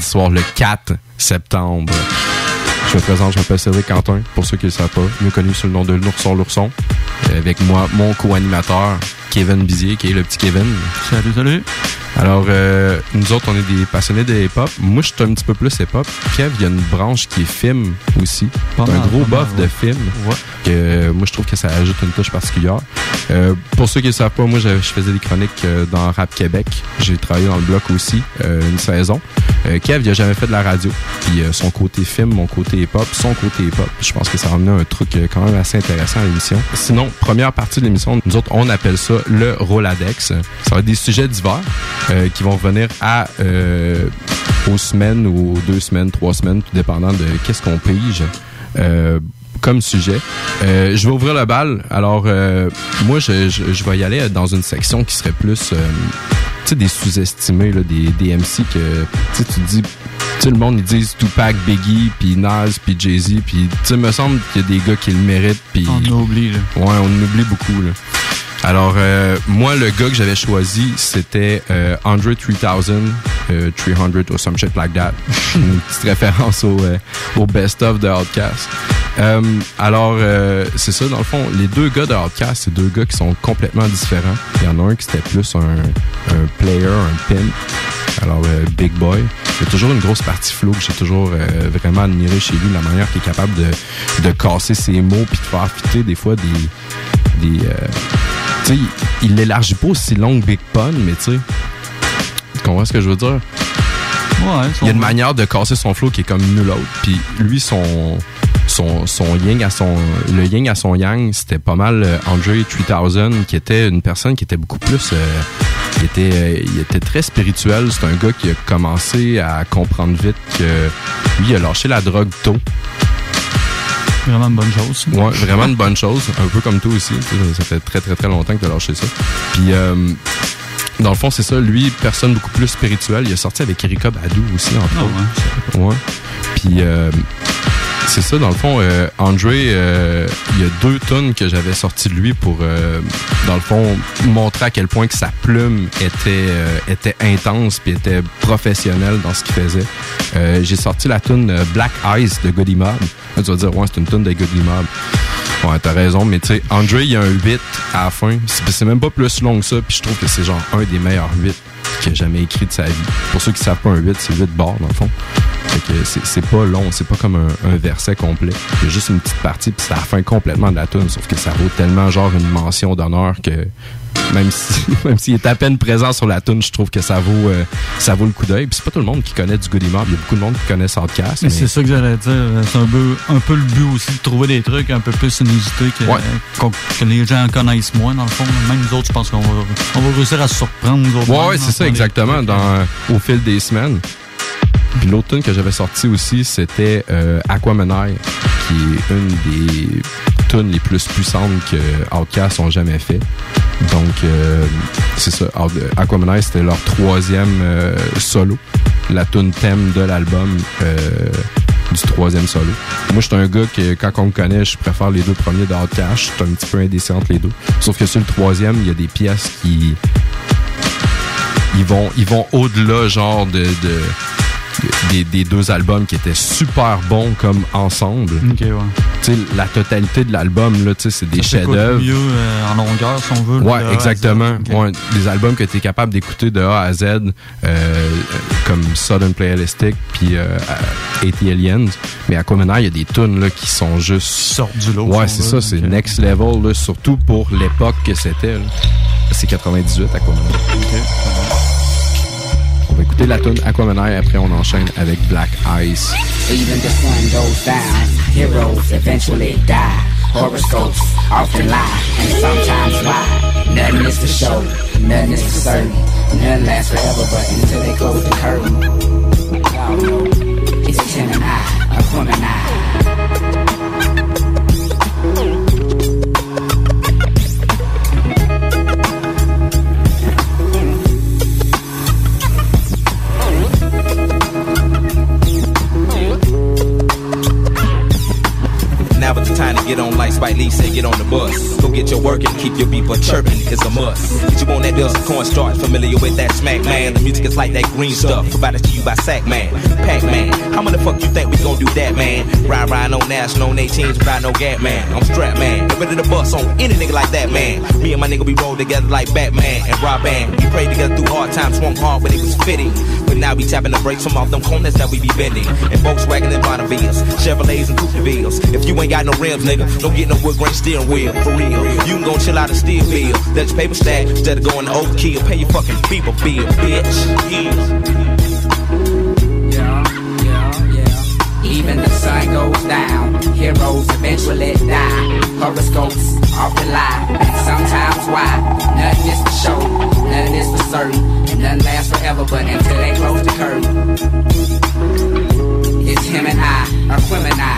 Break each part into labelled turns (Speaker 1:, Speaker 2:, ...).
Speaker 1: vendredi soir, le 4 septembre. Je me présente, je m'appelle Cédric Quentin, pour ceux qui ne le savent pas, mieux connu sous le nom de l'Ourson. Avec moi, mon co-animateur, Kevin Bizier, qui est le petit Kevin.
Speaker 2: Salut.
Speaker 1: Alors, nous autres, on est des passionnés de hip-hop. Moi, je suis un petit peu plus hip-hop. Kev, il y a une branche qui est film aussi. C'est un gros buff de film.
Speaker 2: Ouais.
Speaker 1: Que, moi, je trouve que ça ajoute une touche particulière. Pour ceux qui ne le savent pas, moi, je faisais des chroniques dans Rap Québec. J'ai travaillé dans le bloc aussi, une saison. Kev, il a jamais fait de la radio. Puis son côté film, mon côté hip-hop, son côté hip-hop. Je pense que ça a amené un truc quand même assez intéressant à l'émission. Sinon, première partie de l'émission, nous autres, on appelle ça le Roladex. Ça va être des sujets divers qui vont revenir aux semaines ou 2 semaines, 3 semaines, tout dépendant de qu'est-ce qu'on pige comme sujet. Je vais ouvrir le bal. Alors, moi, je vais y aller dans une section qui serait plus... tu sais, des sous-estimés, là, des MC que... Tu te dis... Tu sais, le monde, ils disent Tupac, Biggie, puis Nas, puis Jay-Z, puis... Tu sais, me semble qu'il y a des gars qui le méritent, puis...
Speaker 2: On oublie, là.
Speaker 1: Ouais, on oublie beaucoup, là. Alors, moi, le gars que j'avais choisi, c'était Andre 3000, 300 or some shit like that. Une petite référence au best-of de Outkast. Alors, c'est ça, dans le fond, les deux gars de Outkast, c'est deux gars qui sont complètement différents. Il y en a un qui c'était plus un player, un pimp. Alors, Big Boy. Il y a toujours une grosse partie flow que j'ai toujours vraiment admiré chez lui, la manière qu'il est capable de casser ses mots puis de faire fitter des fois des tu sais, il l'élargit pas aussi long que Big Pun, mais tu sais, tu comprends ce que je veux dire?
Speaker 2: Ouais,
Speaker 1: il y a une manière de casser son flow qui est comme nul autre. Puis lui, son yin à le yin à son yang, c'était pas mal Andre 3000, qui était une personne qui était beaucoup plus... il était très spirituel. C'est un gars qui a commencé à comprendre vite que lui, il a lâché la drogue tôt.
Speaker 2: Vraiment une bonne chose.
Speaker 1: Ouais, vraiment une bonne chose. Un peu comme toi aussi. Ça fait très, très, très longtemps que tu as lâché ça. Puis, dans le fond, c'est ça. Lui, personne beaucoup plus spirituelle. Il a sorti avec Erykah Badu aussi, entre autres. Ouais. Puis, c'est ça, dans le fond, André, il y a 2 tunes que j'avais sorties de lui pour, dans le fond, montrer à quel point que sa plume était intense puis était professionnelle dans ce qu'il faisait. J'ai sorti la tune Black Eyes de Goody Mob. Là, tu vas dire, ouais, c'est une tune de Goody Mob. Ouais, t'as raison, mais tu sais, André, il y a un 8 à la fin. C'est même pas plus long que ça, puis je trouve que c'est genre un des meilleurs 8 qu'il a jamais écrit de sa vie. Pour ceux qui savent pas, un 8, c'est 8 barres, dans le fond. Fait que c'est pas long, c'est pas comme un verset complet. Il y a juste une petite partie, puis c'est à la fin complètement de la tune, sauf que ça vaut tellement genre une mention d'honneur que même s'il est à peine présent sur la tune, je trouve que ça vaut le coup d'œil. Puis c'est pas tout le monde qui connaît du Goody Mob, il y a beaucoup de monde qui connaît Outkast.
Speaker 2: Mais c'est ça que j'allais dire, c'est un peu le but aussi de trouver des trucs un peu plus inusités que les gens connaissent moins dans le fond. Même nous autres, je pense qu'on va réussir à se surprendre nous autres.
Speaker 1: Ouais, c'est ça exactement au fil des semaines. Puis l'autre tune que j'avais sorti aussi, c'était Aquamanai, qui est une des tunes les plus puissantes que Outkast ont jamais fait. Donc, c'est ça. Aquamanai, c'était leur 3e solo. La tune thème de l'album du 3e solo. Moi, je suis un gars que, quand on me connaît, je préfère les 2 premiers d'Outkast. Je suis un petit peu indécis entre les 2. Sauf que sur le 3e, il y a des pièces qui... Ils vont au-delà, genre, des 2 albums qui étaient super bons comme ensemble.
Speaker 2: Ok, ouais.
Speaker 1: Tu sais, la totalité de l'album, là, tu sais, c'est des chefs-d'œuvre.
Speaker 2: Mieux en longueur, si on veut.
Speaker 1: Ouais, exactement. Okay. Ouais, des albums que tu es capable d'écouter de A à Z, comme Southern Playalistic puis 80 Aliens. Mais à Aquamanai, il y a des tunes là qui sont juste...
Speaker 2: Qui sortent du lot.
Speaker 1: Ouais, c'est ça, c'est next level, là, surtout pour l'époque que c'était. Là. C'est 98, Aquamanai.
Speaker 2: Ok.
Speaker 1: On va écouter la tune Aquamanai, après on enchaîne avec Black Ice.
Speaker 3: Even the sun goes down, heroes eventually die. Horoscopes often lie, and sometimes why. Nothing is for show, nothing is for certain. None lasts forever, but until they close the curtain. Y'all know, it's Gemini, Aquamanai.
Speaker 4: Now it's the time to get on like Spike Lee said, get on the bus. Go get get your work and keep your people chirping is a must. Get you on that dust cornstarch, familiar with that smack, man. The music is like that green stuff, provided to you by Sack Man, Pac-Man. How many fuck you think we gon' do that, man? Ride on national, on 18s, ride no gap, man. I'm strapped, man. Get ready to bust on any nigga like that, man. Me and my nigga, we roll together like Batman and Robin. We prayed together through hard times, swung hard when it was fitting. But now we tapping the brakes from off them corners that we be bending. And Volkswagen and Bonnevilles, Chevrolets and Coupe-de-Villes. If you ain't got no rims, nigga, don't get no wood grain steering wheel, for real. You can go chill out a steel wheel. Let your paper stack instead of going to overkill. Pay your fucking people bill, bitch.
Speaker 3: Yeah. Even the sun goes down, heroes eventually die. Horoscopes often lie, and sometimes why? Nothing is for show, nothing is for certain, and nothing lasts forever, but until they close the curtain. It's him and I, or Quimini.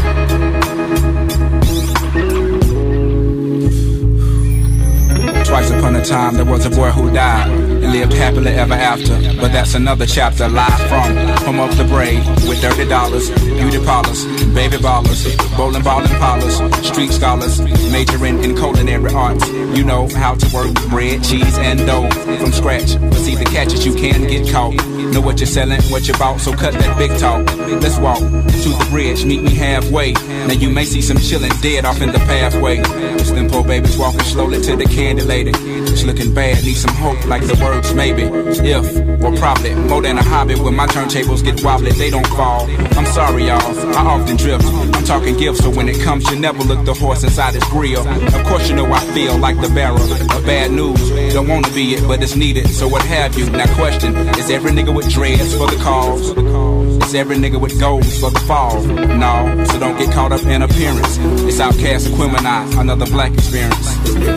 Speaker 5: Twice upon a time there was a boy who died and lived happily ever after. But that's another chapter. Live from home of the brave with $30, beauty parlors, baby ballers, bowling ball and parlors, street scholars, majoring in culinary arts. You know how to work bread, cheese, and dough from scratch. But see the catch is you can get caught. Know what you're selling, what you bought, so cut that big talk. Let's walk to the bridge, meet me halfway. Now you may see some chillin' dead off in the pathway. It's them poor babies walking slowly to the candy lady. It's looking bad, need some hope like the words maybe. If, or probably, more than a hobby. When my turntables get wobbly, they don't fall. I'm sorry y'all, I often drift. I'm talking gifts, so when it comes you never look the horse inside his grill. Of course you know I feel like the bearer of bad news. Don't wanna be it, but it's needed, so what have you. Now question, is every nigga with dreads for the cause? Is every nigga with goals for the fall? No, so don't get caught up in appearance. It's Outkast and Quimini, another black experience.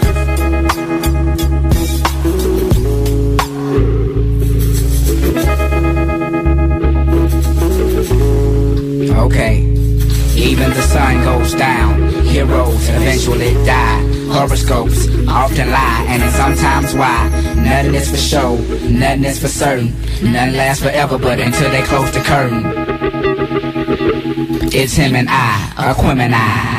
Speaker 3: Okay, even the sun goes down, heroes eventually die. Horoscopes often lie, and it's sometimes why. Nothing is for show, nothing is for certain. Nothing lasts forever, but until they close the curtain. It's him and I, Quimini.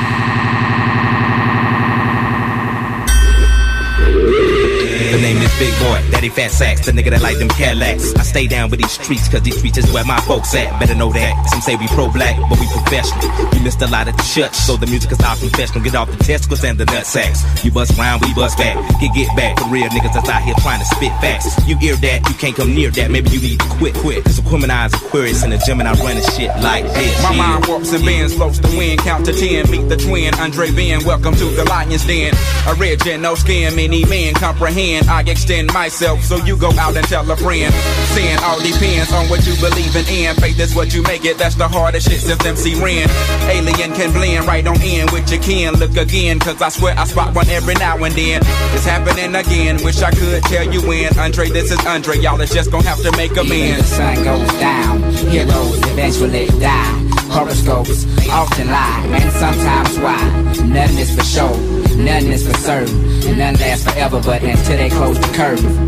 Speaker 4: The name is Big Boy, Daddy Fat Sacks, the nigga that like them Cadillacs. I stay down with these streets, cause these streets is where my folks at. Better know that. Some say we pro-black, but we professional. We missed a lot at the church, so the music is our confessional. Get off the testicles and the nut sacks. You bust round, we bust back. Get back for real niggas that's out here trying to spit facts. You hear that, you can't come near that. Maybe you need to quit. Cause the Quimini's Aquarius in the gym and I running shit like this.
Speaker 5: My mind warps and bends, floats the wind, count to 10. Meet the twin, Andre Ben, welcome to the Lion's Den. A red gen, no skin, many men comprehend. I extend myself, so you go out and tell a friend. Sin all depends on what you believe in. Faith is what you make it, that's the hardest shit since MC Ren. Alien can blend right on in with your kin. Look again, cause I swear I spot one every now and then. It's happening again, wish I could tell you when. Andre, this is Andre, y'all is just gonna have to make amends.
Speaker 3: Even the sun goes down, heroes eventually die. Horoscopes often lie, and sometimes why. Nothing is for show, nothing is for certain, and nothing lasts forever, but until they close the curtain.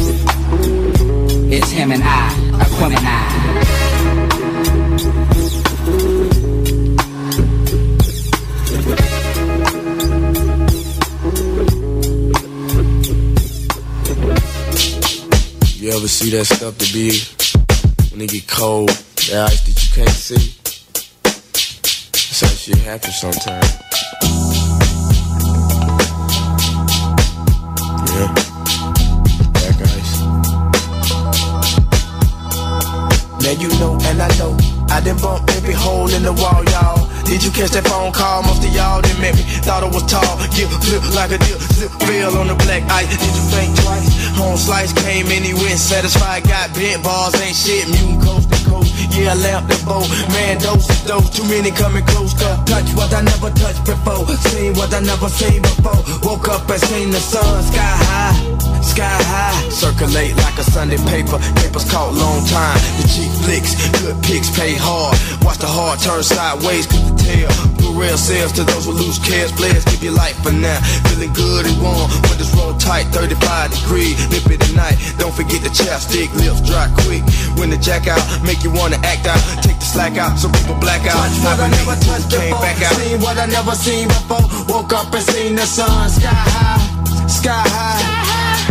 Speaker 3: It's him and I, Quimini.
Speaker 6: You ever see that stuff that be when it get cold, that ice that you can't see? That's how shit happens sometimes. Yeah, black ice.
Speaker 7: Now you know and I know I done bumped every hole in the wall, y'all. Did you catch that phone call? Most of y'all didn't make me. Thought I was tall, get flip like a dip, zip, fell on the black ice. Did you think twice? Home slice came in, he went satisfied. Got bent bars, ain't shit, mutant coast to coast. Yeah, I lamped the boat, man, dose is dose. Too many coming close to touch what I never touched before. Seen what I never seen before. Woke up and seen the sun, sky high. Sky high, circulate like a Sunday paper. Papers caught long time. The cheap flicks, good pigs pay hard. Watch the heart turn sideways, cause the tail put real sales to those who lose cares. Players give your life for now. Feeling good and warm, when it's roll tight, 35 degrees. Nip it at night, don't forget the chapstick, lips dry quick. When the jack out, make you wanna act out. Take the slack out, so people black out.
Speaker 3: Touch what I never touched before, seen what I never seen before. Woke up and seen the sun, sky high, sky high.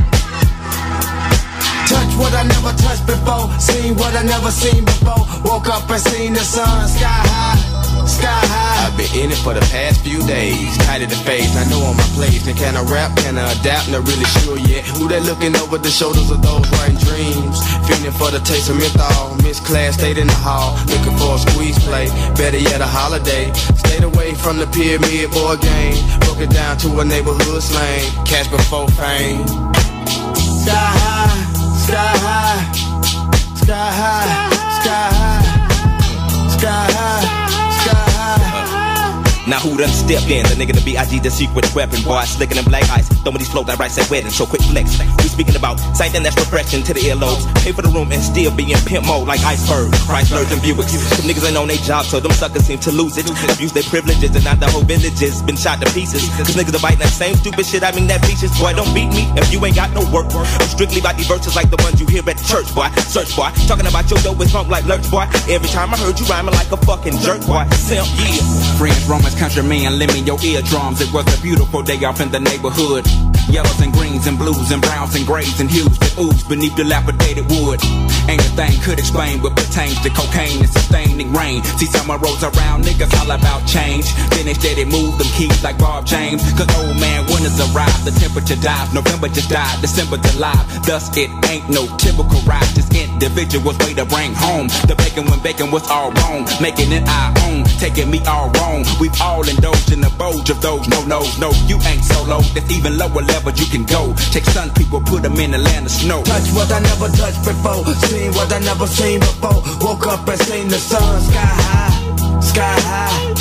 Speaker 3: Touch what I never touched before, seen what I never seen before. Woke up and seen the sun, sky high, sky high.
Speaker 7: I've been in it for the past few days, tight of the face, I know on my place. And can I rap, can I adapt, not really sure yet. Who they looking over the shoulders of those writing dreams, feeling for the taste of menthol. Miss class, stayed in the hall, looking for a squeeze play, better yet a holiday. Stayed away from the pyramid board game, broke it down to a neighborhood slang. Cash before fame.
Speaker 3: Sky high, sky high, sky high, sky high, sky high, sky high.
Speaker 4: Now who done stepped in? The nigga the B.I.G. the secret weapon. Boy, slickin' in black ice. Throwing these flows I write at wedding. So quick flex. We speaking about something that's refreshing to the earlobes. Pay for the room and still be in pimp mode like iceberg. Chryslers and Buicks. Some niggas ain't on their job, so them suckers seem to lose it. Abuse their privileges and not the whole villages been shot to pieces. Cause niggas are biting that same stupid shit. I mean that beaches. Boy, don't beat me if you ain't got no work. I'm strictly about these verses like the ones you hear at the church, boy. Search, boy. Talking about your dough with funk like lurch, boy. Every time I heard you rhyming like a fucking jerk, boy. Simp, yeah.
Speaker 5: Friends, Romans, countrymen, lend me your eardrums. It was a beautiful day off in the neighborhood. Yellows and greens and blues and browns and grays and hues that ooze beneath dilapidated wood. Ain't a thing could explain what pertains to cocaine and sustaining rain. See summer rolls around, niggas all about change. Then they steady move them keys like Bob James. Cause old man, winters arrive, the temperature dives. November just died, December's alive. Thus it ain't no typical ride, just individuals way to bring home. The bacon when bacon was all wrong, making it our own, taking me all wrong. We've all indulged in the bulge of those no-nos. No, you ain't solo, there's even lower levels you can go. Take sun people, put them in the land of snow.
Speaker 3: Touch what I never touched before, seen what I never seen before. Woke up and seen the sun, sky high, sky high.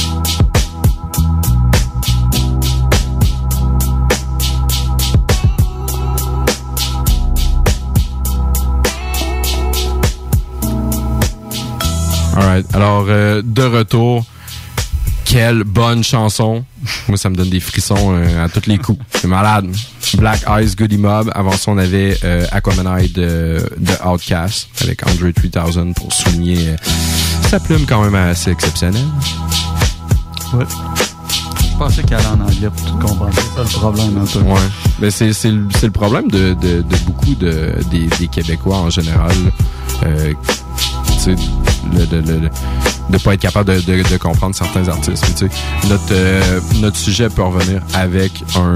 Speaker 1: Alright, alors de retour, quelle bonne chanson. Moi, ça me donne des frissons à tous les coups. C'est malade. Black Eyes, Goody Mob. Avant ça, on avait Aquamanite de Outkast avec Andre 3000 pour souligner sa plume quand même assez exceptionnelle.
Speaker 2: Ouais. Je pensais qu'elle allait en anglais pour tout comprendre. C'est ça le problème un peu.
Speaker 1: Ouais. Mais c'est le problème de beaucoup des Québécois en général. Tu sais, de pas être capable de comprendre certains artistes. Tu sais, notre sujet peut revenir avec un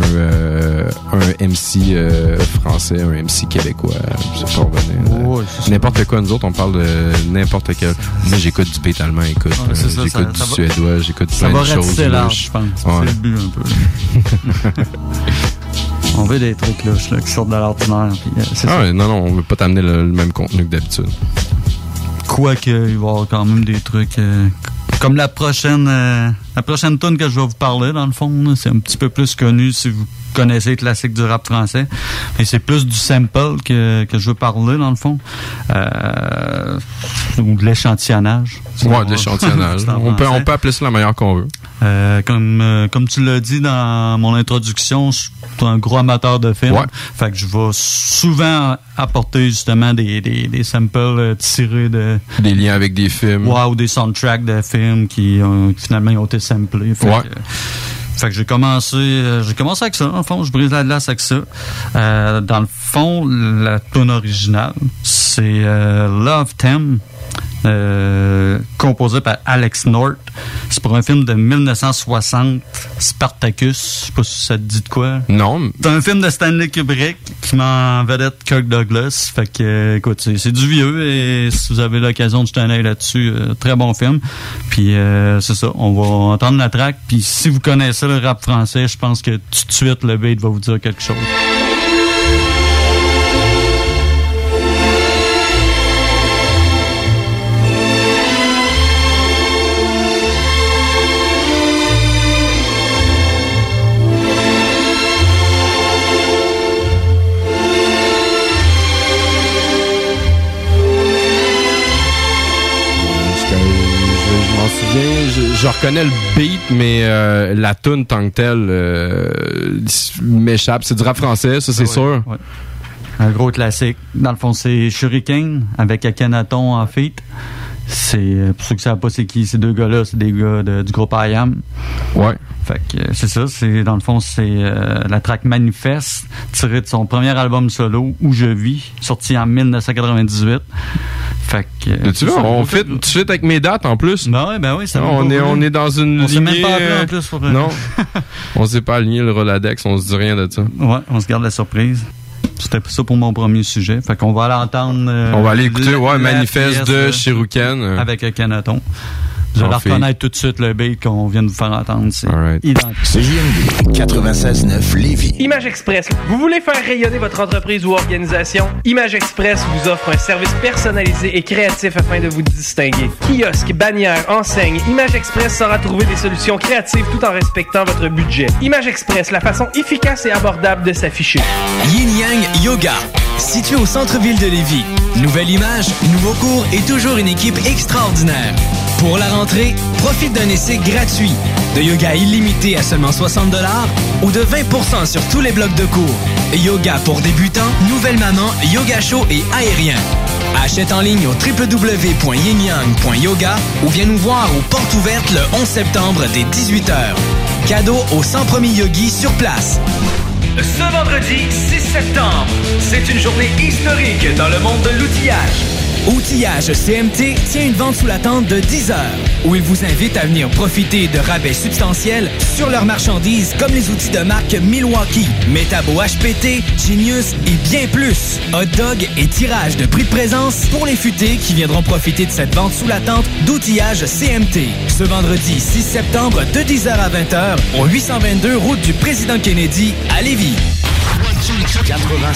Speaker 1: MC français, un MC québécois. Ça peut revenir.
Speaker 2: Ouais,
Speaker 1: n'importe quoi. Nous autres, on parle de n'importe quel. Moi, j'écoute du beat allemand, écoute. J'écoute du suédois, j'écoute plein de choses.
Speaker 2: Ça va rester je pense. Ouais. C'est le but un peu. On veut des trucs là, qui sortent de l'ordinaire.
Speaker 1: Non, on veut pas t'amener le même contenu que d'habitude.
Speaker 2: Quoique, il va y avoir quand même des trucs comme la prochaine tune que je vais vous parler, dans le fond, là, c'est un petit peu plus connu si vous connaissez les classiques du rap français. Et c'est plus du sample que je veux parler, dans le fond. Ou de l'échantillonnage.
Speaker 1: Ouais, de l'échantillonnage. on peut appeler ça la manière qu'on veut.
Speaker 2: Comme tu l'as dit dans mon introduction, je suis un gros amateur de films.
Speaker 1: Ouais.
Speaker 2: Fait que je vais souvent apporter justement des samples tirés de...
Speaker 1: Des liens avec des films.
Speaker 2: Ouais, ou des soundtracks de films qui finalement ont été samplés. Fait que j'ai commencé avec ça. En fond, je brise la glace avec ça. Dans le fond, la tune originale, c'est Love Theme, composé par Alex North. C'est pour un film de 1960, Spartacus. Je sais pas si ça te dit de quoi.
Speaker 1: Non.
Speaker 2: C'est un film de Stanley Kubrick qui met en vedette Kirk Douglas. Fait que, écoute, c'est du vieux et si vous avez l'occasion de jeter un œil là-dessus, très bon film. Puis c'est ça, on va entendre la track. Puis si vous connaissez le rap français, je pense que tout de suite le beat va vous dire quelque chose.
Speaker 1: m'en souviens. Je reconnais le beat, mais la tune tant que telle m'échappe. C'est du rap français, ça, c'est sûr.
Speaker 2: Ouais. Un gros classique. Dans le fond, c'est Shuriken avec Akhenaton en feat. C'est, pour ceux qui ne savent pas c'est qui, ces deux gars-là, c'est des gars du groupe I Am.
Speaker 1: Ouais.
Speaker 2: Fait que c'est ça, dans le fond, c'est la track Manifeste, tirée de son premier album solo, Où je vis, sorti en 1998. Fait que...
Speaker 1: Tu vois, on fit tout de suite avec mes dates, en plus.
Speaker 2: Ben oui, ça
Speaker 1: on est dans une lignée...
Speaker 2: On s'est même pas appelé, en plus.
Speaker 1: Non. On s'est pas aligné le Roladex, on se dit rien de ça.
Speaker 2: Ouais, on se garde la surprise. C'était ça pour mon premier sujet. Fait qu'on va aller entendre...
Speaker 1: on va aller écouter, Manifeste de Shuriken.
Speaker 2: Avec Akhenaton. Vous allez reconnaître tout de suite le beat qu'on vient de vous faire entendre. C'est identique.
Speaker 8: C'est JMD 96.9 Lévis.
Speaker 9: Image Express. Vous voulez faire rayonner votre entreprise ou organisation? Image Express vous offre un service personnalisé et créatif afin de vous distinguer. Kiosque, bannière, enseigne, Image Express saura trouver des solutions créatives tout en respectant votre budget. Image Express, la façon efficace et abordable de s'afficher.
Speaker 10: Yin Yang Yoga. Situé au centre-ville de Lévis. Nouvelle image, nouveau cours et toujours une équipe extraordinaire. Pour la rentrée, profite d'un essai gratuit, de yoga illimité à seulement 60$ ou de 20% sur tous les blocs de cours. Yoga pour débutants, nouvelle maman, yoga chaud et aérien. Achète en ligne au www.yinyang.yoga ou viens nous voir aux portes ouvertes le 11 septembre dès 18h. Cadeau aux 100 premiers yogis sur place.
Speaker 11: Ce vendredi 6 septembre, c'est une journée historique dans le monde de l'outillage.
Speaker 10: Outillage CMT tient une vente sous la tente de 10 heures, où il vous invite à venir profiter de rabais substantiels sur leurs marchandises comme les outils de marque Milwaukee, Metabo HPT, Genius et bien plus. Hot dog et tirage de prix de présence pour les futés qui viendront profiter de cette vente sous la tente d'outillage CMT. Ce vendredi 6 septembre de 10h à 20h au 822 route du Président Kennedy à Lévis.
Speaker 8: 96.9.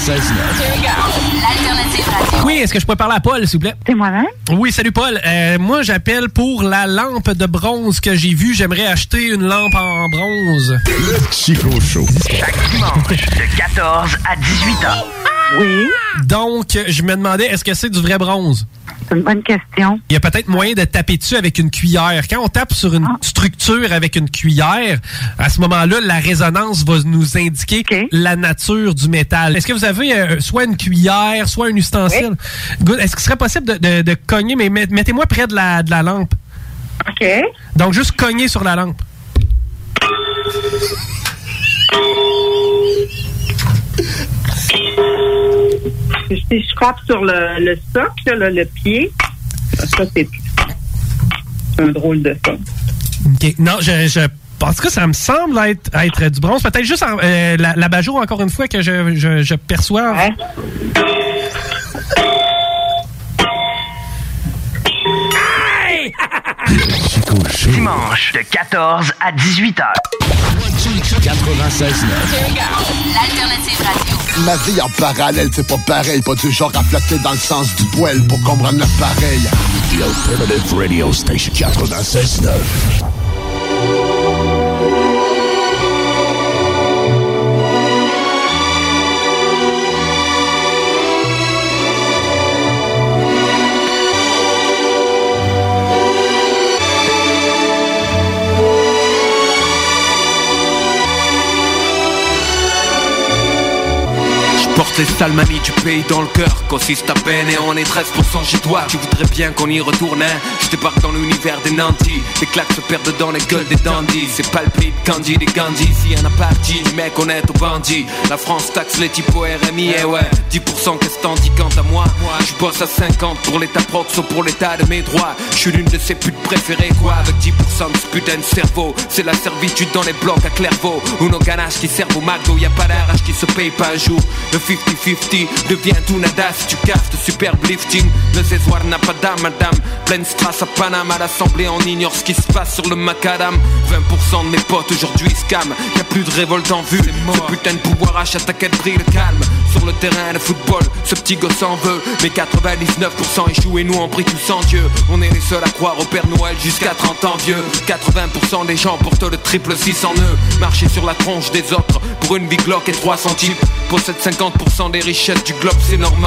Speaker 12: L'alternative radio.
Speaker 13: Oui, est-ce que je peux parler à Paul, s'il vous plaît?
Speaker 12: C'est moi-même.
Speaker 13: Oui, salut Paul. Moi, j'appelle pour la lampe de bronze que j'ai vue. J'aimerais acheter une lampe en bronze.
Speaker 8: Le Chico Show.
Speaker 11: Chaque dimanche, de 14 à 18h.
Speaker 12: Oui.
Speaker 13: Donc, je me demandais, est-ce que c'est du vrai bronze?
Speaker 12: C'est une bonne question.
Speaker 13: Il y a peut-être moyen de taper dessus avec une cuillère. Quand on tape sur une structure avec une cuillère, à ce moment-là, la résonance va nous indiquer la nature du métal. Est-ce que vous avez soit une cuillère, soit un ustensile? Oui. Est-ce qu'il serait possible de cogner, mais mettez-moi près de la lampe.
Speaker 12: OK.
Speaker 13: Donc, juste cogner sur la lampe.
Speaker 12: Si je frappe sur le socle, le pied, ça, c'est un drôle de son.
Speaker 13: OK. Non, en tout cas, ça me semble être du bronze. Peut-être juste l'abat-jour, encore une fois, que je perçois.
Speaker 12: Ouais.
Speaker 11: Dimanche, de 14 à 18h.
Speaker 8: 96.9.
Speaker 12: L'alternative radio.
Speaker 14: Ma vie en parallèle, c'est pas pareil. Pas du genre à flotter dans le sens du poil pour comprendre l'appareil.
Speaker 8: The Alternative Radio Station 96.9.
Speaker 15: Porte les sales manies du pays dans le cœur, consiste à peine et on est 13% chez toi. Tu voudrais bien qu'on y retourne, hein? Je débarque dans l'univers des nantis. Les claques se perdent dans les gueules des dandys. C'est palpite, Candy, des Gandhi. Si y'en a parti, du mec honnête au bandit. La France taxe les types au RMI, et ouais 10% qu'est-ce t'en dis quant à moi? Je bosse à 50 pour l'état proxo, pour l'état de mes droits. Je suis l'une de ses putes préférées, quoi. Avec 10% de ce putain de cerveau. C'est la servitude dans les blocs à Clairvaux. Ou nos ganaches qui servent au McDo. Y'a pas d'arrache qui se paye pas un jour. Le 50-50 devient tout nada si tu casses de superbe lifting. Le Césoir n'a pas d'âme, madame. Pleine strass à Paname, à l'Assemblée, on ignore ce qui se passe sur le macadam. 20% de mes potes aujourd'hui scam. Y'a plus de révolte en vue. Ce putain de pouvoir achète à quel prix le calme. Sur le terrain de football, ce petit gosse en veut. Mais 99% échouent et nous on prie tous en Dieu. On est les seuls à croire au Père Noël jusqu'à 30 ans vieux. 80% des gens portent le triple 6 en eux. Marcher sur la tronche des autres pour une big Glock et 300 types. Possède 50% des richesses du globe, c'est normal.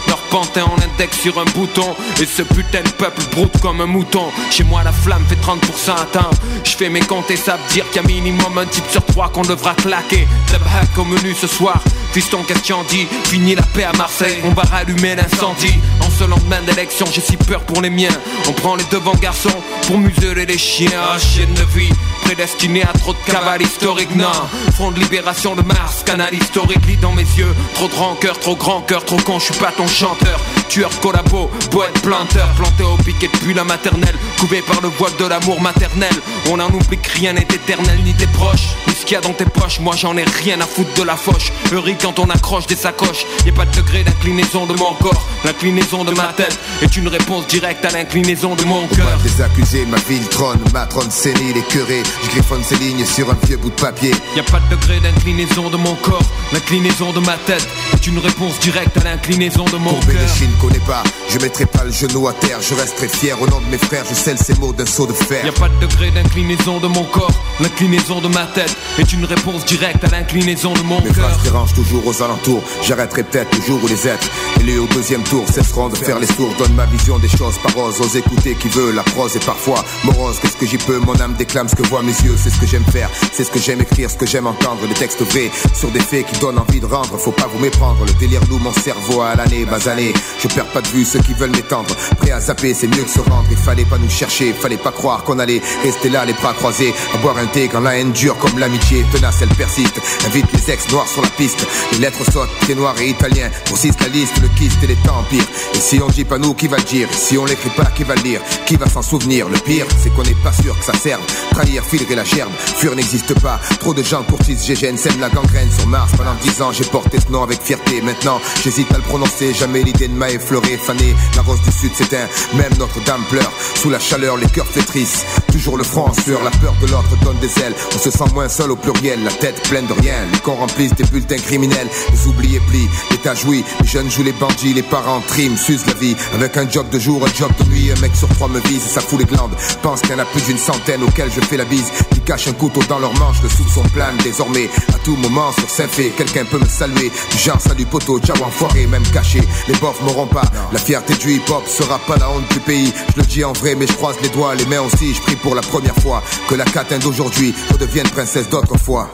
Speaker 15: Leur pantin en index sur un bouton. Et ce putain de peuple broute comme un mouton. Chez moi la flamme fait 30% atteint. Je fais mes comptes et ça veut dire qu'il y a minimum un type sur 3 qu'on devra claquer. Tabhack au menu ce soir. Fiston question dit, fini la paix à Marseille. On va rallumer l'incendie. En ce lendemain d'élection j'ai si peur pour les miens. On prend les devants garçons pour museler les chiens. Ah, chienne de vie, prédestiné à trop de cavale historique. Non, front de libération de Mars, canal historique. Lit dans mes yeux, trop de rancœur, trop grand cœur, trop con, je suis pas ton chanteur. Tueur de collabo, poète planteur. Planté au piquet depuis la maternelle, couvé par le voile de l'amour maternel. On en oublie que rien n'est éternel ni tes proches. Mais ce qu'il y a dans tes poches, moi j'en ai rien à foutre de la fauche. Heureux quand on accroche des sacoches. Y'a pas de degré d'inclinaison de mon corps. L'inclinaison de ma tête est une réponse directe à l'inclinaison de mon cœur.
Speaker 16: Des accusés, ma ville trône, ma trône sénile et curée. Je griffonne ces lignes sur un vieux bout de papier.
Speaker 15: Y'a pas de degré d'inclinaison de mon corps. L'inclinaison de ma tête est une réponse directe à l'inclinaison de mon cœur.
Speaker 16: Courbé les chines connais pas, je mettrai pas le genou à terre. Je resterai fier au nom de mes frères, je scelle ces mots d'un seau de fer.
Speaker 15: Y'a pas de degré d'inclinaison de mon corps. L'inclinaison de ma tête est une réponse directe à l'inclinaison de mon cœur.
Speaker 16: Mes phrases dérangent toujours aux alentours. J'arrêterai peut-être le jour où les êtres élus au deuxième tour cesseront de faire les sourds. Donne ma vision des choses par ose, ose écouter qui veut. La prose est parfois morose, qu'est-ce que j'y peux. Mon âme déclame ce que voient mes yeux. C'est ce que j'aime faire, c'est ce que j'aime écrire, ce que j'aime entendre. Des textes vrais sur des faits qui donnent envie de rendre. Faut pas vous méprendre, le délire loue mon cerveau à l'année basanée. Je perds pas de vue ceux qui veulent m'étendre. Prêt à zapper, c'est mieux que se rendre. Il fallait pas nous chercher, fallait pas croire qu'on allait rester là les bras croisés. À boire un thé quand la haine dure comme l'amitié. Tenace elle persiste, invite les ex noirs sur la piste. Les lettres sautent, pieds noirs et italiens. Grossissent la liste, le kyste et les empires. Et si on dit pas nous, qui va le dire? Et si on l'écrit pas, qui va le lire? Qui va s'en souvenir? Le pire, c'est qu'on n'est pas sûr que ça serve. Trahir, filerer la gerbe, fuir n'existe pas. Trop de gens courtisent GGN, sèment la gangrène sur Mars. Pendant 10 ans, j'ai porté ce nom avec fierté. Maintenant, j'hésite à le prononcer. Jamais l'idée ne m'a effleuré, fané. La rose du sud s'éteint, même Notre-Dame pleure. Sous la chaleur, les cœurs flétrissent. Toujours le front en sueur, la peur de l'autre donne des ailes. On se sent moins seul au pluriel, la tête pleine de rien. Les cons remplissent des bulletins criminels. Les oubliés plient, l'État jouit. Les jeunes jouent les bandits, les parents triment, s'usent la vie. Avec un job de jour, un job de nuit. Un mec sur 3 me vise et ça fout les glandes. Pense qu'il y en a plus d'une centaine auxquels je fais la bise. Qui cachent un couteau dans leur manche, le soupçon plane désormais. À tout moment sur Saint-Fé, quelqu'un peut me saluer. Du genre salut poteau, ciao enfoiré, même caché. Les bofs m'auront pas, la fierté du hip-hop sera pas la honte du pays. Je le dis en vrai mais je croise les doigts, les mains aussi. Je prie pour la première fois que la catin d'aujourd'hui redevienne princesse d'autrefois.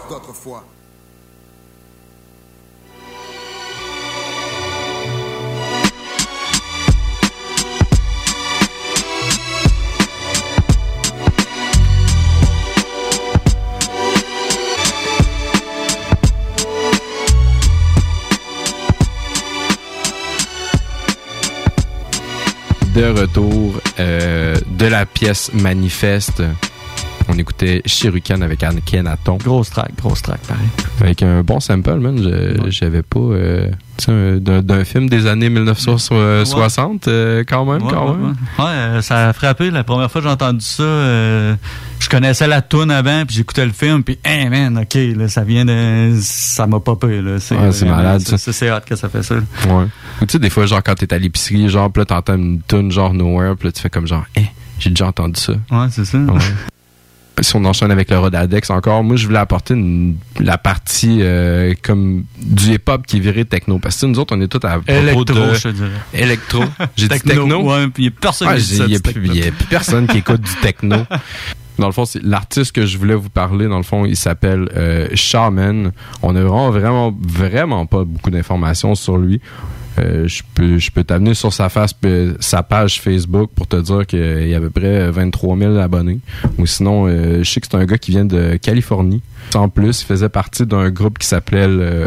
Speaker 1: De retour de la pièce Manifeste. On écoutait Shuriken avec Akhenaton.
Speaker 2: Grosse track, pareil.
Speaker 1: Avec un bon sample, man. J'avais pas... d'un film des années 1960, quand même.
Speaker 2: Ouais, ça a frappé. La première fois que j'ai entendu ça, je connaissais la toune avant, puis j'écoutais le film, puis hey man, ok, là, ça vient de... Ça m'a popé, là.
Speaker 1: C'est malade, ça.
Speaker 2: C'est hot que ça fait ça. Là.
Speaker 1: Ouais. Ou tu sais, des fois, genre, quand t'es à l'épicerie, genre, pis là, t'entends une toune, genre, Nowhere, pis là, tu fais comme genre, j'ai déjà entendu ça.
Speaker 2: Ouais, c'est ça.
Speaker 1: Ouais. Si on enchaîne avec le Rodadex encore, moi je voulais apporter la partie comme du hip-hop qui est viré techno. Parce que nous autres, on est tous à propos
Speaker 2: électro,
Speaker 1: de...
Speaker 2: je dirais.
Speaker 1: Électro. J'ai dit techno.
Speaker 2: Ouais, puis il n'y a personne qui dit ça.
Speaker 1: Il n'y a plus personne qui écoute du techno. Dans le fond, c'est l'artiste que je voulais vous parler. Dans le fond, il s'appelle Shaman. On a vraiment pas beaucoup d'informations sur lui. Je peux t'amener sur sa page Facebook pour te dire qu'il y a à peu près 23 000 abonnés. Ou sinon, je sais que c'est un gars qui vient de Californie. En plus, il faisait partie d'un groupe qui s'appelait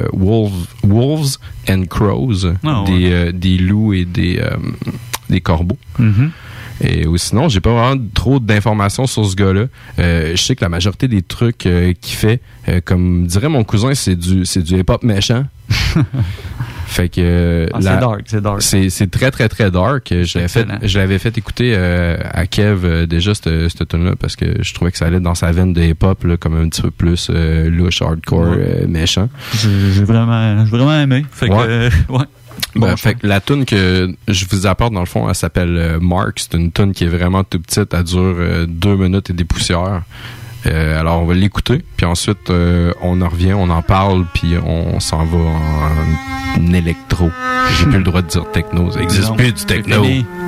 Speaker 1: Wolves and Crows, des loups et des corbeaux. Mm-hmm. Et ou sinon, j'ai pas vraiment trop d'informations sur ce gars-là. Je sais que la majorité des trucs qu'il fait, comme dirait mon cousin, c'est du hip-hop méchant. Fait que
Speaker 2: c'est dark.
Speaker 1: C'est très très très dark. Je l'avais fait écouter à Kev déjà cette tune-là parce que je trouvais que ça allait dans sa veine de hip-hop là, comme un petit peu plus louche, hardcore, méchant.
Speaker 2: J'ai vraiment aimé. Fait que ouais.
Speaker 1: Bon, fait que la tune que je vous apporte dans le fond, elle s'appelle Mark. C'est une tune qui est vraiment tout petite. Elle dure 2 minutes et des poussières. Alors, on va l'écouter, puis ensuite, on en revient, on en parle, puis on s'en va en électro. J'ai plus le droit de dire techno. Ça existe plus du techno.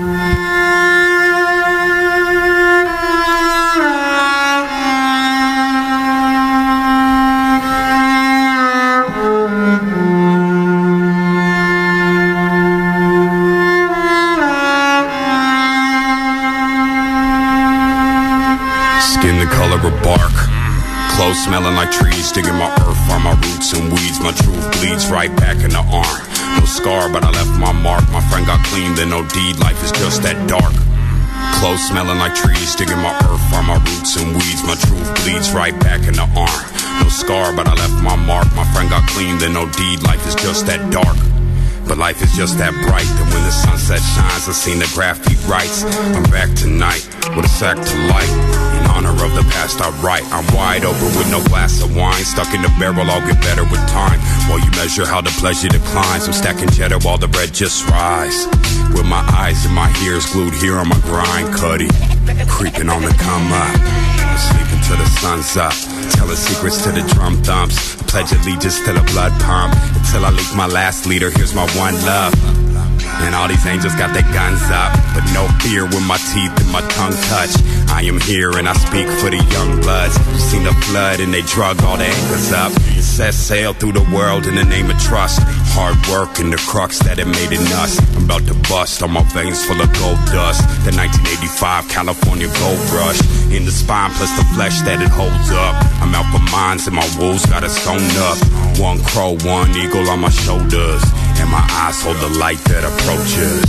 Speaker 17: Skin the color of bark. Clothes smelling like trees, digging my earth on my roots and weeds. My truth bleeds right back in the arm. No scar, but I left my mark. My friend got clean, then no deed. Life is just that dark. Clothes smelling like trees, digging my earth on my roots and weeds. My truth bleeds right back in the arm. No scar, but I left my mark. My friend got clean, then no deed. Life is just that dark. But life is just that bright that when the sunset shines, I've seen the graffiti rights. I'm back tonight with a sack to light. In honor of the past I write. I'm wide open with no glass of wine. Stuck in the barrel, I'll get better with time. While you measure how the pleasure declines, I'm stacking cheddar while the bread just rise. With my eyes and my ears glued here on my grind, Cuddy. Creeping on the come up. I'm sleeping till the sun's up. Telling secrets to the drum thumps. Pledge allegiance to the blood pump. Until I leak my last leader, here's my one love. And all these angels got their guns up. But no fear when my teeth and my tongue touch. I am here and I speak for the young bloods. Seen the flood and they drug all the anchors up. Set sail through the world in the name of trust. Hard work and the crux that it made in us. I'm about to bust on my veins full of gold dust. The 1985 California gold rush. In the spine plus the flesh that it holds up. I'm out for mines and my wolves got us sewn up. One crow, one eagle on my shoulders. And my eyes hold the light that approaches.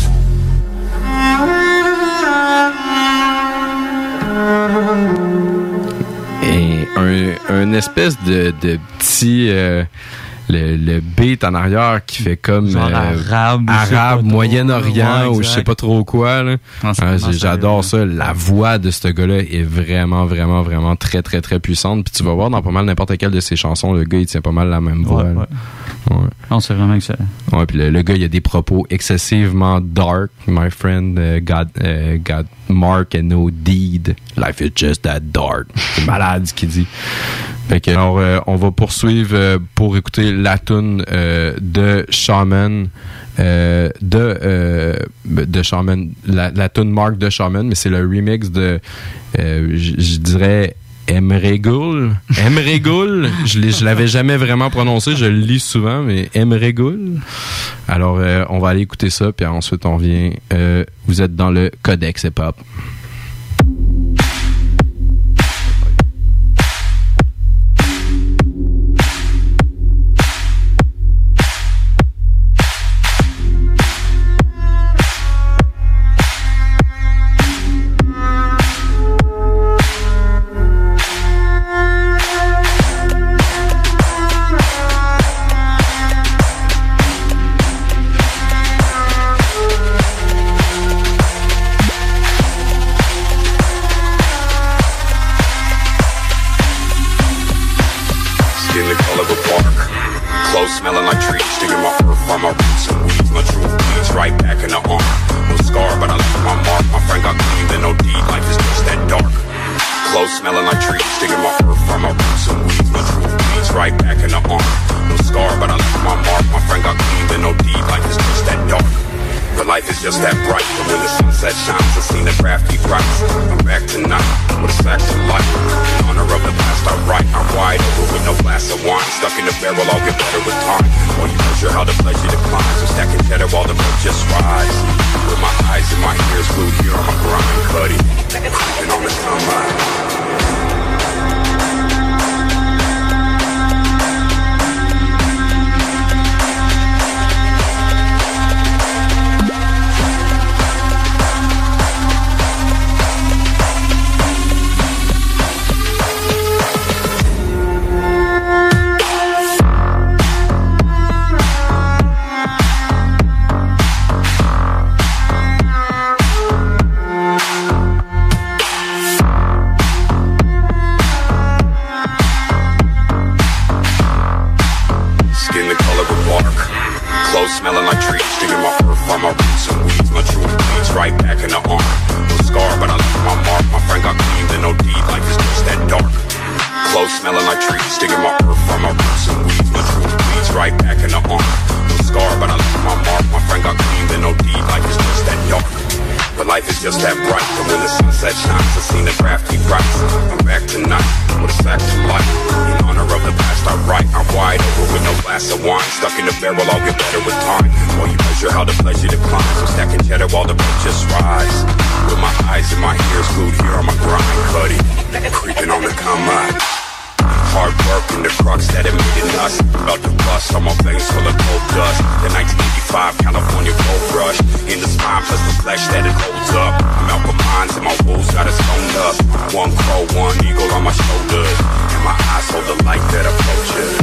Speaker 1: Et un espèce de petit le beat en arrière qui fait comme
Speaker 2: genre
Speaker 1: arabe Moyen-Orient ou je sais pas trop quoi là. J'adore ça. La voix de ce gars-là est vraiment vraiment vraiment très très très puissante. Puis tu vas voir dans pas mal n'importe quelle de ses chansons, le gars il tient pas mal la même voix.
Speaker 2: Ouais. Non, c'est vraiment excellent.
Speaker 1: Ouais, puis le gars il a des propos excessivement dark. My friend got mark and no deed. Life is just that dark. C'est malade ce qu'il dit. Fait que, alors, on va poursuivre pour écouter la toune de Shaman, de Shaman, la toune Mark de Shaman, mais c'est le remix de, je dirais, Emregoul. Je l'avais jamais vraiment prononcé, je le lis souvent, mais Emregoul. Alors, on va aller écouter ça, puis ensuite on vient. Vous êtes dans le Codex Hip-Hop.
Speaker 17: Smelling like trees, digging my earth on my roots and weeds. My truth bleeds right back in the arm. No scar, but I left my mark. My friend got clean, then no deed. Life is just that dark. Clothes smelling like trees, digging my earth on my roots and weeds. My truth bleeds right back in the arm. No scar, but I left my mark. My friend got clean, then no deed. Life is just that dark. But life is just that bright. But when the sunset shines, I've seen the crafty rights. I'm back tonight with a sack of light. In honor of the past I write. I'm wide open with no glass of wine. Stuck in the barrel, I'll get better with time. While you measure how the pleasure declines. I'm stacking cheddar while the road just rise. With my eyes and my ears glued here on my grind, Cuddy. Creeping on the come up. life is just that bright. And when the sunset shines, I seen the crafty rights. I'm back tonight with a sack to life. In honor of the past I write, I'm wide over with no glass of wine. Stuck in the barrel, I'll get better with time. While you measure how the pleasure declines, I'm stacking cheddar while the purchase rise. With my eyes and my ears glued here on my grind, Cuddy, creeping on the come up. Hard work and the crux that it made in us. About to bust on my veins full of gold dust. The 1985 California gold rush. In the spine plus the flesh that it holds up. I'm out for mines and my wolves got it sewn up. One crow, one eagle on my shoulders. And my eyes hold the light that approaches.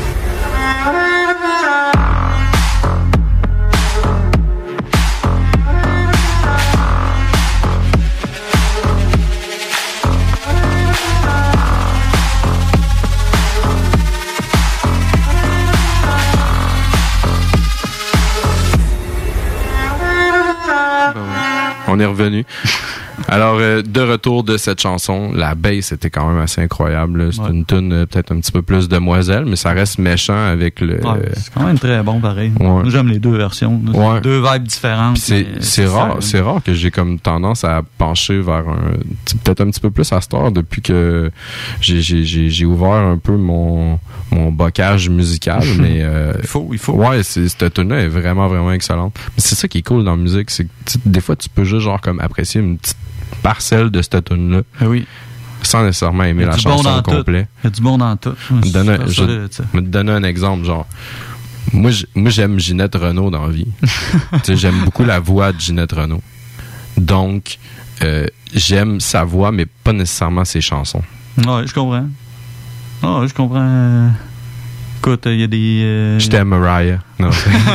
Speaker 1: On est revenu. Alors, de retour de cette chanson, la bass était quand même assez incroyable. C'est une tune peut-être un petit peu plus demoiselle, mais ça reste méchant avec le...
Speaker 2: Ouais, c'est quand même très bon, pareil.
Speaker 1: Ouais.
Speaker 2: Moi, j'aime les deux versions.
Speaker 1: Ouais.
Speaker 2: Deux vibes différentes.
Speaker 1: C'est rare que j'ai comme tendance à pencher vers peut-être un petit peu plus à cette heure depuis que j'ai ouvert un peu mon bocage musical, mais...
Speaker 2: Il faut.
Speaker 1: Ouais, cette tune-là est vraiment, vraiment excellente. Mais c'est ça qui est cool dans la musique, c'est que des fois, tu peux juste genre comme apprécier une petite parcelle de cette tune-là.
Speaker 2: Oui.
Speaker 1: Sans nécessairement aimer la chanson au complet.
Speaker 2: Il y a du bon dans tout.
Speaker 1: Je vais te donner un exemple, genre. Moi, j'aime Ginette Renault dans la vie. J'aime beaucoup la voix de Ginette Renault. Donc, j'aime sa voix, mais pas nécessairement ses chansons.
Speaker 2: Ouais, je comprends. Ah, je comprends. Écoute, il y a des...
Speaker 1: Je t'aime, Mariah. Non.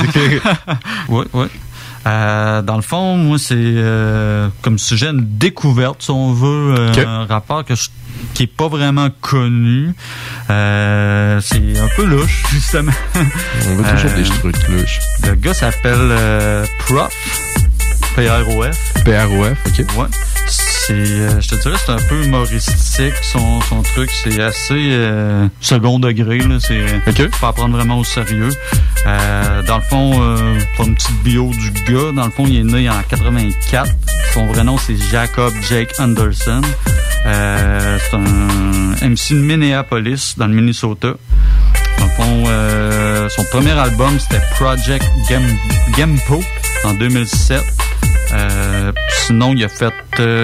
Speaker 2: Oui. Dans le fond, moi, c'est comme sujet une découverte, si on veut, un rapport qui est pas vraiment connu. C'est un peu louche, justement.
Speaker 1: On veut toujours des trucs louches.
Speaker 2: Le gars s'appelle Prof. P-R-O-F.
Speaker 1: P-R-O-F, OK.
Speaker 2: Ouais. Je te dirais, c'est un peu humoristique, son truc. C'est assez second degré, là. Faut pas prendre vraiment au sérieux. Dans le fond, pour une petite bio du gars, dans le fond, il est né en 84. Son vrai nom, c'est Jacob Jake Anderson. C'est un MC de Minneapolis, dans le Minnesota. Dans le fond, son premier album, c'était Project Gempo en 2007. Sinon, il a fait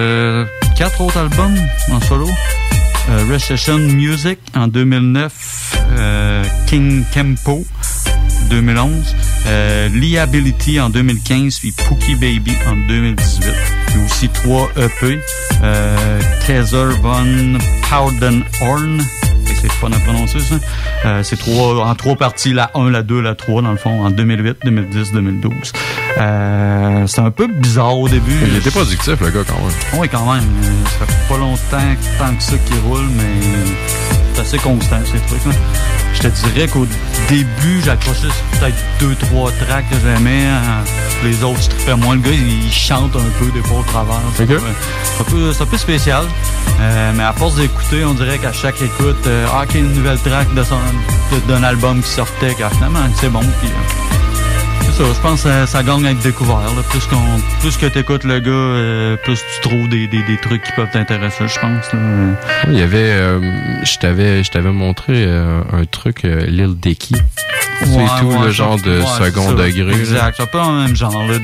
Speaker 2: 4 autres albums en solo. Recession Music en 2009, King Kempo 2011, Liability en 2015, puis Pookie Baby en 2018. Il y a aussi 3 EP, Kaiser von Paudenhorn. C'est pas à prononcer, ça. C'est en 3 parties, la 1, la 2, la 3, dans le fond, en 2008, 2010, 2012. C'est un peu bizarre au début.
Speaker 1: Il était productif, le gars, quand même.
Speaker 2: Oui, quand même. Ça fait pas longtemps tant que ça qu'il roule, mais c'est assez constant, ces trucs-là. Je te dirais qu'au début, j'accrochais peut-être 2-3 tracks que j'aimais. Les autres, je trippais moins. Le gars, il chante un peu des fois au travers. C'est un peu spécial. Mais à force d'écouter, on dirait qu'à chaque écoute, qu'il y a une nouvelle track d'un album qui sortait, car finalement, c'est bon. Puis, c'est ça, je pense que ça gagne à être découvert. Là. Plus que t'écoutes le gars, plus tu trouves des trucs qui peuvent t'intéresser, je pense. Là.
Speaker 1: Il y avait... je t'avais montré un truc, Lil Dicky. C'est tout le genre de second degré.
Speaker 2: Exact, c'est un peu dans le même genre. Là,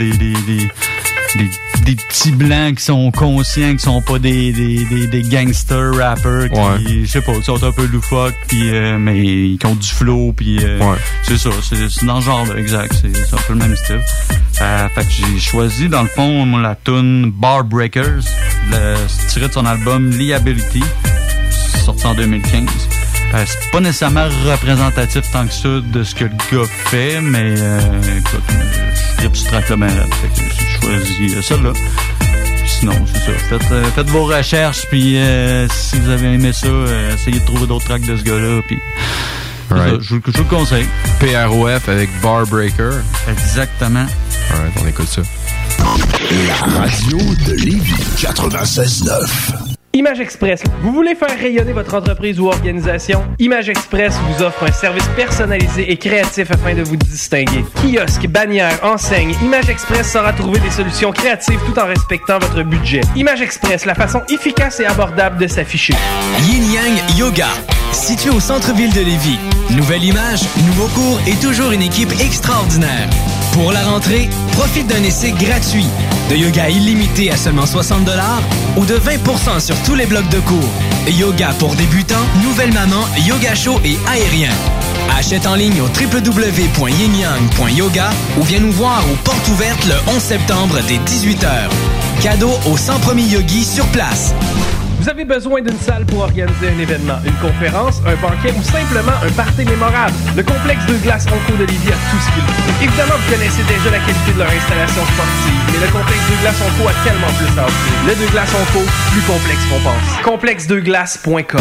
Speaker 2: des petits blancs qui sont conscients, qui sont pas des gangster rappers qui, je sais pas, qui sont un peu loufoques, puis mais qui ont du flow, puis c'est ça, c'est dans ce genre-là, exact, c'est un peu le même style. Fait que j'ai choisi, dans le fond, la tune Bar Breakers, tiré de son album Liability, sorti en 2015. C'est pas nécessairement représentatif tant que ça de ce que le gars fait, mais écoute, je tripe ce track-là bien là. Fait que j'ai choisi celle-là. Sinon, c'est ça. Faites vos recherches, puis si vous avez aimé ça, essayez de trouver d'autres tracks de ce gars-là, puis je vous le conseille.
Speaker 1: PROF avec Bar Breaker.
Speaker 2: Exactement.
Speaker 1: Alright, on écoute ça.
Speaker 8: La radio de Lévis 96.9.
Speaker 9: Image Express. Vous voulez faire rayonner votre entreprise ou organisation? Image Express vous offre un service personnalisé et créatif afin de vous distinguer. Kiosque, bannière, enseigne, Image Express saura trouver des solutions créatives tout en respectant votre budget. Image Express, la façon efficace et abordable de s'afficher.
Speaker 10: Yin Yang Yoga, situé au centre-ville de Lévis. Nouvelle image, nouveau cours et toujours une équipe extraordinaire. Pour la rentrée, profite d'un essai gratuit. De yoga illimité à seulement 60$ ou de 20% sur tous les blocs de cours. Yoga pour débutants, nouvelle maman, yoga chaud et aérien. Achète en ligne au www.yinyang.yoga ou viens nous voir aux portes ouvertes le 11 septembre dès 18h. Cadeau aux 100 premiers yogis sur place.
Speaker 9: Vous avez besoin d'une salle pour organiser un événement, une conférence, un banquet ou simplement un party mémorable. Le complexe Deux Glaces Onco de Lévis a tout ce qu'il faut. Évidemment, vous connaissez déjà la qualité de leur installation sportive, mais le complexe Deux Glaces Onco a tellement plus à offrir. Le Deux Glaces Onco, plus complexe qu'on pense. Complexedeglaces.com.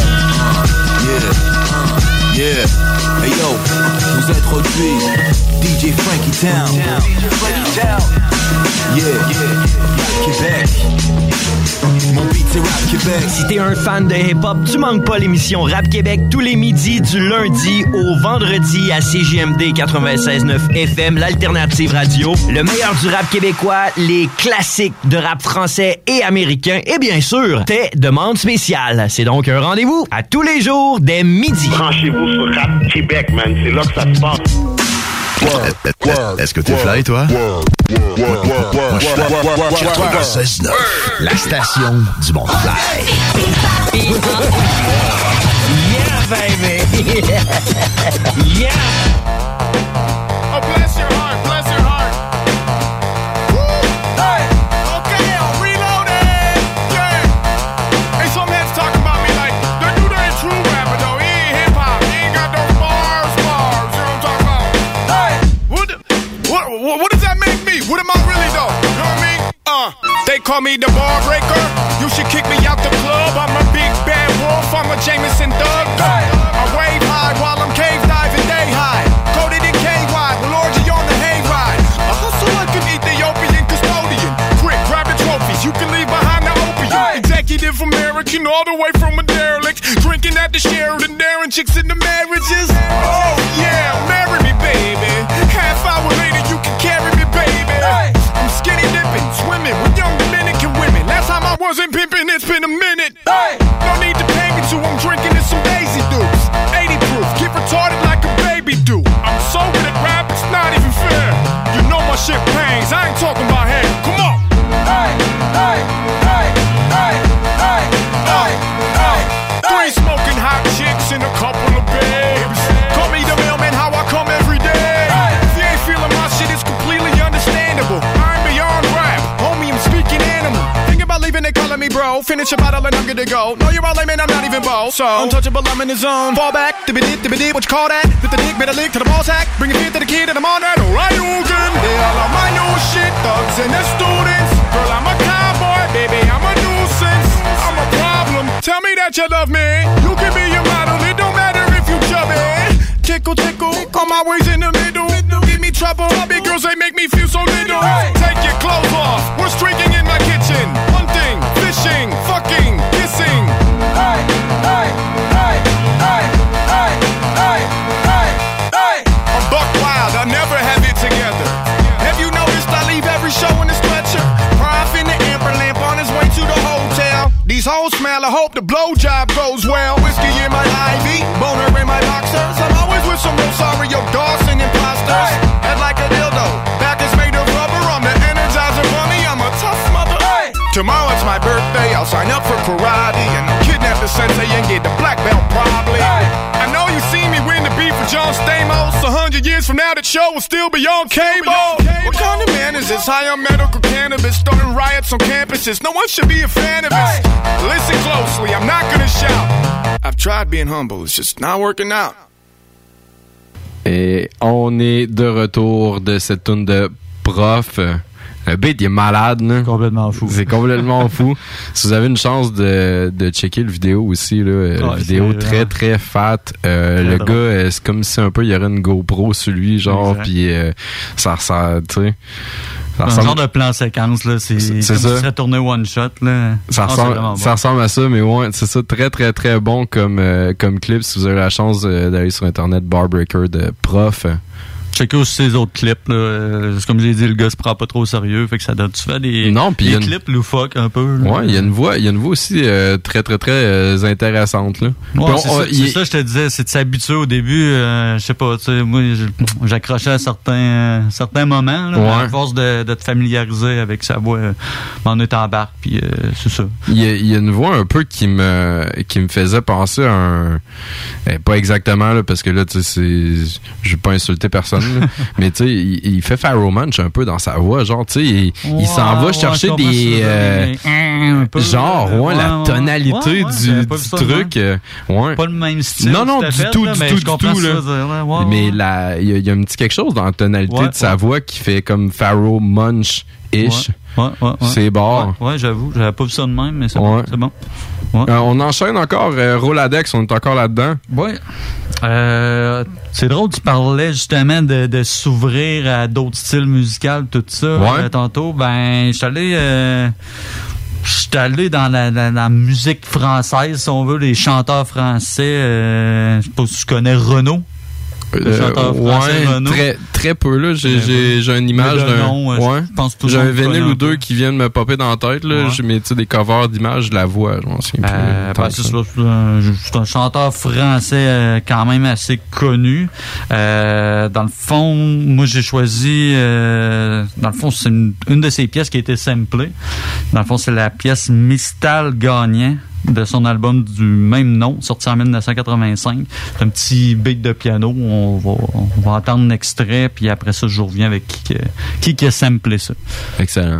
Speaker 18: Yeah. Hey yo, vous introduis DJ Frankie Town. Yeah. Québec. Mon beat c'est Rap Québec.
Speaker 19: Si t'es un fan de hip-hop, tu manques pas l'émission Rap Québec tous les midis du lundi au vendredi à CJMD 96.9 FM, l'alternative radio. Le meilleur du rap québécois, les classiques de rap français et américain et bien sûr, tes demandes spéciales. C'est donc un rendez-vous à tous les jours dès midi.
Speaker 20: Branchez-vous sur Rap Québec, man. C'est là que ça se passe.
Speaker 8: Est-ce que t'es fly, toi? Moi, je suis 96.9, la station du monde fly.
Speaker 19: Yeah, baby! Yeah!
Speaker 21: Oh, bless your heart, bless your heart. Woo! Hey! Okay, I'm reloaded! Yeah! Hey, some heads talking about me like, the dude ain't true rapper, though. He ain't hip-hop. He ain't got those bars. You know what I'm talking about? Hey! What does that make me? What am I really, though? You know what I mean? They call me the bar breaker. You should kick me out the club. I'm a big bad wolf. I'm a Jameson Thug. I wave high while I'm cave diving day high. Coated in KY with orgy on the hayride. A hustle like an Ethiopian custodian. Quick, grab the trophies. You can leave behind the opium. Executive American all the way from a derelict. Drinking at the Sheraton, daring chicks into marriages. Oh yeah, marry me, baby. Half hour later, you can carry me, baby. I'm skinny dipping, swimming with young Dominican women. Last time I wasn't pimping, it's been a minute. No need to pay me to, I'm drinking in some Daisy Dukes. 80 proof, get retarded like a baby do. I'm so good at rap, it's not even fair. You know my shit pangs, I ain't talking about hair. Come on. Three smoking hot chicks and a couple of babes. Call me the mailman, how I come every day. If you ain't feeling my shit, it's completely understandable. I'm beyond rap, homie, I'm speaking animal. Think about leaving, they calling me bro. Finish a bottle and I'm good to go. No, you're all lame and I'm not even bold. So, untouchable, I'm in the zone. Fall back, dibby-dip, what you call that? With the dick, better lick to the ball sack. Bring a fit to the kid and I'm on that. Alright, Hogan. They all on my new shit, thugs and the students. Girl, I'm a cowboy, baby, I'm a nuisance. I'm a problem, tell me that you love me. You can be a model, it don't matter if you chubby. Tickle, tickle, all my ways in the middle. Give me trouble, big girls, they make me feel so little. Take your clothes off, we're streaking in my kitchen. Hunting, fishing, fucking, kissing. Hey, hey, hey, hey, hey, hey, hey, hey. I'm buck wild, I never have it together. Have you noticed I leave every show in a stretcher? Prof in the amber lamp on his way to the hotel. These hoes smell, I hope the blowjob goes well. Whiskey in my IV, boner in my boxers. I'm always with some Rosario Dawson imposters. Head like a dildo, back is made of rubber. I'm the Energizer Bunny, I'm a tough mother. Tomorrow it's my birthday, I'll sign up for karate and I'll kidnap the sensei and get the black belt probably. I know you seen me win the beef with John Stamos. 100 years from now, that show will still be on cable. What kind of man is this? High on medical cannabis, starting riots on campuses. No one should be a fan of this. Listen closely, I'm not gonna shout. I've tried being humble, it's just not working out.
Speaker 1: Et on est de retour de cette tune de Prof. Le beat, il est malade, là.
Speaker 2: Complètement fou.
Speaker 1: C'est complètement fou. Si vous avez une chance de checker le vidéo aussi, là, la vidéo très, très fat. Le gars, c'est comme si un peu il y aurait une GoPro sur lui, genre, pis ça, tu sais.
Speaker 2: Un genre de plan séquence, là. C'est comme
Speaker 1: ça.
Speaker 2: Si ça serait tourné one shot, là.
Speaker 1: Ça ressemble à ça, mais ouais, c'est ça. Très, très, très bon comme clip. Si vous avez la chance d'aller sur Internet, Barbreaker de Prof.
Speaker 2: Checker aussi ses autres clips, là. Comme j'ai dit, le gars se prend pas trop au sérieux, fait que ça donne souvent des clips loufoques un peu. Là.
Speaker 1: Ouais, il y a une voix aussi très, très, très intéressante, là.
Speaker 2: Ouais, c'est ça, je te disais, c'est de s'habituer au début, je sais pas, tu sais, moi, j'accrochais à certains moments, là, à force de te familiariser avec sa voix, m'en est embarque, puis c'est ça.
Speaker 1: Il y a une voix un peu qui me faisait penser à un... pas exactement, là, parce que là, tu sais, je vais pas insulter personne, mais tu sais, il fait Pharoah Monch un peu dans sa voix, genre, tu sais, il s'en va chercher des... la tonalité du truc.
Speaker 2: Pas le même style.
Speaker 1: Non, du tout, là. Mais il y a un petit quelque chose dans la tonalité de sa voix qui fait comme Pharoah Monch-ish. C'est bon.
Speaker 2: Ouais, j'avoue, j'avais pas vu ça de même, mais c'est bon. C'est bon.
Speaker 1: On enchaîne encore. Roladex, on est encore là-dedans.
Speaker 2: Oui. C'est drôle, tu parlais justement de s'ouvrir à d'autres styles musicaux, tout ça. Tantôt, ben, je suis allé dans la musique française, si on veut, les chanteurs français. Je sais pas si tu connais Renaud.
Speaker 1: Très, très peu, là. J'ai une image d'un. J'ai un vinyle ou deux qui viennent me popper dans la tête, là. J'ai mis des covers d'images de la voix, je m'en souviens plus.
Speaker 2: C'est un chanteur français quand même assez connu. Dans le fond, moi j'ai choisi dans le fond, c'est une de ses pièces qui a été samplée. Dans le fond, c'est la pièce Mistal Gagnant de son album du même nom, sorti en 1985. C'est un petit beat de piano. On va entendre un extrait, puis après ça, je reviens avec qui a samplé ça.
Speaker 1: Excellent.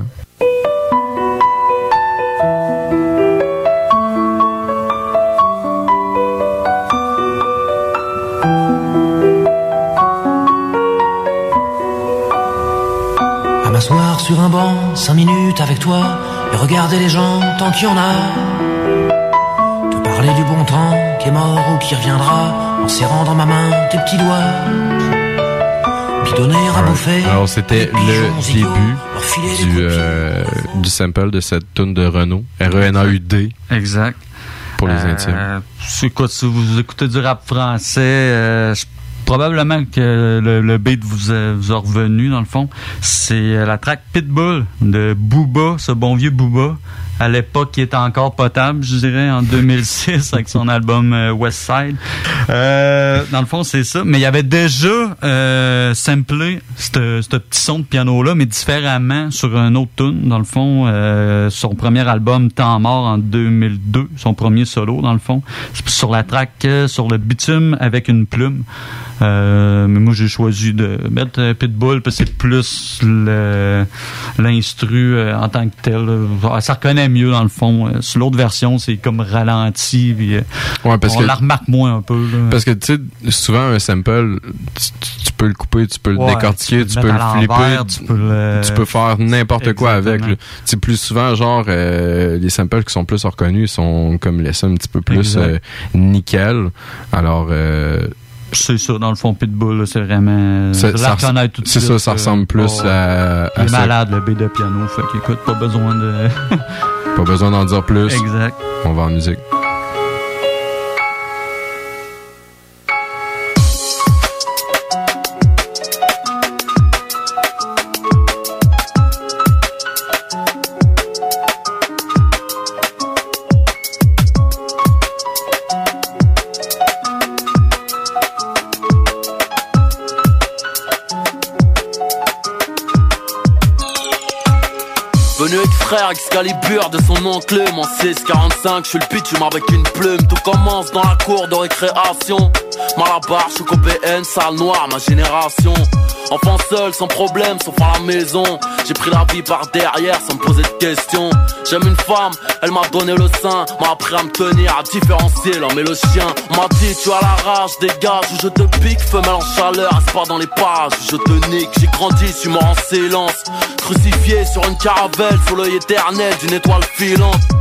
Speaker 6: À m'asseoir sur un banc, 5 minutes avec toi, et regarder les gens tant qu'il y en a. Parler du bon temps qui est mort ou qui reviendra en serrant dans ma main tes petits doigts. Puis donner à bouffer.
Speaker 1: Alors c'était le début du sample de cette tune de Renaud. R-E-N-A-U-D.
Speaker 2: Exact.
Speaker 1: Pour les intimes.
Speaker 2: Si vous écoutez du rap français, probablement que le beat vous a revenu dans le fond. C'est la track Pitbull de Booba, ce bon vieux Booba. À l'époque, qui était encore potable, je dirais, en 2006, avec son album West Side. Dans le fond, c'est ça. Mais il y avait déjà samplé ce petit son de piano-là, mais différemment sur un autre tune, dans le fond. Son premier album, Temps mort, en 2002, son premier solo, dans le fond. C'est sur la track sur le bitume avec une plume. Mais moi, j'ai choisi de mettre Pitbull parce que c'est plus l'instru en tant que tel. Ça reconnaît mieux dans le fond. Sur l'autre version, c'est comme ralenti. Puis, on la remarque moins un peu. Là.
Speaker 1: Parce que tu sais, souvent un sample, tu peux le couper, tu peux le décortiquer, tu peux le flipper, tu peux faire n'importe quoi avec. C'est plus souvent genre les samples qui sont plus reconnus sont comme laissés un petit peu plus nickel. Alors
Speaker 2: c'est ça, dans le fond, Pitbull, là, c'est vraiment...
Speaker 1: ça ressemble plus à
Speaker 2: il est malade, le beat de piano, fait qu'écoute, pas besoin de...
Speaker 1: Pas besoin d'en dire plus.
Speaker 2: Exact.
Speaker 1: On va en musique.
Speaker 22: Venu avec frère Excalibur de son oncle mon 645, je suis le pitch, avec une plume. Tout commence dans la cour de récréation. Malabar, je suis BN, salle noire, ma génération. Enfant seul, sans problème, sauf à la maison. J'ai pris la vie par derrière sans me poser de questions. J'aime une femme, elle m'a donné le sein, m'a appris à me tenir, à différencier l'homme et le chien. On m'a dit tu as la rage, dégage ou je te pique. Femelle en chaleur, reste pas dans les pages, je te nique. J'ai grandi, suis mort en silence, crucifié sur une caravelle sous l'œil éternel d'une étoile filante.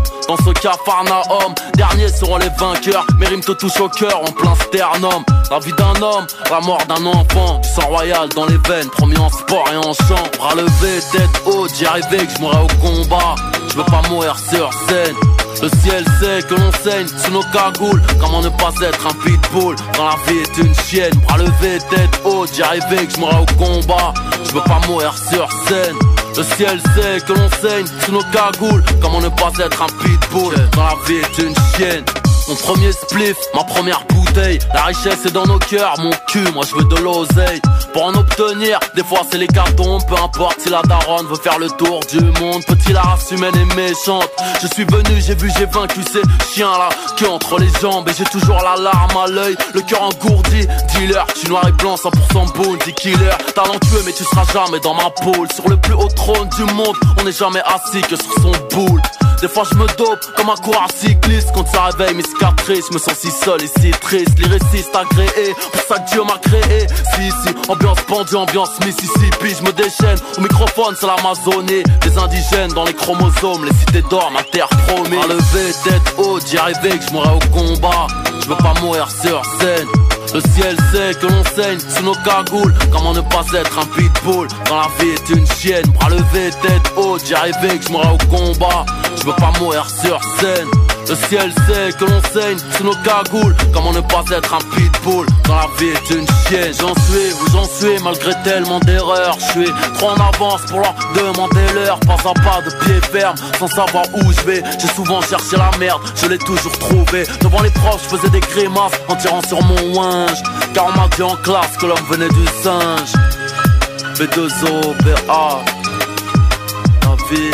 Speaker 22: Dans ce capharnaüm, derniers seront les vainqueurs. Mes rimes te touchent au cœur en plein sternum. La vie d'un homme, la mort d'un enfant. Du sang royal dans les veines, promis en sport et en chant. Bras levés, tête haute, j'y arrivais que je mourrais au combat. Je veux pas mourir sur scène. Le ciel sait que l'on saigne sous nos cagoules. Comment ne pas être un pitbull quand la vie est une chienne. Bras levés, tête haute, j'y arrivais que je mourrais au combat. Je veux pas mourir sur scène. Le ciel sait que l'on saigne sous nos cagoules. Comment ne pas être un pitbull quand la vie est une chienne. Mon premier spliff, ma première bouteille. La richesse est dans nos cœurs, mon cul, moi je veux de l'oseille. Pour en obtenir, des fois c'est l'hécatombe. Peu importe si la daronne veut faire le tour du monde. Petit, la race humaine est méchante. Je suis venu, j'ai vu, j'ai vaincu ces chiens-là que entre les jambes. Et j'ai toujours la larme à l'œil, le cœur engourdi. Dealer, je suis noir et blanc, 100% bounty killer. Talentueux mais tu seras jamais dans ma poule. Sur le plus haut trône du monde, on n'est jamais assis que sur son boule. Des fois je me dope comme un coureur cycliste. Quand ça réveille mes cicatrices, je me sens si seul et si triste. Lyriciste agréé, pour ça que Dieu m'a créé. Si, ambiance pendue, ambiance Mississippi. Je me déchaîne, au microphone c'est l'Amazonie. Des indigènes dans les chromosomes, les cités d'or, ma terre promise. À lever, tête haute, j'y arrivais que je mourrais au combat. Je veux pas mourir sur scène. Le ciel sait que l'on saigne sous nos cagoules. Comment ne pas être un pitbull quand la vie est une chienne. Bras levés, tête haute, j'y arrivais que je mourrais au combat. Je veux pas mourir sur scène. Le ciel sait que l'on saigne sous nos cagoules. Comment ne pas être un pitbull quand la vie est une chienne. J'en suis où j'en suis malgré tellement d'erreurs. Je suis trop en avance pour leur demander l'heure. Pas à pas de pied ferme sans savoir où je vais. J'ai souvent cherché la merde, je l'ai toujours trouvé. Devant les profs je faisais des grimaces en tirant sur mon winge. Car on m'a dit en classe que l'homme venait du singe. B2O, BA, la vie.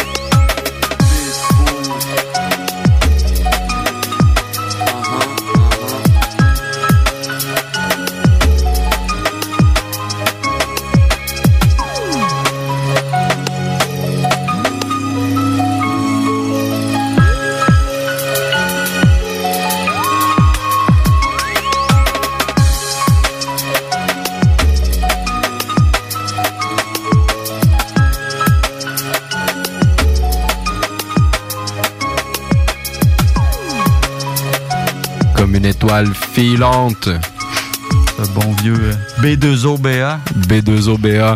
Speaker 1: Une étoile filante.
Speaker 2: Ce bon vieux B2OBA.
Speaker 1: B2OBA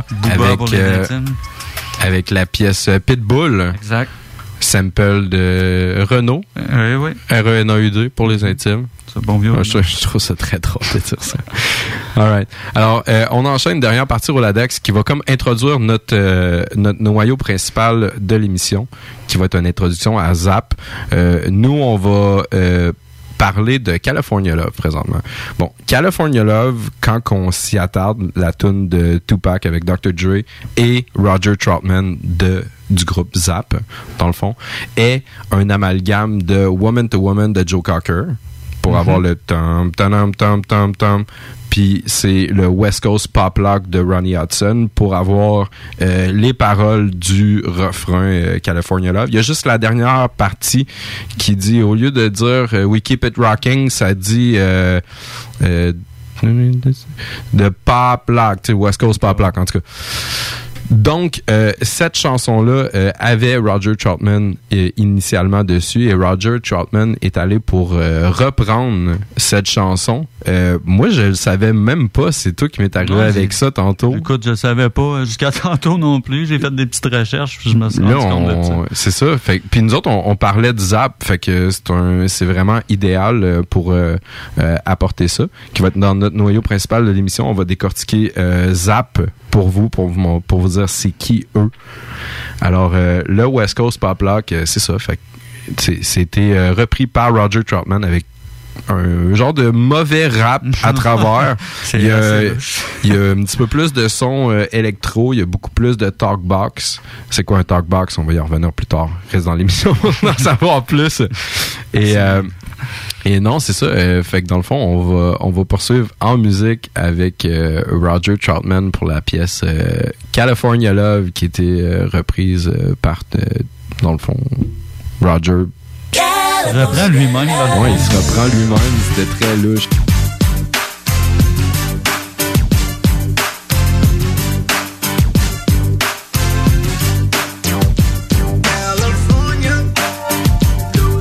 Speaker 1: avec la pièce Pitbull.
Speaker 2: Exact.
Speaker 1: Sample de Renault.
Speaker 2: Oui.
Speaker 1: RENAUD pour les intimes.
Speaker 2: C'est bon vieux.
Speaker 1: Je trouve ça très drôle de dire ça. All right. Alors, on enchaîne derrière partie Roladex qui va comme introduire notre noyau principal de l'émission, qui va être une introduction à Zap. Nous, on va parler de California Love présentement. Bon, California Love, quand on s'y attarde, la tune de Tupac avec Dr. Dre et Roger Troutman du groupe Zap, dans le fond, est un amalgame de Woman to Woman de Joe Cocker pour avoir le tom tom tom tom tom. Puis c'est le West Coast Pop Lock de Ronnie Hudson pour avoir les paroles du refrain California Love. Il y a juste la dernière partie qui dit, au lieu de dire We Keep It Rocking, ça dit de Pop Lock, tu sais, West Coast Pop Lock en tout cas. Donc, cette chanson-là avait Roger Troutman initialement dessus, et Roger Troutman est allé pour reprendre cette chanson. Moi, je le savais même pas. C'est toi qui m'es arrivé avec ça tantôt.
Speaker 2: Écoute, je savais pas jusqu'à tantôt non plus. J'ai fait des petites recherches, puis je me suis rendu compte de ça.
Speaker 1: C'est ça. Puis nous autres, on parlait de Zap, fait que c'est vraiment idéal pour apporter ça, qui va être dans notre noyau principal de l'émission. On va décortiquer Zap pour vous dire c'est qui eux. Alors, le West Coast Pop Lock, c'est ça. Fait que c'était repris par Roger Troutman avec un genre de mauvais rap à travers. Il y a un petit peu plus de son électro, il y a beaucoup plus de talkbox. C'est quoi un talkbox? On va y revenir plus tard. Reste dans l'émission pour en savoir plus. Et non, c'est ça. Fait que dans le fond, on va poursuivre en musique avec Roger Troutman pour la pièce California Love, qui était reprise par, dans le fond, Roger.
Speaker 2: Il se reprend lui-même.
Speaker 1: Oui, il se reprend lui-même. C'était très louche.
Speaker 4: California, the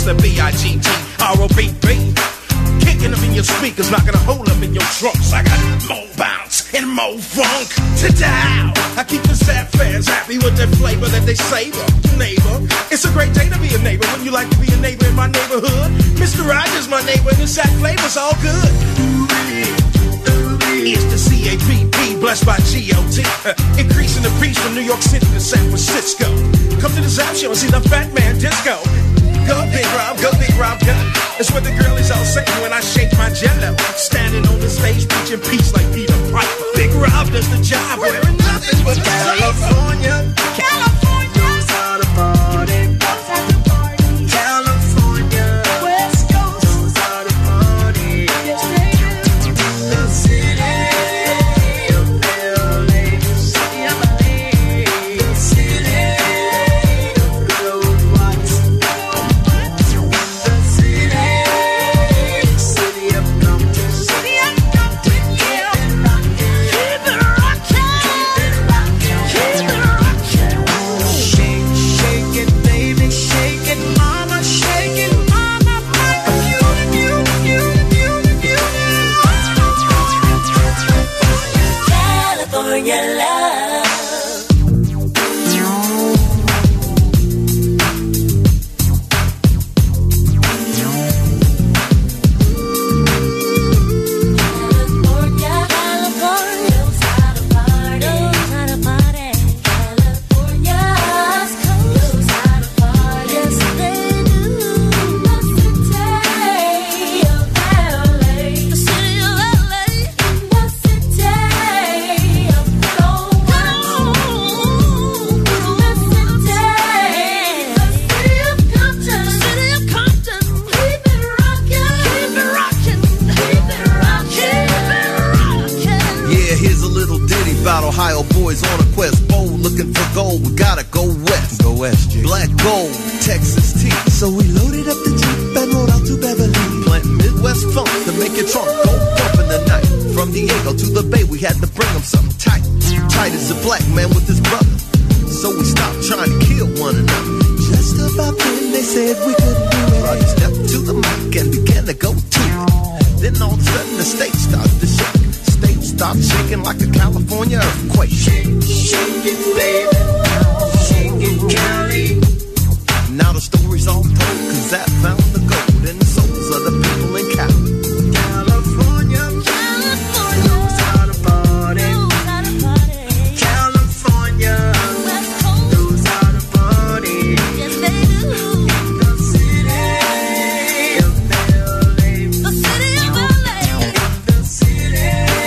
Speaker 4: gangster, B-I-G-G-R-O-B-B. Kicking them in your speakers, knocking a hole up in your trunks. I got more bounce and more funk to dial. I keep the sad fans happy with their flavor that they savor. Neighbor, it's a great day to be a neighbor. Wouldn't you like to be a neighbor in my neighborhood? Mr. Rogers, my neighbor, and the sack flavor's all good. It's the C-A-P-P, blessed by G-O-T. Increasing the peace from New York City to San Francisco. Come to the Zap Show and see the Fat Man Disco. Go Big Rob, go. It's what the girl is all saying when I shake my jello. Standing on the stage preaching peace like Peter Piper. Big Rob does the job, wearing nothing but California. California knows how to party. California, West Coast knows how to party. Yes, they do. The city of LA, the city of LA, the city of good old whites. The city of Compton, city of Compton, yeah. Keep it rockin', keep it rockin'. Shake, shake it, baby, shake it, mama, shake it, mama. California love.
Speaker 7: About Ohio boys on a quest, bold looking for gold. We gotta go west. Go west, G. Black gold, Texas tea. So we loaded up the Jeep and rode out to Beverly. Planting Midwest funk to make your trunk go bump in the night. From Diego to the Bay, we had to bring them something tight. Tight as a black man with his brother. So we stopped trying to kill one another. Just about then they said we couldn't do it. Roger stepped to the mic and began to go to it. Then all of a sudden the stage started to shake. Stop shaking like a California earthquake. Shake, shake it, baby. Shake it, Cali. Now the story's all told, cause that found the gold in the souls of the people in Cali. California, California knows how to party. California knows how to party. Yes, they do. The city of LA. The city of LA. The city.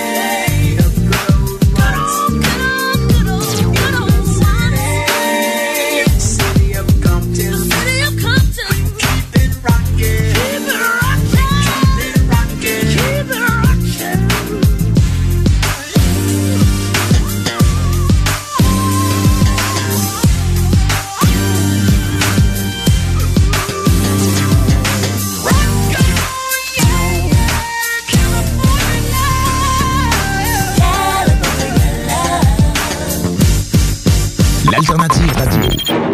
Speaker 8: L'Alternative Radio.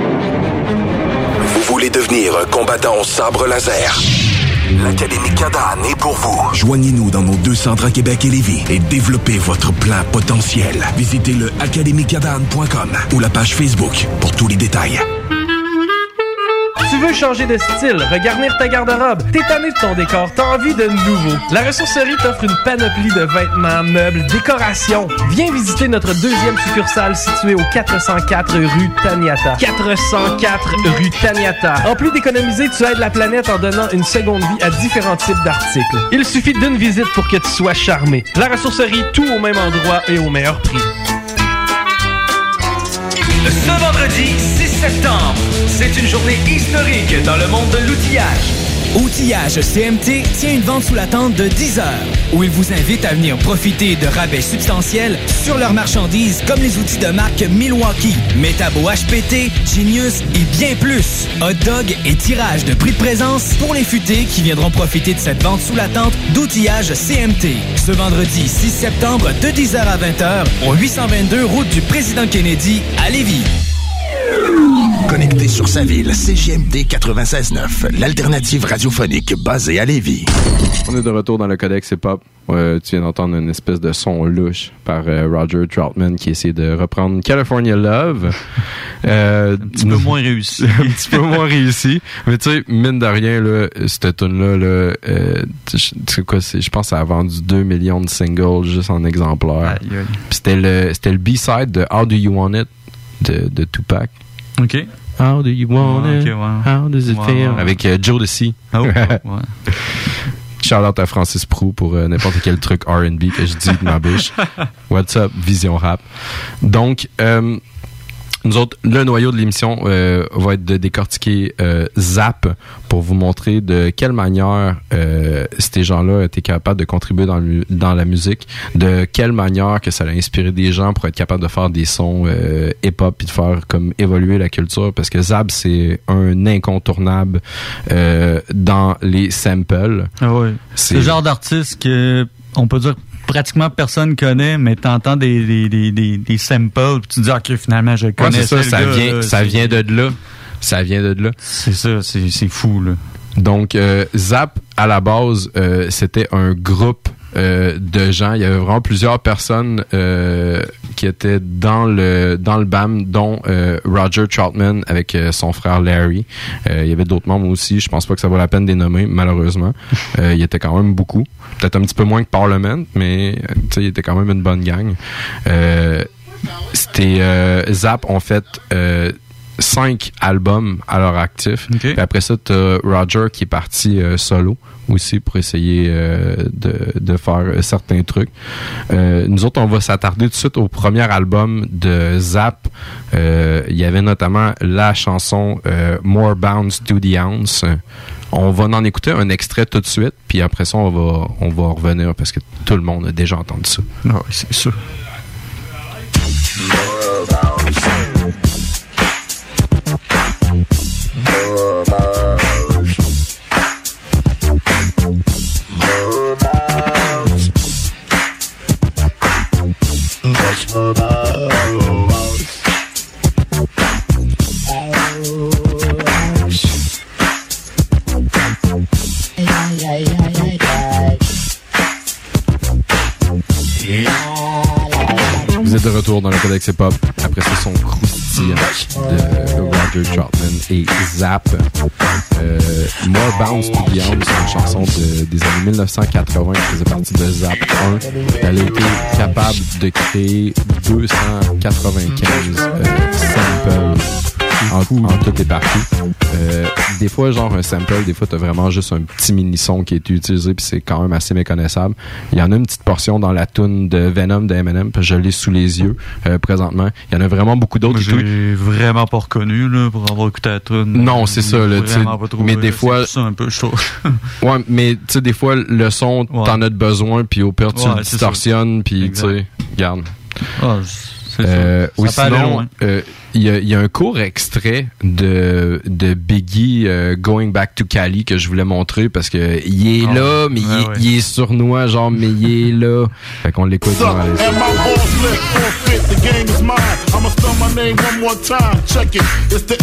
Speaker 23: Vous voulez devenir un combattant au sabre laser? L'Académie Cadan est pour vous.
Speaker 8: Joignez-nous dans nos 2 centres à Québec et Lévis et développez votre plein potentiel. Visitez le academycadan.com ou la page Facebook pour tous les détails.
Speaker 9: Tu veux changer de style, regarnir ta garde-robe, t'es tanné de ton décor, t'as envie de nouveau. La ressourcerie t'offre une panoplie de vêtements, meubles, décorations. Viens visiter notre 2e succursale située au 404 rue Taniata. 404 rue Taniata. En plus d'économiser, tu aides la planète en donnant une seconde vie à différents types d'articles. Il suffit d'une visite pour que tu sois charmé. La ressourcerie, tout au même endroit et au meilleur prix.
Speaker 11: Ce vendredi 6 septembre, c'est une journée historique dans le monde de l'outillage.
Speaker 10: Outillage CMT tient une vente sous la tente de 10 heures où il vous invite à venir profiter de rabais substantiels sur leurs marchandises comme les outils de marque Milwaukee, Metabo HPT, Genius et bien plus. Hot dog et tirage de prix de présence pour les futés qui viendront profiter de cette vente sous la tente d'outillage CMT. Ce vendredi 6 septembre de 10h à 20h au 822 route du Président Kennedy à Lévis.
Speaker 8: connecté sur sa ville. CJMD 96.9, l'alternative radiophonique basée à Lévis.
Speaker 1: On est de retour dans le Codex Hip-Hop. Tu viens d'entendre une espèce de son louche par Roger Troutman qui essaie de reprendre California Love.
Speaker 2: Un petit peu moins réussi.
Speaker 1: Un petit peu moins réussi. Mais tu sais, mine de rien, là, cette tune-là, là, je pense que ça a vendu 2 millions de singles juste en exemplaires. Puis c'était le B-side de How Do You Want It de Tupac.
Speaker 2: OK.
Speaker 1: How do you want it?
Speaker 2: Okay, wow.
Speaker 1: How does it feel? Avec Jodeci.
Speaker 2: Oh, ouais.
Speaker 1: Shout-out à Francis Prou pour n'importe quel truc R&B que je dis de ma bouche. What's up, Vision Rap. Donc, nous autres, le noyau de l'émission va être de décortiquer Zap pour vous montrer de quelle manière ces gens-là étaient capables de contribuer dans la musique, de quelle manière que ça a inspiré des gens pour être capable de faire des sons hip-hop puis de faire comme évoluer la culture, parce que Zap, c'est un incontournable dans les samples.
Speaker 2: Ah oui. C'est le genre d'artiste que on peut dire pratiquement personne connaît, mais t'entends des samples, puis tu te dis ok, finalement je connais.
Speaker 1: Ouais, c'est ça, ça vient de là. Ça vient de là.
Speaker 2: C'est ça, c'est fou là.
Speaker 1: Donc Zap à la base, c'était un groupe de gens. Il y avait vraiment plusieurs personnes qui étaient dans le BAM, dont Roger Troutman avec son frère Larry. Il y avait d'autres membres aussi. Je pense pas que ça vaut la peine de les nommer, malheureusement. Il y était quand même beaucoup. Peut-être un petit peu moins que Parliament, mais il était quand même une bonne gang. Zap ont fait 5 albums à leur actif. Okay. Puis après ça, t'as Roger qui est parti solo aussi pour essayer de faire certains trucs. Nous autres, on va s'attarder tout de suite au premier album de Zap. Il y avait notamment la chanson More Bounce to the Ounce. On va en écouter un extrait tout de suite, puis après ça, on va revenir parce que tout le monde a déjà entendu ça.
Speaker 2: Ah oui, c'est sûr.
Speaker 7: More bounce. More bounce. More bounce. More bounce.
Speaker 1: Vous êtes de retour dans le Codex Hip-Hop après ce son croustillant de Roger Troutman et Zap. More Bounce to the Ounce, c'est une chanson des années 1980 qui faisait partie de Zap 1. Elle a été capable de créer 295 samples en tout et partout. Des fois, genre un sample, des fois, t'as vraiment juste un petit mini-son qui est utilisé, puis c'est quand même assez méconnaissable. Il y en a une petite portion dans la toune de Venom de Eminem, puis je l'ai sous les yeux présentement. Il y en a vraiment beaucoup d'autres.
Speaker 2: J'ai vraiment pas reconnu là, pour avoir écouté la toune.
Speaker 1: Non, c'est ça. Là, mais des fois...
Speaker 2: C'est ça un peu chaud.
Speaker 1: Ouais, mais tu sais, des fois, le son, t'en as de besoin, puis au pire, tu le distorsionnes, puis tu sais, regarde. Ou sinon, il y a un court extrait de Biggie Going Back to Cali que je voulais montrer parce que il est là, mais il est sournois, genre, mais il est là. Fait qu'on l'écoute dans la
Speaker 21: The game is mine. I'ma spell my name one more time. Check it. It's the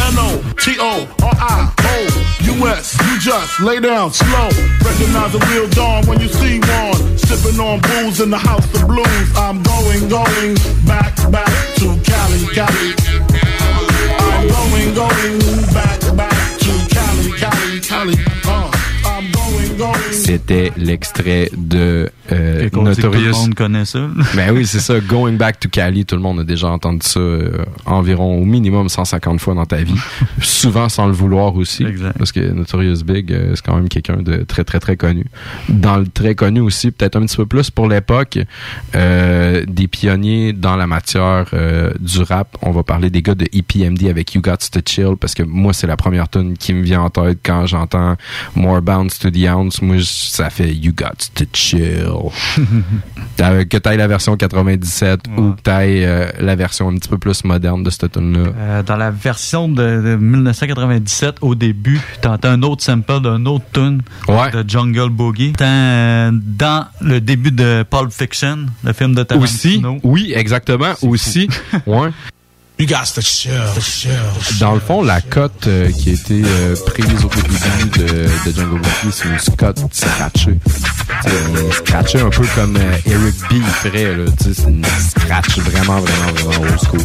Speaker 21: N-O-T-O-R-I-O-U-S. You just lay down slow. Recognize the real dawn when you see one. Sipping on booze in the house of blues. I'm going back to Cali, Cali. I'm going back to Cali, Cali, Cali. I'm going.
Speaker 1: C'était l'extrait de Notorious.
Speaker 2: Tout le monde connaît ça.
Speaker 1: Ben oui, c'est ça. Going Back to Cali, tout le monde a déjà entendu ça environ au minimum 150 fois dans ta vie. Souvent sans le vouloir aussi.
Speaker 2: Exact.
Speaker 1: Parce que Notorious Big, c'est quand même quelqu'un de très, très, très connu. Dans le très connu aussi, peut-être un petit peu plus pour l'époque, des pionniers dans la matière du rap. On va parler des gars de EPMD avec You Got to Chill, parce que moi, c'est la première tune qui me vient en tête quand j'entends More Bounce to the Ounce. Moi, ça fait You Got to Chill. Que t'ailles la version 97 ou que t'ailles la version un petit peu plus moderne de cette tune-là.
Speaker 2: Dans la version de 1997, au début, t'entends un autre sample d'un autre tune de Jungle Boogie. Dans le début de Pulp Fiction, le film de Tarantino.
Speaker 1: Aussi, oui, exactement. Aussi, ouais. Dans le fond, la cote qui a été prise au début de Jungle Boogie, c'est une cote scratchée. Scratchée un peu comme Eric B ferait, là. C'est une scratch vraiment old school.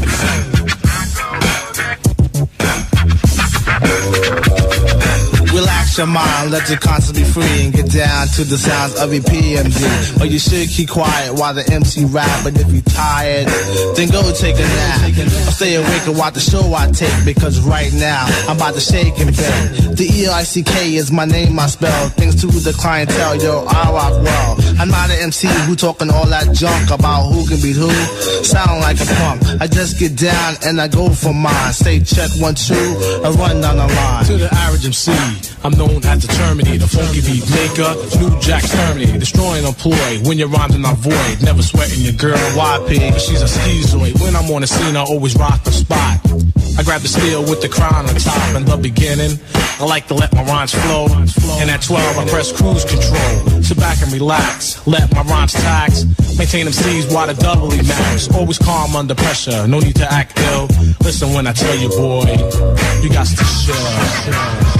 Speaker 3: Relax your mind, let your conscience be free and get down to the sounds of your PMD. But you should keep quiet while the MC rap. But if you're tired, then go take a nap. Or stay awake and watch the show I take, because right now I'm about to shake and bake. The E-I-C-K is my name, I spell. Thanks to the clientele, yo, I rock well. I'm not an MC who talking all that junk about who can beat who. Sound like a punk. I just get down and I go for mine. Say check 1, 2, and run down the line.
Speaker 5: To the average MC, I'm known as the Terminator, funky beat maker, New Jack Terminator, destroying employ. When you're rhyming, I void. Never sweating your girl, YP, she's a schizoid. When I'm on the scene, I always rock the spot. I grab the steel with the crown on top. In the beginning, I like to let my rhymes flow. And at 12, I press cruise control. Sit back and relax, let my rhymes tax. Maintain them C's while the doubly max. Always calm under pressure, no need to act ill. Listen when I tell you, boy, you got to chill.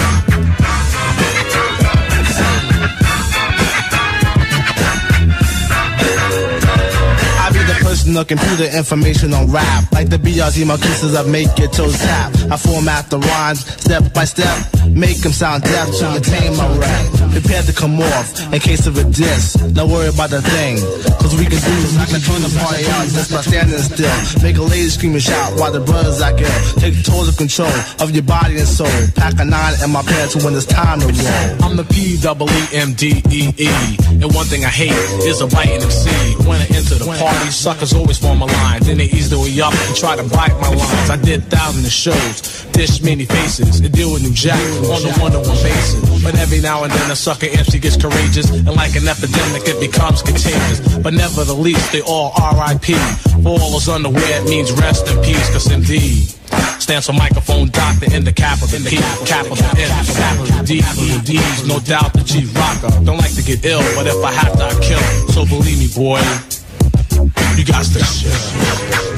Speaker 3: Person or computer information on rap. Like the BRZ Marquises that make your toes tap. I format the rhymes step by step, make them sound deaf to attain my rap. Prepare to come off in case of a diss. Don't worry about the thing, cause we can do this. I can turn the party out just by standing still. Make a lady scream and shout while the brothers act ill. Take total control of your body and soul. Pack a 9 in my pants when it's time to roll.
Speaker 5: I'm the P-E-E-M-D-E-E. And one thing I hate is a biting MC. When I enter the party, suckers always form a line. Then they ease their way up and try to bite my lines. I did thousands of shows, dish many faces, and deal with New Jack on the one-to-one basis. But every now and then a sucker MC gets courageous, and like an epidemic it becomes contagious. But never the least, they all R.I.P. For all those unaware, it means rest in peace, cause MD stands for microphone doctor in the capital P, capital M, capital D, capital D's, no doubt the G rocker. Don't like to get ill, but if I have to, I kill. So believe me, boy, you got to chill.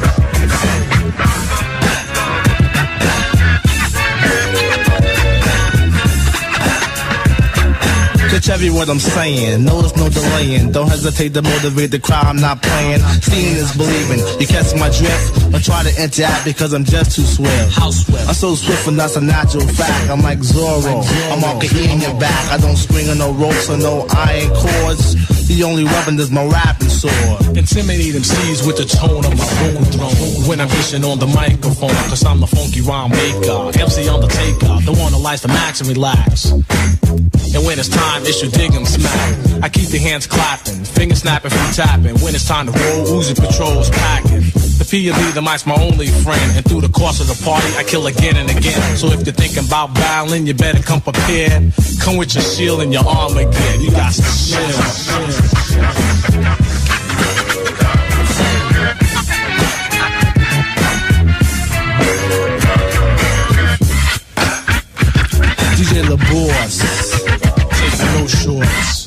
Speaker 3: Catch every word I'm saying, no there's no delaying. Don't hesitate to motivate the crowd, I'm not playing. Seeing is believing, you catch my drift. Or try to interact because I'm just too swift. I'm so swift and that's a natural fact. I'm like Zorro, I'm all E in your back. I don't spring on no ropes or no iron cords. The only weapon is my rapping sword.
Speaker 5: Intimidate MCs with the tone of my vocal throne. When I'm fishing on the microphone, cause I'm the funky rhyme maker. MC on the takeout, the one that likes to max and relax. And when it's time, it's your dig 'em smack. I keep the hands clapping, fingers snapping from tapping. When it's time to roll, Uzi Patrol's packing. The P&B, the mic's my only friend. And through the course of the party, I kill again and again. So if you're thinking about battling, you better come prepared. Come with your shield and your armor gear. You got to chill.
Speaker 3: DJ LaBoss, taking no shorts.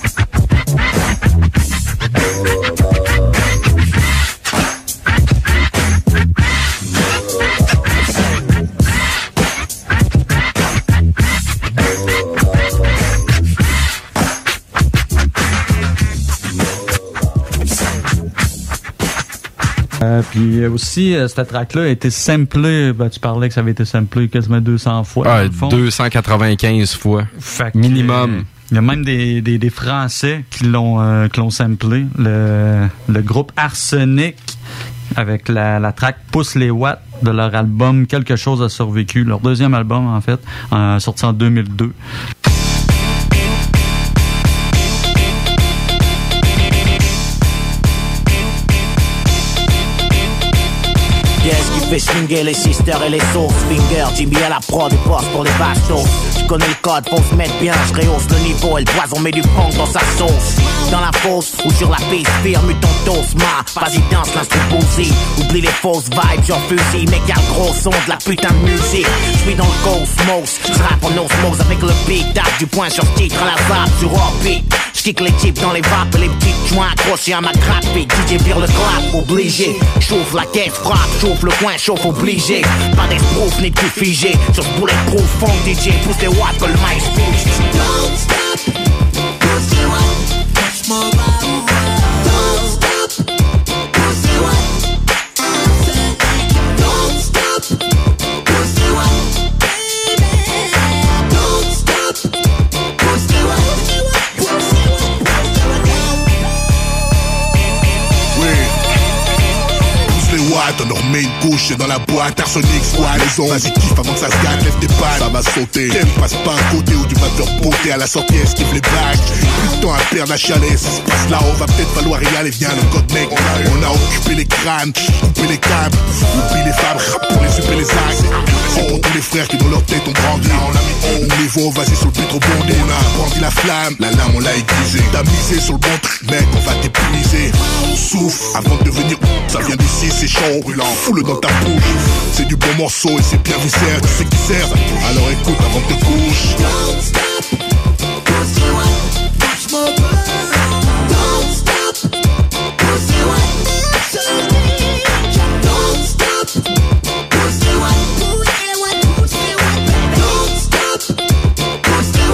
Speaker 2: Puis aussi, cette track-là a été samplée. Ben, tu parlais que ça avait été samplé quasiment 200 fois.
Speaker 1: Ah, 295 fois. Minimum.
Speaker 2: Il y a même des Français qui l'ont samplé. Le groupe Arsenic avec la track Pousse les watts de leur album Quelque chose a survécu. Leur deuxième album, en fait, sorti en 2002.
Speaker 13: Qu'est-ce qui fait swinguer les sisters et les sauces finger? Jimmy à la prod et boss pour les bastos. Je connais le code, faut se mettre bien, je rehausse le niveau et le poison met du punk dans sa sauce. Dans la fosse ou sur la piste, firme ton toast, vas-y danse l'instru bousy. Oublie les fausses vibes, j'en fusille, mec y'a le gros son de la putain de musique. J'suis dans le cosmos, j'rappe en osmose avec le beat, tape du point sur titre à la vape sur orbite. J'kick les types dans les vapes et les petites joints accrochés à ma grappe. Et DJ vire le clap, obligé. Chauffe la caisse, frappe, chauffe le coin, chauffe obligé. Pas d'esprouf ni de figé. Sur ce bulletproof, fond DJ, pousse les watts que le mic bouge. Don't stop, push the one, push more loud. Don't stop, push the one. I said, don't stop, push the one, baby. Don't stop, push the one, push the one, push the one.
Speaker 12: Oui. Pousse les watts, on leur met une couche dans la boîte. Arsenic, soit les ondes. Vas-y, kiffe avant que ça se gâte, lève tes pannes. Ça va sauter. T'aimes, passe pas à côté ou tu vas te faire botter à la sortie. Esquive les blagues. Plus de temps à perdre la chalet. Ça se passe là, on va peut-être falloir y aller. Viens, le code mec. On a occupé les crânes, coupé les câbles. Oublie les femmes, rap pour les super les axes. C'est pour tous les frères qui dans leur tête ont grandi. Niveau, vas-y sur le pétro bondé. On a brandi la flamme, la lame on l'a aiguisée. T'as misé sur le bon truc, mec, on va t'épuiser. Souffle avant de devenir ça vient d'ici, c'est chaud, brûlant. Fous-le dans ta bouche. C'est du bon morceau et c'est bien viscère. Tu sais qui sert, alors écoute avant que te couches. Don't stop, push the one, push more blood. Don't stop, push the one, don't stop, push the one, push the one, don't stop, push the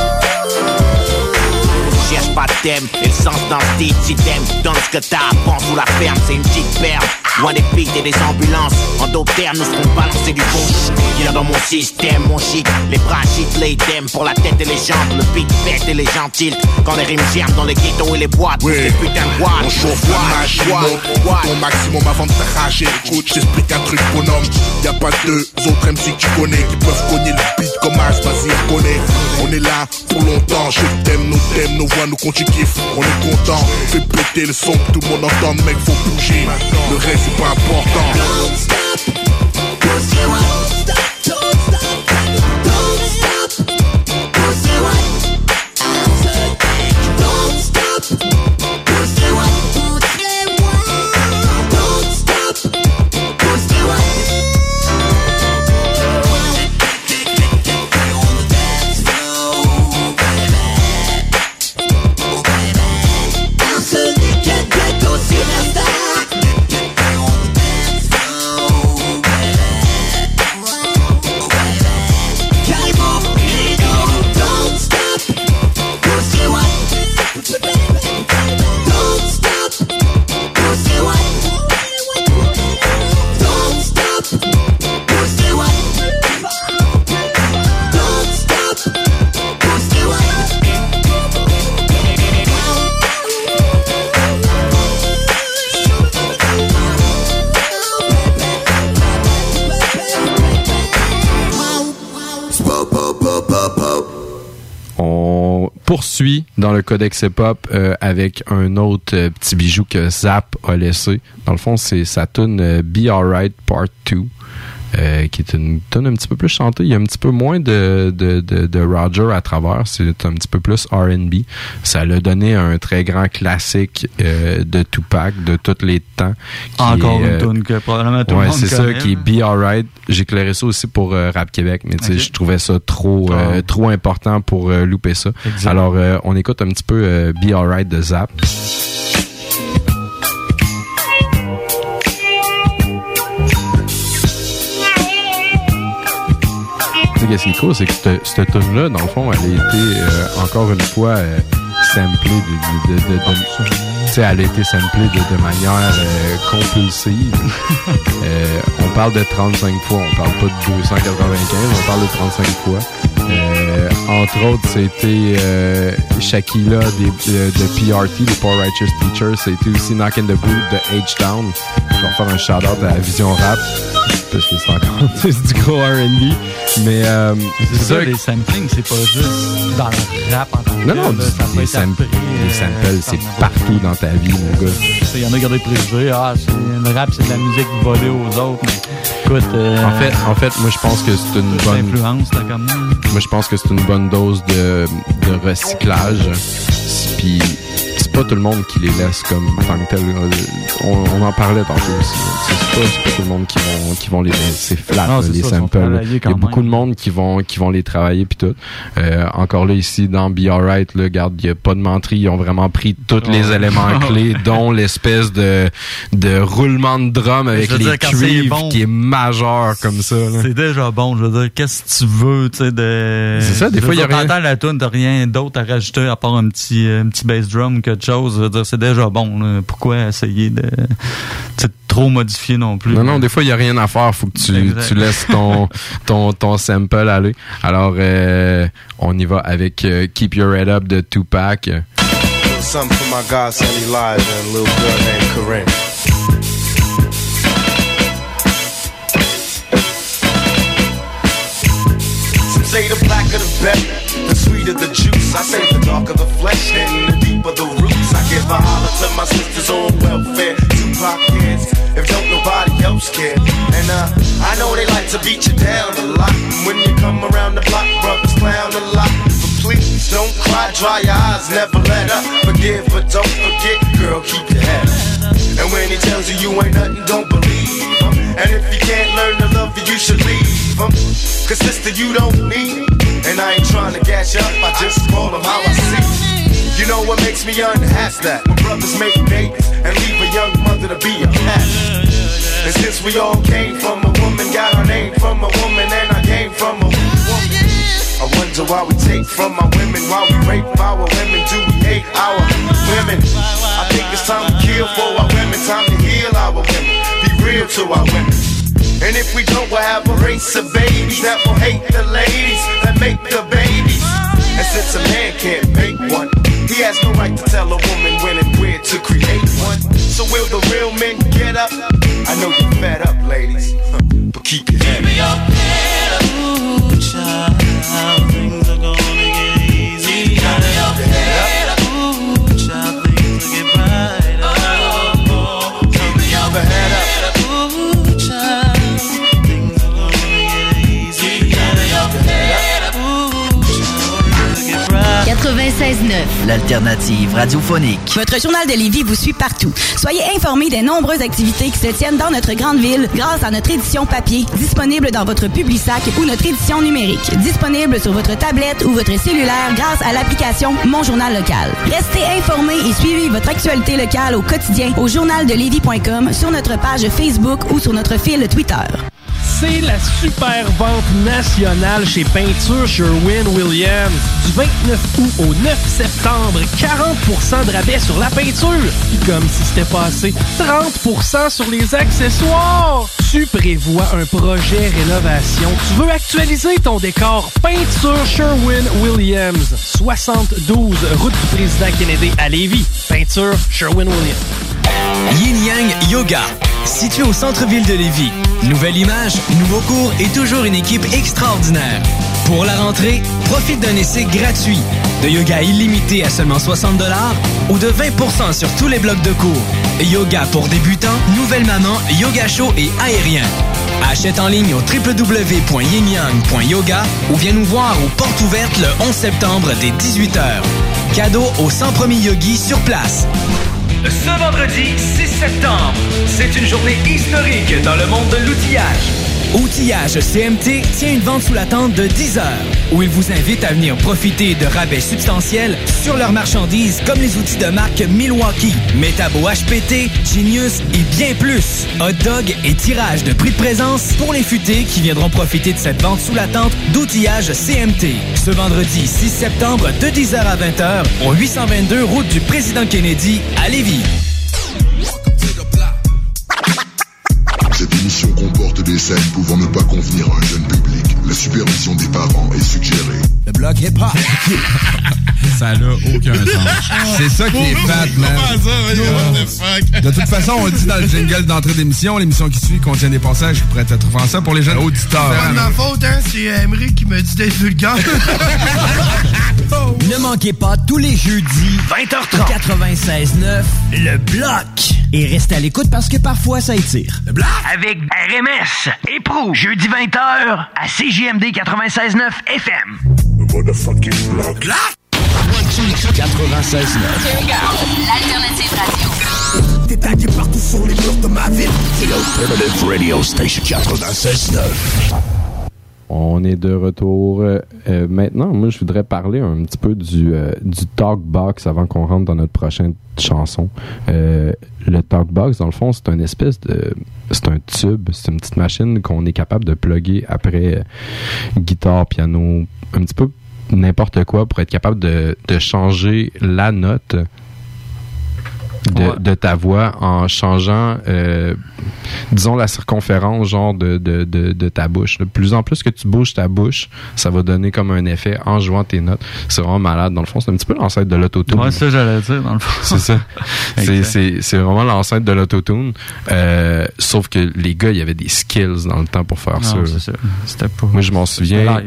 Speaker 12: one. Cherche pas de thème, et le sens dans le titre, si t'aimes, donne ce que t'as, prends sous la ferme, c'est une petite perle. Loin des pics et des ambulances. En d'autres termes, nous serons balancés du bon. Viens dans mon système, mon shit. Les bras shit, les idem pour la tête et les jambes. Le beat pète et les gens tilt. Quand les rimes germent dans les ghettos et les boîtes. Oui. Les putains de boîtes. On chauffe la machine, monte ton maximum avant de t'arracher. Écoute, j'explique un truc bonhomme. Y'a pas deux autres MC que tu connais qui peuvent cogner le beat comme As, vas-y, on connaît. On est là pour longtemps. Je t'aime, nos voix, nous compte, tu kiffes. On est content. Fais péter le son, que tout le monde entend, mec, faut bouger. Le reste, c'est pas important. Don't stop, push the one. Don't stop, don't stop, push the one. I said, don't stop, push the one, push the one. Don't stop, push the one. On the dance floor, baby. Oh baby, I said, get those superstars.
Speaker 1: Poursuit dans le codex hip-hop avec un autre petit bijou que Zap a laissé. Dans le fond, c'est sa tune Be Alright Part 2. Qui est une tune un petit peu plus chantée. Il y a un petit peu moins de Roger à travers. C'est un petit peu plus R&B. Ça l'a donné un très grand classique de Tupac de tous les temps.
Speaker 2: Encore une tune que probablement tout le monde
Speaker 1: c'est
Speaker 2: connaît.
Speaker 1: Ça, qui est Be Alright. J'ai éclairé ça aussi pour Rap Québec, mais tu sais, je trouvais ça trop important pour louper ça. Exact. Alors, on écoute un petit peu Be Alright de Zap. Qu'est-ce qui est cool, c'est que cette tune-là, dans le fond, elle a été encore une fois samplée tu sais, elle a été samplée de manière compulsive. On parle de 35 fois, on parle pas de 295, on parle de 35 fois. Entre autres, c'était Shaquilla de PRT, de Poor Righteous Teacher. C'était aussi Knock in the Boot de H-Town. Je vais faire un shout-out à la Vision Rap, parce que c'est encore du gros R&B. Mais
Speaker 2: c'est ça, les samplings, c'est pas juste dans le rap en tant que
Speaker 1: non, les samples, c'est partout dans ta vie, mon gars.
Speaker 2: Il y en a qui ont des préjugés. Le rap, c'est de la musique volée aux autres. Mais écoute,
Speaker 1: en fait, moi, je pense que c'est une bonne
Speaker 2: influence, là, comme
Speaker 1: moi, je pense que c'est une bonne dose de recyclage. Puis pas tout le monde qui les laisse comme tant que tel. On en parlait tantôt aussi. C'est pas tout le monde qui vont les c'est flat
Speaker 2: non,
Speaker 1: là, les samples. Il y a beaucoup de monde qui vont les travailler puis tout. Encore là ici dans Be Alright, là, regarde, il y a pas de menterie, ils ont vraiment pris tous les éléments clés, dont l'espèce de roulement de drum avec les cuivres qui est majeur comme ça. Là.
Speaker 2: C'est déjà bon, je veux dire, qu'est-ce que tu veux, tu sais, de...
Speaker 1: C'est ça, des fois, il y a rien.
Speaker 2: T'entends la tune, t'as rien d'autre à rajouter à part un petit bass drum ou quelque chose, je veux dire, c'est déjà bon, là. Pourquoi essayer de trop modifier non plus?
Speaker 1: Non, des fois, il y a rien à faire, faut que tu laisses ton sample aller. Alors, on y va avec Keep Your Head Up de Tupac.
Speaker 3: Something for my godson Elijah and a little girl named Corinne. Some say the blacker the better, the sweeter the juice. I say the darker the flesh and the deeper the roots. I give a holler to my sisters on welfare, Tupac kids, if don't nobody else care. And I know they like to beat you down a lot. When you come around the block, brothers clown a lot. Please don't cry, dry your eyes, never let up. Forgive but don't forget, girl, keep your head up. And when he tells you you ain't nothing, don't believe him. And if he can't learn to love you, you should leave him. Cause sister, you don't need him. And I ain't trying to gas you up, I just call him how I see him. You know what makes me unhappy? That when brothers make babies and leave a young mother to be a cat. And since we all came from a woman, got our name from a woman, and I came from a woman. I wonder why we take from our women, why we rape our women, do we hate our women? I think it's time to kill for our women, time to heal our women, be real to our women. And if we don't, we'll have a race of babies that will hate the ladies that make the babies. And since a man can't make one, he has no right to tell a woman when and where to create one. So will the real men get up? I know you're fed up, ladies, but keep your head up. Ooh, child. Things are gonna get easy. Keep your head up. Ooh, child, things will get brighter. Keep your head up. Ooh, child, things are gonna get easy. Keep your head up. Ooh, child, things will get brighter.
Speaker 14: 96.9, l'alternative radiophonique. Votre journal de Lévis vous suit partout. Soyez informés des nombreuses activités qui se tiennent dans notre grande ville grâce à notre édition papier, disponible dans votre Publisac ou notre édition numérique, disponible sur votre tablette ou votre cellulaire grâce à l'application Mon Journal Local. Restez informés et suivez votre actualité locale au quotidien au journaldelévis.com, sur notre page Facebook ou sur notre fil Twitter.
Speaker 9: C'est la super vente nationale chez Peinture Sherwin-Williams. Du 29 août au 9 septembre, 40% de rabais sur la peinture. Puis comme si c'était pas assez, 30% sur les accessoires. Tu prévois un projet rénovation. Tu veux actualiser ton décor. Peinture Sherwin-Williams. 72 route du Président Kennedy à Lévis. Peinture Sherwin-Williams.
Speaker 10: Yin Yang Yoga, situé au centre-ville de Lévis. Nouvelle image, nouveau cours et toujours une équipe extraordinaire. Pour la rentrée, profite d'un essai gratuit, de yoga illimité à seulement 60$ ou de 20% sur tous les blocs de cours. Yoga pour débutants, nouvelle maman, yoga chaud et aérien. Achète en ligne au www.yinyang.yoga ou viens nous voir aux portes ouvertes le 11 septembre dès 18h. Cadeau aux 100 premiers yogis sur place.
Speaker 11: Ce vendredi 6 septembre, c'est une journée historique dans le monde de l'outillage.
Speaker 10: Outillage CMT tient une vente sous la tente de 10 heures, où il vous invite à venir profiter de rabais substantiels sur leurs marchandises comme les outils de marque Milwaukee, Metabo HPT, Genius et bien plus. Hot dog et tirage de prix de présence pour les futés qui viendront profiter de cette vente sous la tente d'outillage CMT. Ce vendredi 6 septembre de 10h à 20h au 822 route du Président Kennedy à Lévis.
Speaker 15: Cette émission comporte des scènes pouvant ne pas convenir à un jeune public. La supervision des parents est suggérée.
Speaker 8: Le bloc hip-hop. Ça n'a aucun sens. C'est ça qui est fat, man. De toute façon, on le dit dans le jingle d'entrée d'émission, l'émission qui suit contient des passages qui pourraient être offensants pour les jeunes auditeurs.
Speaker 16: C'est pas de ma faute, hein. C'est Emery qui me dit d'être vulgaire.
Speaker 10: Ne manquez pas tous les jeudis 20h30 96.9 Le Bloc. Et restez à l'écoute parce que parfois ça étire.
Speaker 16: Le Bloc
Speaker 13: avec RMS et Pro, jeudi 20h à CJMD 96.9 FM.
Speaker 15: Le motherfucking Bloc.
Speaker 8: 96.9.
Speaker 14: L'alternative radio.
Speaker 21: T'es tagué partout sur les murs de ma ville. C'est l'Alternative Radio Station 96.9.
Speaker 1: On est de retour. Maintenant, moi, je voudrais parler un petit peu du Talkbox avant qu'on rentre dans notre prochaine chanson. Le Talkbox, dans le fond, c'est une espèce de... C'est un tube, c'est une petite machine qu'on est capable de plugger après guitare, piano, un petit peu n'importe quoi pour être capable de changer la note de ta voix en changeant disons la circonférence genre de ta bouche. De plus en plus que tu bouges ta bouche, ça va donner comme un effet en jouant tes notes. C'est vraiment malade. Dans le fond, c'est un petit peu l'ancêtre de l'autotune.
Speaker 2: Ouais, ça j'allais dire dans le fond.
Speaker 1: C'est ça. c'est vraiment l'ancêtre de l'autotune. Sauf que les gars, il y avait des skills dans le temps pour faire ça.
Speaker 2: C'est ça. C'était pas.
Speaker 1: Moi, je m'en souviens.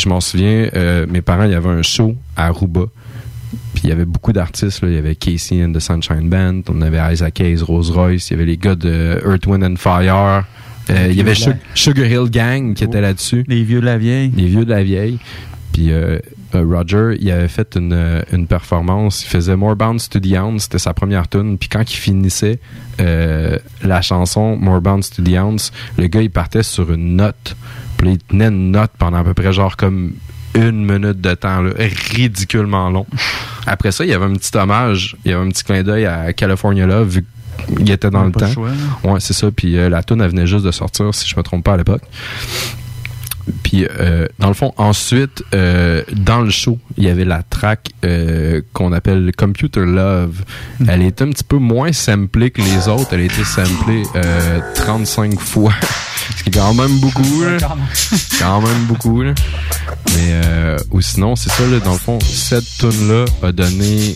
Speaker 1: Mes parents, il y avait un show à Aruba. Puis il y avait beaucoup d'artistes, là. Il y avait Casey and the Sunshine Band, on avait Isaac Hayes, Rose Royce, il y avait les gars de Earth, Wind and Fire, il y avait Sugar Hill Gang qui était là-dessus.
Speaker 2: Les vieux de la vieille.
Speaker 1: Puis Roger, il avait fait une performance, il faisait More Bounce to the Ounce, c'était sa première tune. Puis quand il finissait la chanson More Bounce to the Ounce, le gars il partait sur une note. Puis il tenait une note pendant à peu près genre comme 1 minute de temps, là, ridiculement long. Après ça, il y avait un petit hommage, il y avait un petit clin d'œil à California Love, vu qu'il était dans le temps. Ouais, c'est ça. Puis la tune, elle venait juste de sortir, si je me trompe pas à l'époque. Puis, dans le fond, ensuite, dans le show, il y avait la track qu'on appelle Computer Love. Elle était un petit peu moins samplée que les autres. Elle a été samplée 35 fois. Ce qui est quand même beaucoup, là. Quand même beaucoup, là. Mais, ou sinon, c'est ça, là, dans le fond, cette tune-là a donné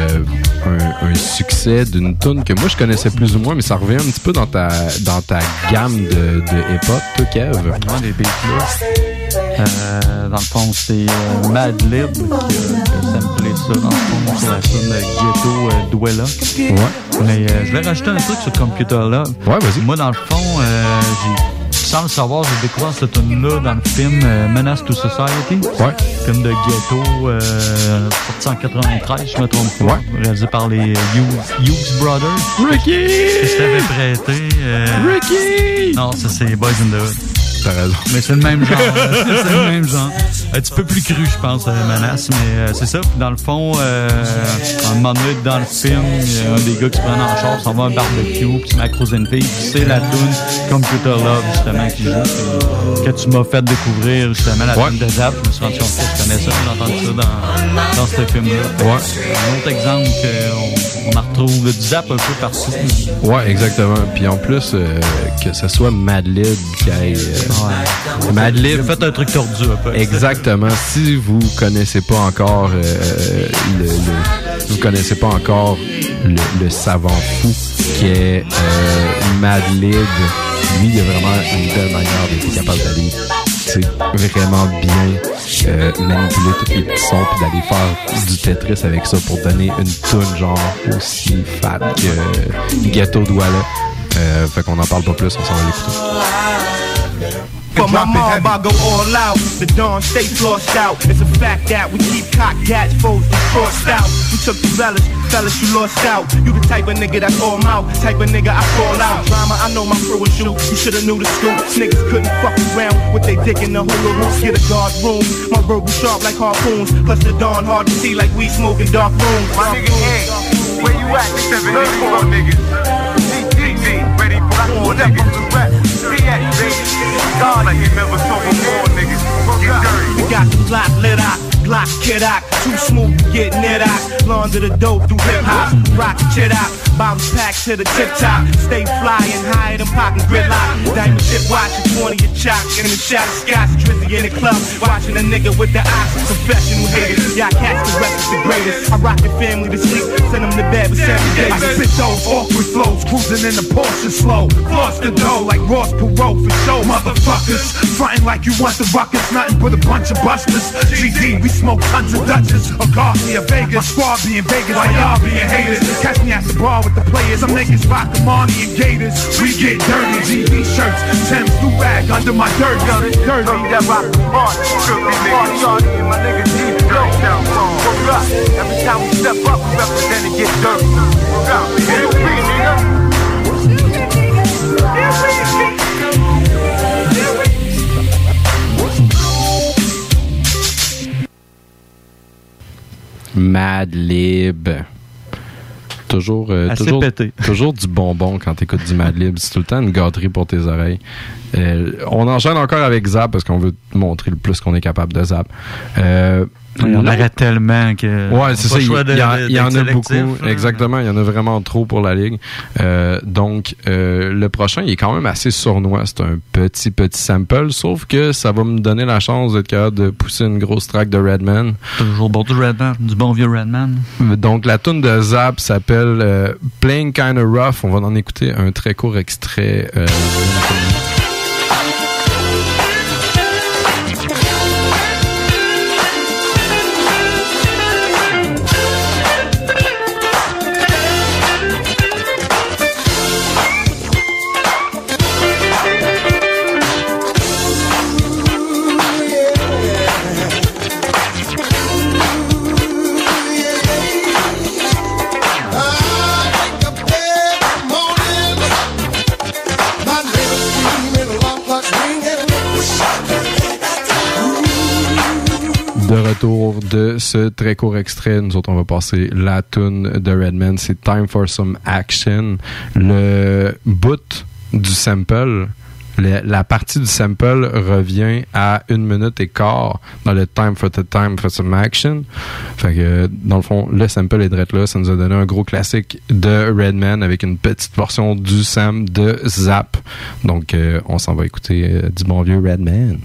Speaker 1: un succès d'une tune que moi, je connaissais plus ou moins, mais ça revient un petit peu dans ta gamme de hip-hop, toi, Kev.
Speaker 2: Ouais, les beats-là. Dans le fond, c'est Madlib qui a samplé ça, dans le fond, sur la tune Ghetto Dwella.
Speaker 1: Ouais.
Speaker 2: Mais je vais rajouter un truc sur Computer Love.
Speaker 1: Ouais, vas-y.
Speaker 2: Moi, dans le fond, sans le savoir, j'ai découvert cette tune-là dans le film Menace to Society.
Speaker 1: Ouais.
Speaker 2: Film de ghetto, sorti en 93, je me trompe pas.
Speaker 1: Ouais.
Speaker 2: Réalisé par les Hughes Brothers.
Speaker 1: Ricky!
Speaker 2: Je t'avais prêté.
Speaker 1: Ricky!
Speaker 2: Non, ça c'est Boys in the Hood.
Speaker 1: T'as raison.
Speaker 2: Mais c'est le même genre. C'est le même genre. Un petit peu plus cru, je pense, Menace, mais c'est ça. Puis dans le fond, un moment donné, dans le film, il y a un des gars qui se prend en charge, s'en va à un barbecue, puis se met à croiser une fille, puis c'est la tune Computer Love, justement, qui joue. Que tu m'as fait découvrir, justement, la tune de Zap. Je me suis rendu compte que je connais ça, j'ai entendu ça dans ce film-là.
Speaker 1: Ouais.
Speaker 2: Un autre exemple qu'on en retrouve du Zap un peu partout.
Speaker 1: Ouais, exactement. Puis en plus, que ce soit Madlib qui aille... Madlib.
Speaker 2: J'ai fait un truc tordu un peu.
Speaker 1: Exactement. Si vous connaissez pas encore le savant fou qui est Madlib, lui il a vraiment une belle manière d'être capable d'aller vraiment bien manipuler tous les petits sons puis d'aller faire du Tetris avec ça pour donner une toune genre aussi fat que Ghetto Dwella. Fait qu'on en parle pas plus, on s'en va l'écouter.
Speaker 4: For my mob, I go all out. The dawn stay flossed out. It's a fact that we keep cock gats, foes and crossed out. We took the fellas, you lost out. You the type of nigga that's all mouth, type of nigga I call out. Drama, I know my crew is you. You shoulda knew the scoop. Niggas couldn't fuck around with they dick in the hula hoop. Get a guard room. My verbal sharp like harpoons. Plus the dawn hard to see like we smoke in dark rooms. My nigga, hey, where you at? 74 niggas. DTG, ready for war niggas. God, like you never saw before, niggas. Get dirty. We got the block lit out, block kid out. Too smooth to get knit out. Launder the dope through hip hop. Rock chit out. Bottles packed to the tip top. Stay fly and higher than poppin' gridlock. Diamond tip watching 20 a chop. In the shot of scotch, Drizzy in the club. Watching a nigga with the eyes. Professional haters. Y'all cats the rest is the greatest. I rock your family to sleep. Send them to bed with 7 days.
Speaker 21: I spit those awkward flows. Cruising in the Porsche slow. Floss the dough like Ross Perot for show. Motherfuckers. Frontin' like you want the ruckus. Nothing but a bunch of busters. GD, we smoke tons of Dutchess. A Garcia Vegas. My squad be in Vegas. While y'all being haters. Catch me at the bar with the players. Some niggas rock the Marnie and Gators. We get dirty. GD shirts. Tim's do rag under my dirt. Dirty. That rock the party. Should be niggas. My niggas deep. down wrong. Look up. Every time we step up, we represent and get dirt. Look up. Get me, nigga.
Speaker 1: Madlib. Toujours du bonbon quand t'écoutes du Madlib. C'est tout le temps une gâterie pour tes oreilles. On enchaîne encore avec Zap parce qu'on veut te montrer le plus qu'on est capable de Zap.
Speaker 2: Il y en aurait tellement que.
Speaker 1: Ouais, c'est ça. Il y en a beaucoup. Exactement. Il y en a vraiment trop pour la ligue. Donc, le prochain, il est quand même assez sournois. C'est un petit sample. Sauf que ça va me donner la chance d'être capable de pousser une grosse track de Redman.
Speaker 2: Toujours bon du Redman. Du bon vieux Redman.
Speaker 1: Donc, la tune de Zap s'appelle Playing Kinda Rough. On va en écouter un très court extrait. De retour de ce très court extrait, nous autres on va passer la tune de Redman, c'est Time for Some Action. Le bout du sample, la partie du sample revient à 1 minute et quart dans le Time for Some Action. Fait que dans le fond, le sample est direct là, ça nous a donné un gros classique de Redman avec une petite portion du sam de Zap. Donc on s'en va écouter du bon vieux Redman.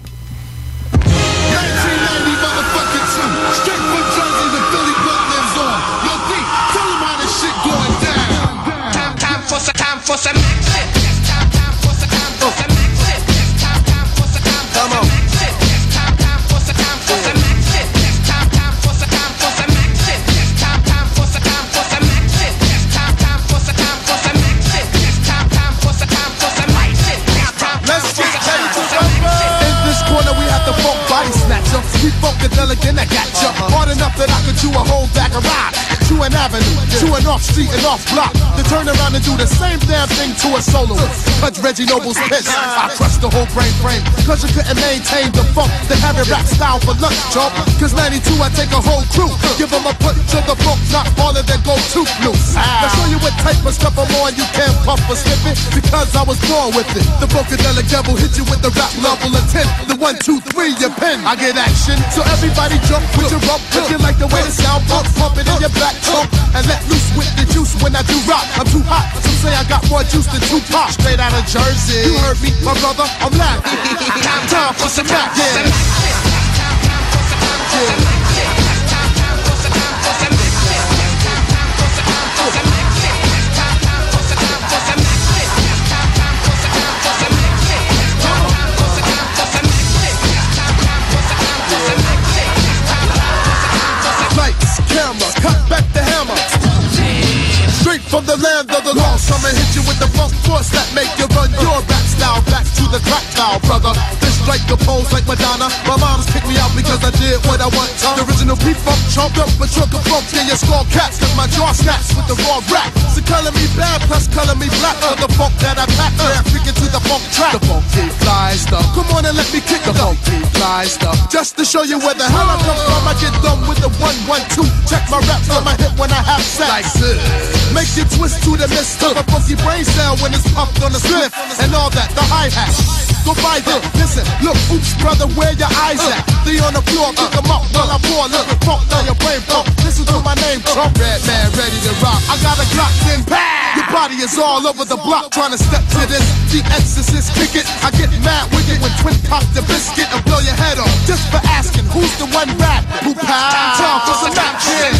Speaker 3: For some action. Time for some action. Come on. Time for some action. Time for some action. Time for some action. Time for some action. Time for some action. Let's get ready to rumble. In this corner we have the funk body snatcher. We funkadelic and I got ya. Hard enough that I could do a whole back of ride. To an avenue, to an off street and off block. To turn around and do the same damn thing to a soloist. Touch Reggie Noble's piss. I crushed the whole brain frame. Cause you couldn't maintain the funk. Then have it rap style for lunch, chump. Cause 92 I take a whole crew. Give them a punch to the funk, not all of them go too loose. Now show you what type of stuff I'm on. You can't puff or slip it. Because I was born with it. The Funkadelic devil hit you with the rap level of 10. The 1, 2, 3, your pen. I get action. So everybody jump with your rump. If you like the way the sound pump, pump it in your back. And let loose with the juice when I do rock. I'm too hot, some say I got more juice than Tupac. Straight out of Jersey. You heard me, my brother, I'm laughing. Time for some action. Lights, camera, cut back the hammer. Straight from the land of the lost, I'ma hit you with the funk force that make you run your rap style back to the crack style, brother. This strike the pose like Madonna. My mom's kicked me out because I did what I want. The original P-Funk chopped up a truck of funk in your skull caps. Cause my jaw snaps with the raw rap. So color me bad plus color me black for the funk that I pack. Freaking to the funk track. The funky fly stuff. Come on and let me kick the funky fly stuff. Just to show you where the hell I come from. I get done with the 1, 1, 2. Check my raps on my hip when I have sex. Like this. Make you twist to the mist of a funky brain cell when it's pumped on the spliff and all that, the hi-hat. Go by them, listen, look, oops, brother, where your eyes at? They on the floor, pick them up while I pour a little funk down your brain pump. Listen to my name, Trump, Redman, ready to rock. I got a Glock, then bang! Your body is all over the block, trying to step to this. The Exorcist, kick it. I get mad with it when Twin pop the biscuit and blow your head off. Just for asking, who's the one rap? Who pow? Time for some action.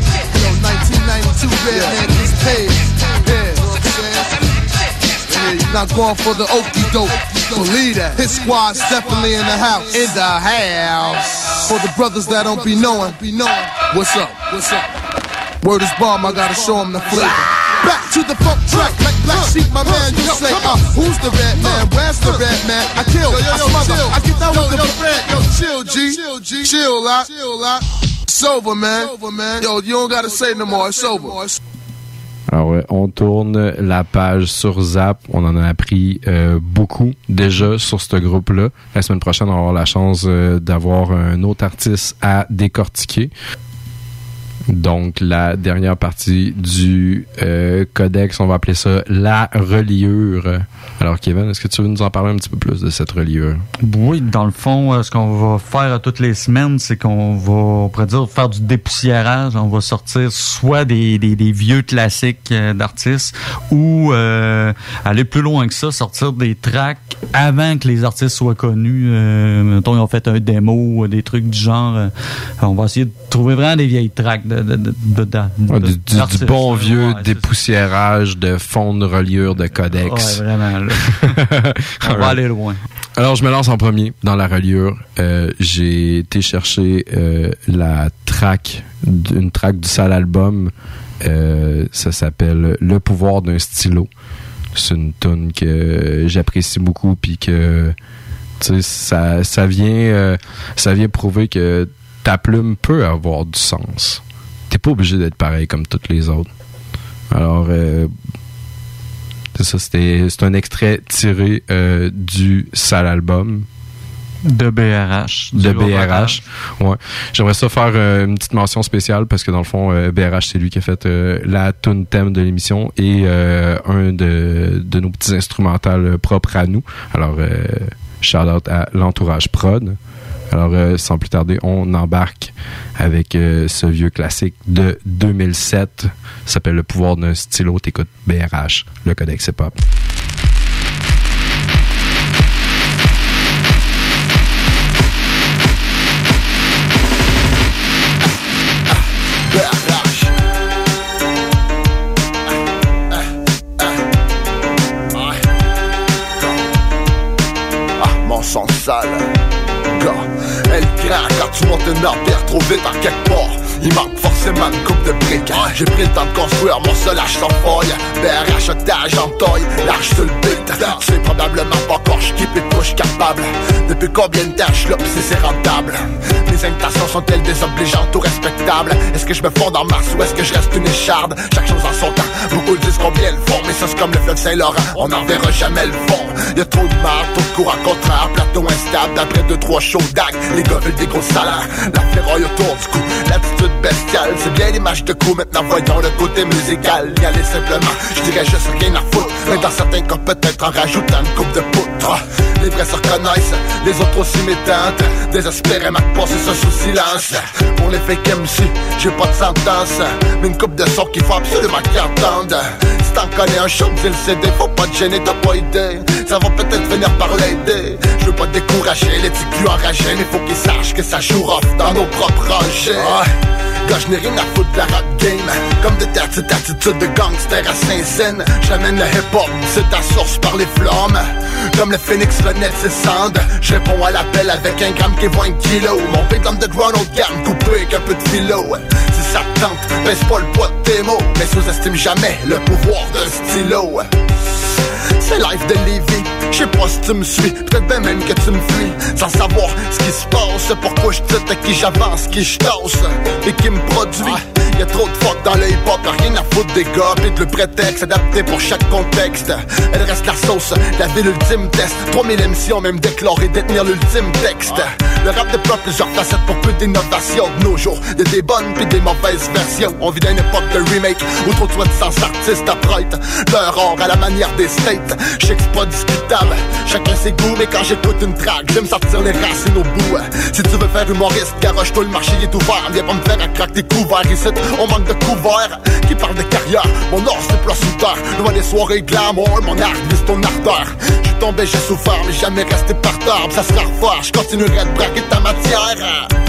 Speaker 3: Redman gets paid. Yeah, you know what I'm saying? not going for the okie doke. Believe that. His squad's definitely in the house. In the house. For the brothers that don't be knowing. What's up? What's up? Word is bomb, I gotta show him the flavor. Back to the funk track, like Black Sheep, my man, you say, who's the red man? Where's the red man? I kill, I smother, I get down with the red. Yo, chill, G, chill out. It's over, man. Yo, you don't gotta say no more, it's over.
Speaker 1: Alors, on tourne la page sur Zap. On en a appris beaucoup déjà sur ce groupe-là. La semaine prochaine, on va avoir la chance d'avoir un autre artiste à décortiquer. Donc, la dernière partie du codex, on va appeler ça la reliure. Alors, Kevin, est-ce que tu veux nous en parler un petit peu plus de cette reliure?
Speaker 2: Oui, dans le fond, ce qu'on va faire toutes les semaines, c'est qu'on va, on pourrait dire, faire du dépoussiérage. On va sortir soit des vieux classiques d'artistes ou aller plus loin que ça, sortir des tracks avant que les artistes soient connus. Mettons, ils ont fait un démo, des trucs du genre. On va essayer de trouver vraiment des vieilles tracks
Speaker 1: du bon vieux dépoussiérage de fond de reliure de codex.
Speaker 2: Ouais, vraiment. Là. On va aller loin.
Speaker 1: Alors, je me lance en premier dans la reliure. J'ai été chercher une track du sale album. Ça s'appelle Le pouvoir d'un stylo. C'est une tune que j'apprécie beaucoup, puis que tu sais, ça vient prouver que ta plume peut avoir du sens. T'es pas obligé d'être pareil comme toutes les autres. Alors, c'est ça, c'est un extrait tiré du sale album.
Speaker 2: De BRH.
Speaker 1: De BRH. Ouais. J'aimerais ça faire une petite mention spéciale parce que dans le fond, BRH, c'est lui qui a fait la tune thème de l'émission et un de nos petits instrumentales propres à nous. Alors, shout out à l'entourage prod. Alors, sans plus tarder, on embarque avec ce vieux classique de 2007. Ça s'appelle Le pouvoir d'un stylo. T'écoutes BRH, le codex hip-hop.
Speaker 17: Mon sang sale. Elle craque quand tu montes une artère trop vite en quelque part. Il manque forcément une coupe de briques. J'ai pris le temps de construire mon solage sans faille. BRH otage en taille, large sur le beat. C'est probablement pas encore j'keep et touche capable. Depuis combien de temps j'lope si c'est rentable? Mes invitations sont-elles désobligeantes ou respectables? Est-ce que je me fonds en masse ou est-ce que je reste une écharde? Chaque chose en son temps, beaucoup disent combien le font. Mais ça c'est comme le fleuve Saint-Laurent, on n'en verra jamais le fond. Y'a trop de marre, trop de courant contraire, plateau instable. D'après 2-3 shows d'ag, les gars veulent des gros salaires. La ferraille autour du cou, l'attitude bestiale. C'est bien l'image de coup, maintenant voyons le côté musical. Y aller simplement, je dirais juste rien à foutre. Mais dans certains cas peut-être en rajoutant une coupe de poutre. Les vrais se reconnaissent, les autres aussi m'éteintent. Désespérément de passer ça sous silence. Pour les fake MC, j'ai pas de sentence. Mais une coupe de son qu'il faut absolument qu'ils entendent. Si t'en connais un show, dis le CD, faut pas te gêner, t'as pas idée. Ça va peut-être venir par l'aider. Je veux pas te décourager, les petits culs enragés. Mais faut qu'ils sachent que ça joue rough dans nos propres rangées. Gars, je n'ai rien à foutre de la rap game. Comme de ta petite attitude de gangster à Saint-Saëns. J'amène le hip-hop, c'est ta source par les flammes. Comme le phénix renaît de ses cendres. Je réponds à l'appel avec un gramme qui vaut 1 kilo. Mon beat underground haut de gamme, coupé avec un peu de philo. Si ça te tente, baisse pas le poids de tes mots. Mais sous-estime jamais le pouvoir d'un stylo. C'est live de Lévis, je sais pas si tu me suis, peut-être bien même que tu me fuis. Sans savoir ce qui se passe, pourquoi je te à qui j'avance, qui je tasse et qui me produit. Y'a trop de fuck dans le hip-hop, rien à foutre des gars, pis de le prétexte adapté pour chaque contexte. Elle reste la sauce, la ville ultime test. 3000 émissions même déclaré détenir l'ultime texte. Le rap déploie plusieurs facettes pour peu d'innovation de nos jours. Y'a des bonnes pis des mauvaises versions. On vit d'une époque de remake où trop de soi-disant artistes apprêtent leur or à la manière des states. J'sais que c'est pas discutable, chacun ses goûts. Mais quand j'écoute une track, j'aime sortir les racines au bout. Si tu veux faire humoriste, garoche-toi, le marché est ouvert. Viens pas me faire à craquer tes couverts. Ici, on manque de couverts. Qui parle de carrière, mon or c'est place sous terre. Loin des soirées glamour, mon art vise ton ardeur. J'suis tombé, j'ai souffert, mais jamais resté par terre. Ça sera refaire, j'continuerai de braquer ta matière.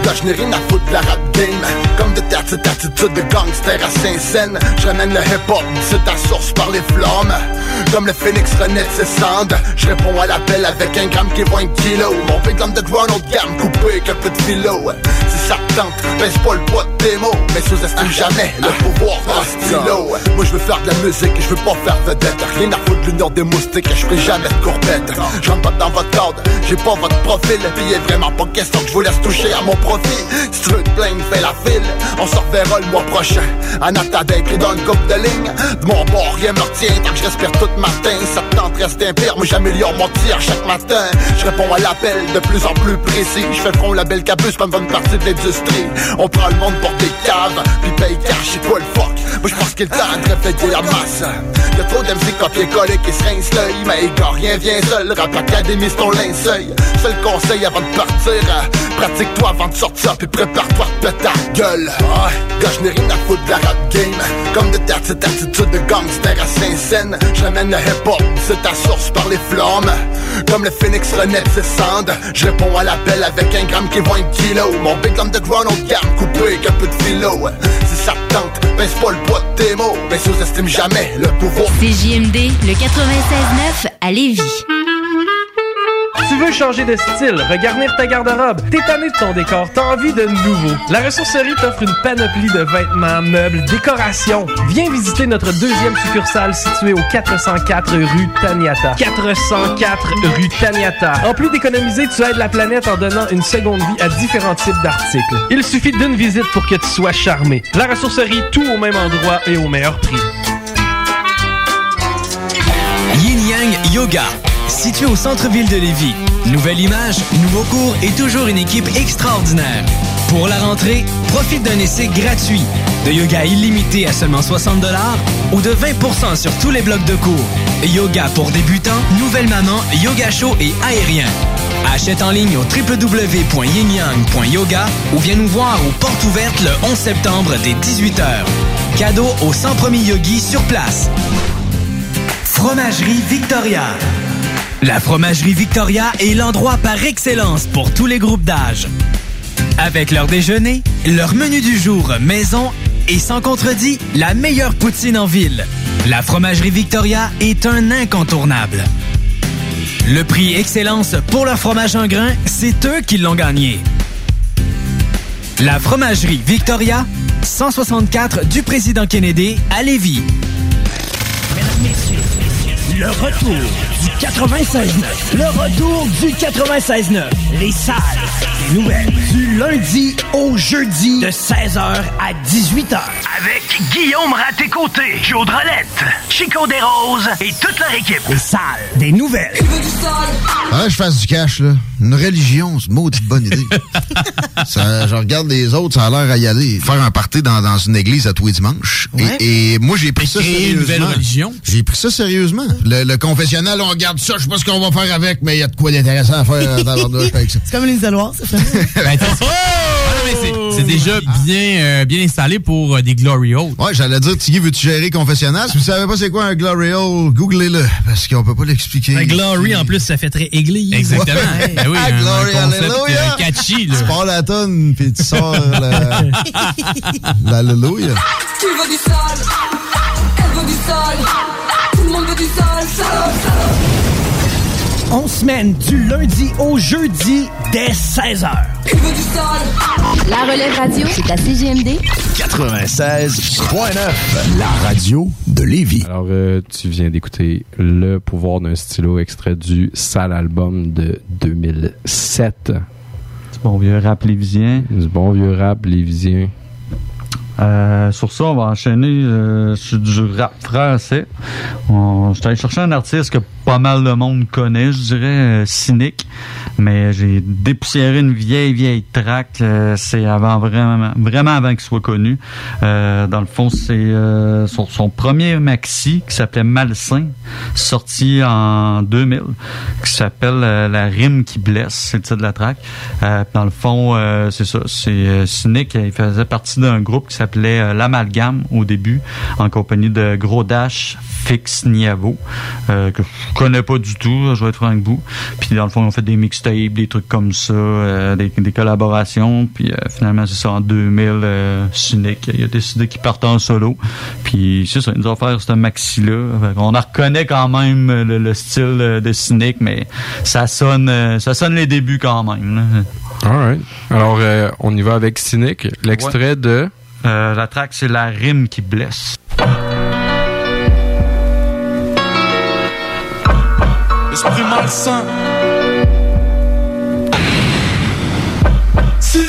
Speaker 17: Là je n'ai rien à foutre de la rap game. Comme de cette attitude de gangster à Saint-Saëns. Je ramène le hip-hop, c'est ta source par les flammes. Comme le phénix renaît de ses cendres. Je réponds à l'appel avec un gramme qui vaut 1 kilo. Mon big underground haut de gamme coupé avec un peu de philo. Si ça te tente, baisse pas le poids de tes mots. Mais sous-estime jamais le pouvoir d'un stylo. Moi je veux faire de la musique et je veux pas faire vedette. Rien à foutre de l'union des moustiques et je ferai jamais de courbette. J'entre pas dans votre cadre, j'ai pas votre profil. Pis y'a vraiment pas question que je vous laisse toucher à mon profit. Si tu veux te plaindre, fais la file. On se reverra le mois prochain. En attendant écrit dans une coupe de ligne. De mon bord, rien me retient tant que je respire tout matin. Ça te tente, reste impire, moi j'améliore mon tir chaque matin. Je réponds à l'appel de plus en plus précis. Je fais front la belle capuce comme une partie de l'industrie. On prend le monde pour des caves, puis paye cash, c'est quoi le fuck? Moi je pense qu'il est temps de réveiller la masse. Y'a trop d'MC copier-coller qui se rincent l'œil. Mais gars, rien vient seul, Rap Académie c'est ton linceul. Seul conseil avant de partir, pratique-toi avant de sortir, puis prépare-toi de péter ta gueule. Gars, je n'ai rien à foutre de la rap game. Comme de cette attitude de gangster à Saint-Saëns. Je ramène le hip-hop, c'est ta source par les flammes. Comme le phénix renaît de ses cendres. Je réponds à l'appel avec un gramme qui vaut 1 kilo. Mon big underground haut de gamme coupé avec un peu de philo. Si ça te tente, baisse pas le poids de tes mots. Mais sous-estime jamais le pouvoir.
Speaker 18: CJMD, le 96.9 à Lévis.
Speaker 9: Tu veux changer de style, regarnir ta garde-robe, t'es tanné de ton décor, t'as envie de nouveau. La ressourcerie t'offre une panoplie de vêtements, meubles, décorations. Viens visiter notre deuxième succursale située au 404 rue Taniata. 404 rue Taniata. En plus d'économiser, tu aides la planète en donnant une seconde vie à différents types d'articles. Il suffit d'une visite pour que tu sois charmé. La ressourcerie, tout au même endroit et au meilleur prix.
Speaker 10: Yin Yang Yoga, situé au centre-ville de Lévis. Nouvelle image, nouveau cours et toujours une équipe extraordinaire. Pour la rentrée, profite d'un essai gratuit, de yoga illimité à seulement 60$ ou de 20% sur tous les blocs de cours. Yoga pour débutants, nouvelle maman, yoga chaud et aérien. Achète en ligne au www.yinyang.yoga ou viens nous voir aux portes ouvertes le 11 septembre dès 18h. Cadeau aux 100 premiers yogis sur place. Fromagerie Victoria. La Fromagerie Victoria est l'endroit par excellence pour tous les groupes d'âge. Avec leur déjeuner, leur menu du jour maison et sans contredit, la meilleure poutine en ville. La Fromagerie Victoria est un incontournable. Le prix Excellence pour leur fromage en grains, c'est eux qui l'ont gagné. La Fromagerie Victoria, 164 du Président Kennedy à Lévis.
Speaker 19: Mesdames, messieurs, le retour du 96.9. Le retour du 96.9. Les salles des nouvelles. Du lundi au jeudi de 16h à 18h. Avec Guillaume Raté-Côté, Claude Rolette, Chico Desroses et toute leur équipe. Les salles des nouvelles.
Speaker 20: Ah, je fasse du cash, là. Une religion, c'est une maudite bonne idée. Je regarde les autres, ça a l'air à y aller. Faire un party dans une église à tous les dimanches. Ouais. Et moi, j'ai pris ça sérieusement. Une nouvelle religion. J'ai pris ça sérieusement. Le confessionnal, on regarde ça, je sais pas ce qu'on va faire avec, mais il y a de quoi d'intéressant à faire dans l'ordre avec ça.
Speaker 24: C'est comme l'isoloir, c'est ça?
Speaker 25: C'est déjà bien installé pour des Glory Hole.
Speaker 20: Ouais, j'allais dire, Tiggy, veux-tu gérer confessionnal? Si vous savez pas c'est quoi un Glory Hole, googlez-le, parce qu'on peut pas l'expliquer.
Speaker 24: Un Glory, en plus, ça fait très église.
Speaker 25: Exactement. Ouais. Ben oui,
Speaker 20: Glory, Alléluia!
Speaker 25: Catchy, là.
Speaker 20: Tu pars la tonne, puis tu sors l'Alléluia.
Speaker 26: Tu veux du sale, elle veut du sale, tout le monde veut du sale, sale.
Speaker 19: On semaine du lundi au jeudi dès 16h.
Speaker 26: Tu veux du sale?
Speaker 18: La Relève Radio, c'est à CJMD
Speaker 20: 96.9, la radio de Lévis.
Speaker 1: Alors, tu viens d'écouter Le pouvoir d'un stylo, extrait du sale album de 2007.
Speaker 2: Du bon vieux rap lévisien.
Speaker 1: Du bon vieux rap lévisien.
Speaker 2: Sur ça, on va enchaîner sur du rap français. J'étais allé chercher un artiste que pas mal de monde connaît, je dirais, Cynic. Mais j'ai dépoussiéré une vieille track. C'est vraiment avant qu'il soit connu. Dans le fond, c'est son premier maxi qui s'appelait Malsain, sorti en 2000, qui s'appelle La rime qui blesse, c'est le titre de la track. Dans le fond, c'est ça. C'est Cynic, il faisait partie d'un groupe qui s'appelle s'appelait L'Amalgame au début, en compagnie de Gros Dash, Fix Niavo, que je connais pas du tout, je vais être franc avec vous. Puis dans le fond, on fait des mixtapes, des trucs comme ça, des collaborations. Puis finalement, c'est ça, en 2000, Cynic, il a décidé qu'il partait en solo. Puis c'est ça, il nous a offert ce maxi-là. On en reconnaît quand même le style de Cynic, mais ça sonne les débuts quand même. Là.
Speaker 1: Alright. Alors, on y va avec Cynic. L'extrait de...
Speaker 2: la track, c'est La Rime qui blesse.
Speaker 5: Esprit malsain. Cynic.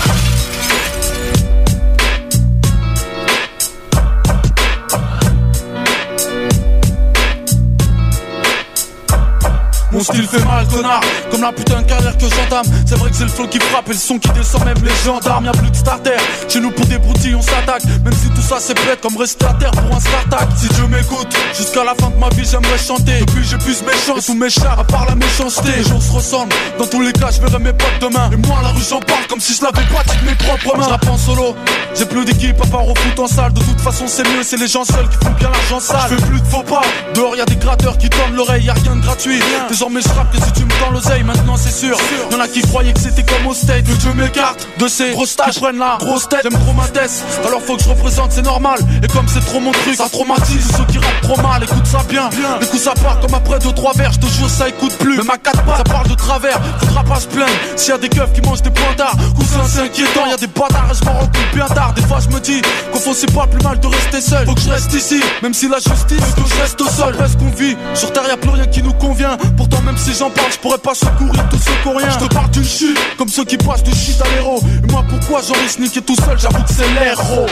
Speaker 5: Mon style fait mal, connard, comme la putain de carrière que j'entame. C'est vrai que c'est le flow qui frappe et le son qui descend, même les gendarmes. Y'a plus de starter, chez nous pour des broutilles on s'attaque. Même si tout ça c'est bête comme rester à terre pour un start-attack. Si Dieu m'écoute, jusqu'à la fin de ma vie j'aimerais chanter. Depuis j'ai plus méchant et tous mes chars à part la méchanceté. Les jours se ressemblent, dans tous les cas je verrai mes potes demain. Et moi la rue j'en parle comme si je l'avais pas dit de mes propres mains. Je rappe en solo, j'ai plus d'équipe à part au foot en salle. De toute façon c'est mieux, c'est les gens seuls qui font bien l'argent sale. Je fais plus de faux pas, dehors y'a des gratteurs qui tendent l'oreille, y'a rien de gratuit. Désormais je rappe que si tu me tends l'oseille, maintenant c'est sûr. Y'en a qui croyaient que c'était comme au state. Que Dieu m'écarte de ces grosses tâches, prennent la grosse tête. J'aime trop ma tête, alors faut que je représente, c'est normal. Et comme c'est trop mon truc, ça traumatise ceux qui rappent trop mal. Écoute ça bien, les coups ça part comme après 2-3 verres. Je te jure ça écoute plus, même à 4 pas ça parle de travers. Faudra pas se plaindre, s'il y a des keufs qui mangent des pointards. Cousin c'est inquiétant, y'a des bâtards et je m'en rends compte bien tard. Des fois je me dis qu'au fond c'est pas plus mal de rester seul. Faut que je reste ici, même si la justice veut que je reste au sol. Reste qu'on vit, sur terre y'a plus rien qui nous convient. Pourtant même si j'en parle, je pourrais pas secourir tous ceux qui ont rien. Je te parle d'une chute, comme ceux qui passent du shit à l'héros. Et moi pourquoi j'en risque niquer tout seul, j'avoue que c'est l'héros.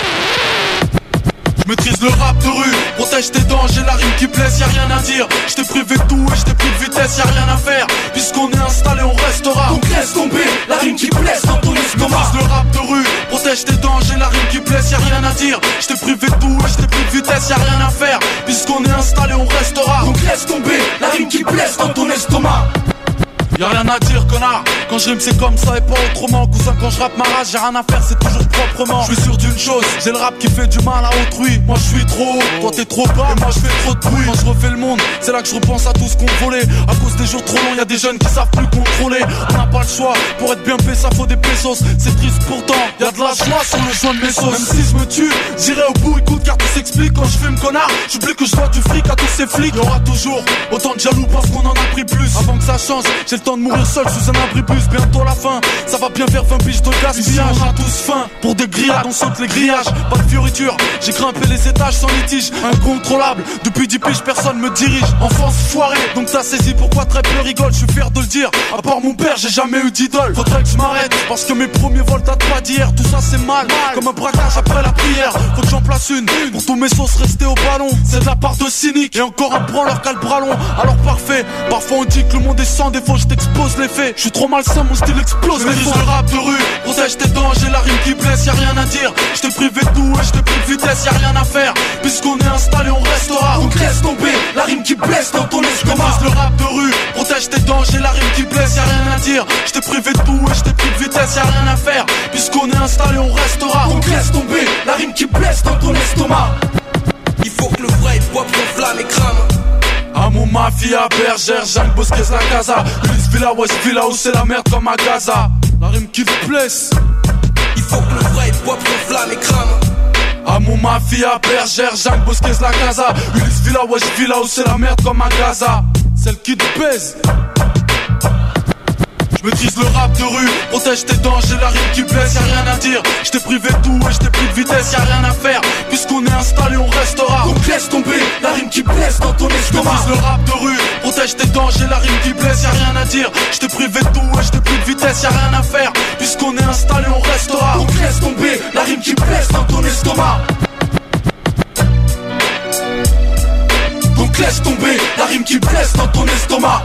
Speaker 5: Je maîtrise le rap de rue, protège tes dents, j'ai la rime qui blesse, y'a rien à dire. Je t'ai privé de tout et je t'ai pris de vitesse, y'a rien à faire. Puisqu'on est installé, on restera. Donc laisse tomber, la rime qui blesse dans ton estomac. Je maîtrise le rap de rue, protège tes dents, j'ai la rime qui blesse, y'a rien à dire. Je t'ai privé de tout et je t'ai pris de vitesse, y'a rien à faire. Puisqu'on est installé, on restera. Donc laisse tomber, la rime qui blesse dans ton estomac. Y'a rien à dire connard, quand je rime c'est comme ça et pas autrement. Cousin quand je rappe ma rage, j'ai rien à faire, c'est toujours proprement. Je suis sûr d'une chose, j'ai le rap qui fait du mal à autrui. Moi je suis trop haut, toi t'es trop bas, et moi je fais trop de bruit. Quand je refais le monde, c'est là que je repense à tout ce qu'on volait. À cause des jours trop longs, y'a des jeunes qui savent plus contrôler. On n'a pas le choix, pour être bien fait ça faut des pesos. C'est triste pourtant, y'a de la joie sur le joint de mes sauces. Même si je me tue, j'irai au bout, écoute car tout s'explique. Quand je fume connard, j'oublie que je dois du fric à tous ces flics. Y'aura toujours autant de jaloux parce qu'on en a pris plus. Avant que ça change, j'ai le temps de mourir seul sous un abribus. Bientôt la fin, ça va bien faire 20 piges de gaspillage. On a tous faim pour des grillades, on saute les grillages. Pas de fioriture, j'ai grimpé les étages sans litige. Incontrôlable, depuis 10 piges personne me dirige. Enfance foirée, donc t'as saisi pourquoi très peu rigole. Je suis fier de le dire, à part mon père j'ai jamais eu d'idole. Faudrait que je m'arrête, parce que mes premiers vols datent pas d'hier. Tout ça c'est mal, comme un braquage après la prière. Faut que j'en place une, pour tous mes sauces rester au ballon. C'est de la part de cynique, et encore un branleur qu'a le bras long. Alors parfait, parfois on dit que le monde est sans défaut. Je t'expose les faits, je suis trop malsain, mon style explose. Je maîtrise le rap de rue, protège tes dents, j'ai la rime qui blesse, y'a rien à dire. Je t'ai privé de tout et je t'ai pris de vitesse, y'a rien à faire. Puisqu'on est installé, on restera. Donc laisse tomber, la rime qui blesse dans ton estomac. Je maîtrise le rap de rue, protège tes dents, j'ai la rime qui blesse, y'a rien à dire. Je t'ai privé de tout et je t'ai pris de vitesse, y'a rien à faire. Puisqu'on est installé, on restera. Donc laisse tomber, la rime qui blesse dans ton estomac.
Speaker 26: Il faut que le vrai hip-hop s'enflamme et crame.
Speaker 5: À mon mafia, bergère, Jeanne Bosquez, la casa. Ulysse Villa, West Villa, où c'est la merde comme à Gaza. La rime qui te blesse.
Speaker 26: Il faut que le vrai hip-hop s'enflamme et crame.
Speaker 5: À mon mafia, bergère, Jeanne Bosquez, la casa. Ulysse Villa, West Villa, où c'est la merde comme à Gaza. Celle qui te baise. Je maîtrise le rap de rue, protège tes dents, j'ai la rime qui blesse, y'a rien à dire. Je t'ai privé de tout et je t'ai pris de vitesse, y'a rien à faire. Puisqu'on est installé, on restera.
Speaker 26: Donc laisse tomber, la rime qui blesse dans ton estomac.
Speaker 5: Je maîtrise le rap de rue, protège tes dents, j'ai la rime qui blesse, y'a rien à dire. Je t'ai privé de tout et je t'ai pris de vitesse, y'a rien à faire. Puisqu'on est installé, on restera.
Speaker 26: Donc laisse tomber, la rime qui blesse dans ton estomac.
Speaker 5: Donc laisse tomber, la rime qui blesse dans ton estomac.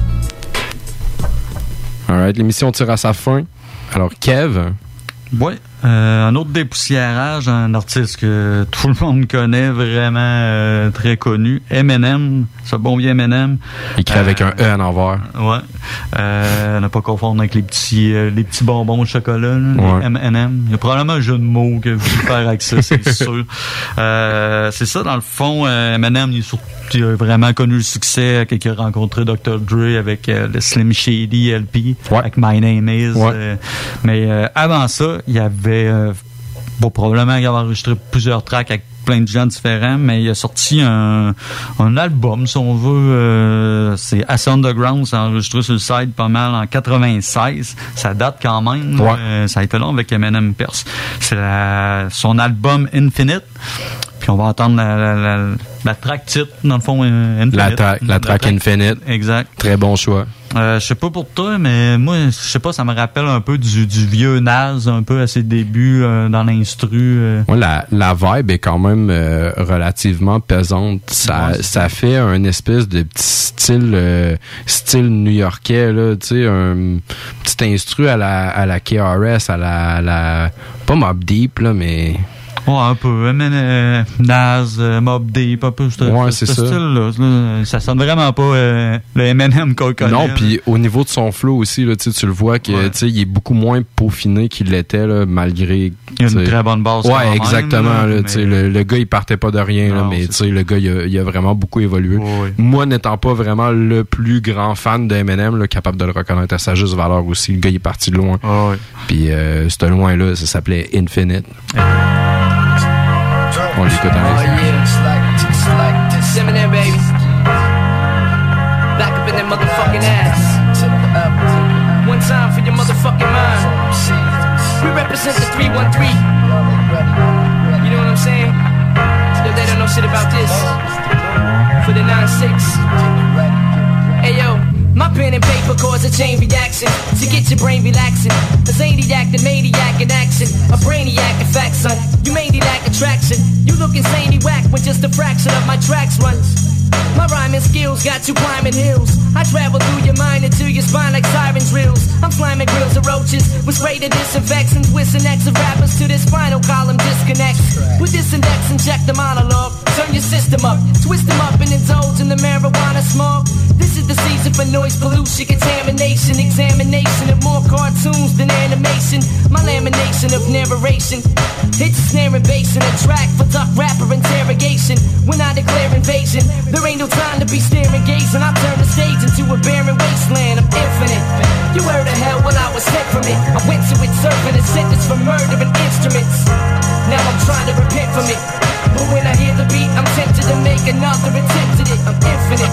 Speaker 1: Alright, l'émission tire à sa fin. Alors, Kev.
Speaker 2: Ouais. Un autre dépoussiérage, un artiste que tout le monde connaît, vraiment très connu, Eminem, ce bon vieux Eminem.
Speaker 1: Écrit avec un E en envers.
Speaker 2: Ouais. Ne pas confondre avec les petits bonbons de chocolat, là, les M&M. Il y a probablement un jeu de mots que vous faire avec ça, c'est sûr. C'est ça, dans le fond, Eminem, il a vraiment connu le succès quand il a rencontré Dr. Dre avec le Slim Shady LP, avec My Name Is. Mais avant ça, il y avait probablement qu'il avait enregistré plusieurs tracks avec plein de gens différents, mais il a sorti un album, si on veut, c'est Assez Underground, c'est enregistré sur le site pas mal en 96. Ça date quand même. Ça a été long avec Eminem Perse. C'est son album Infinite. Puis on va entendre la track titre, dans le fond, Infinite.
Speaker 1: La track Infinite.
Speaker 2: Exact.
Speaker 1: Très bon choix.
Speaker 2: Je sais pas pour toi, mais moi, je sais pas, ça me rappelle un peu du vieux Nas, un peu à ses débuts dans l'instru.
Speaker 1: La vibe est quand même relativement pesante. Ça fait un espèce de petit style new-yorkais, là, tu sais, un petit instru à la KRS, à la pas Mobb Deep, là, mais...
Speaker 2: Ouais, un peu. Nas, Mobb Deep, un peu.
Speaker 1: C'est ça.
Speaker 2: Style-là, ça sonne vraiment pas le Eminem qu'on connaît.
Speaker 1: Non, puis au niveau de son flow aussi, là, tu le vois que il est beaucoup moins peaufiné qu'il l'était, là, malgré...
Speaker 2: Il a une très bonne base.
Speaker 1: Ouais, exactement. Même, là, le gars, il partait pas de rien, là, mais le gars, il a vraiment beaucoup évolué. Moi, n'étant pas vraiment le plus grand fan de Eminem, là, capable de le reconnaître à sa juste valeur aussi, le gars, il est parti de loin. Puis ce loin-là, ça s'appelait Infinite. On l'écoute en
Speaker 6: Eminem, baby. Back up in that motherfucking ass. One time for your motherfucking mind. We represent the 313. You know what I'm saying? Yo, they don't know shit about this. For the 9-6. Hey, yo. My pen and paper cause a chain reaction to get your brain relaxing. A zaniac, the maniac in action. A brainiac, in fact, son. You mainly lack attraction. You look insanely whack when just a fraction of my tracks run. My rhyming skills got you climbing hills. I travel through your mind into your spine like siren drills. I'm slamming grills of roaches with spray to disinfect and twist and X of rappers to this spinal column disconnect. With this index, inject the monologue. Turn your system up, twist them up and indulge in the marijuana smoke. This is the season for noise pollution, contamination, examination of more cartoons than animation. My lamination of narration hits a snare and bass in a track for duck rapper interrogation. When I declare invasion, there ain't no time to be staring gazing. I turn the stage into a barren wasteland. I'm infinite. You heard of hell when I was sent from it. I went to it serving a sentence for murdering instruments. Now I'm trying to repent from it. But when I hear the beat, I'm tempted to make another attempt at it. I'm infinite.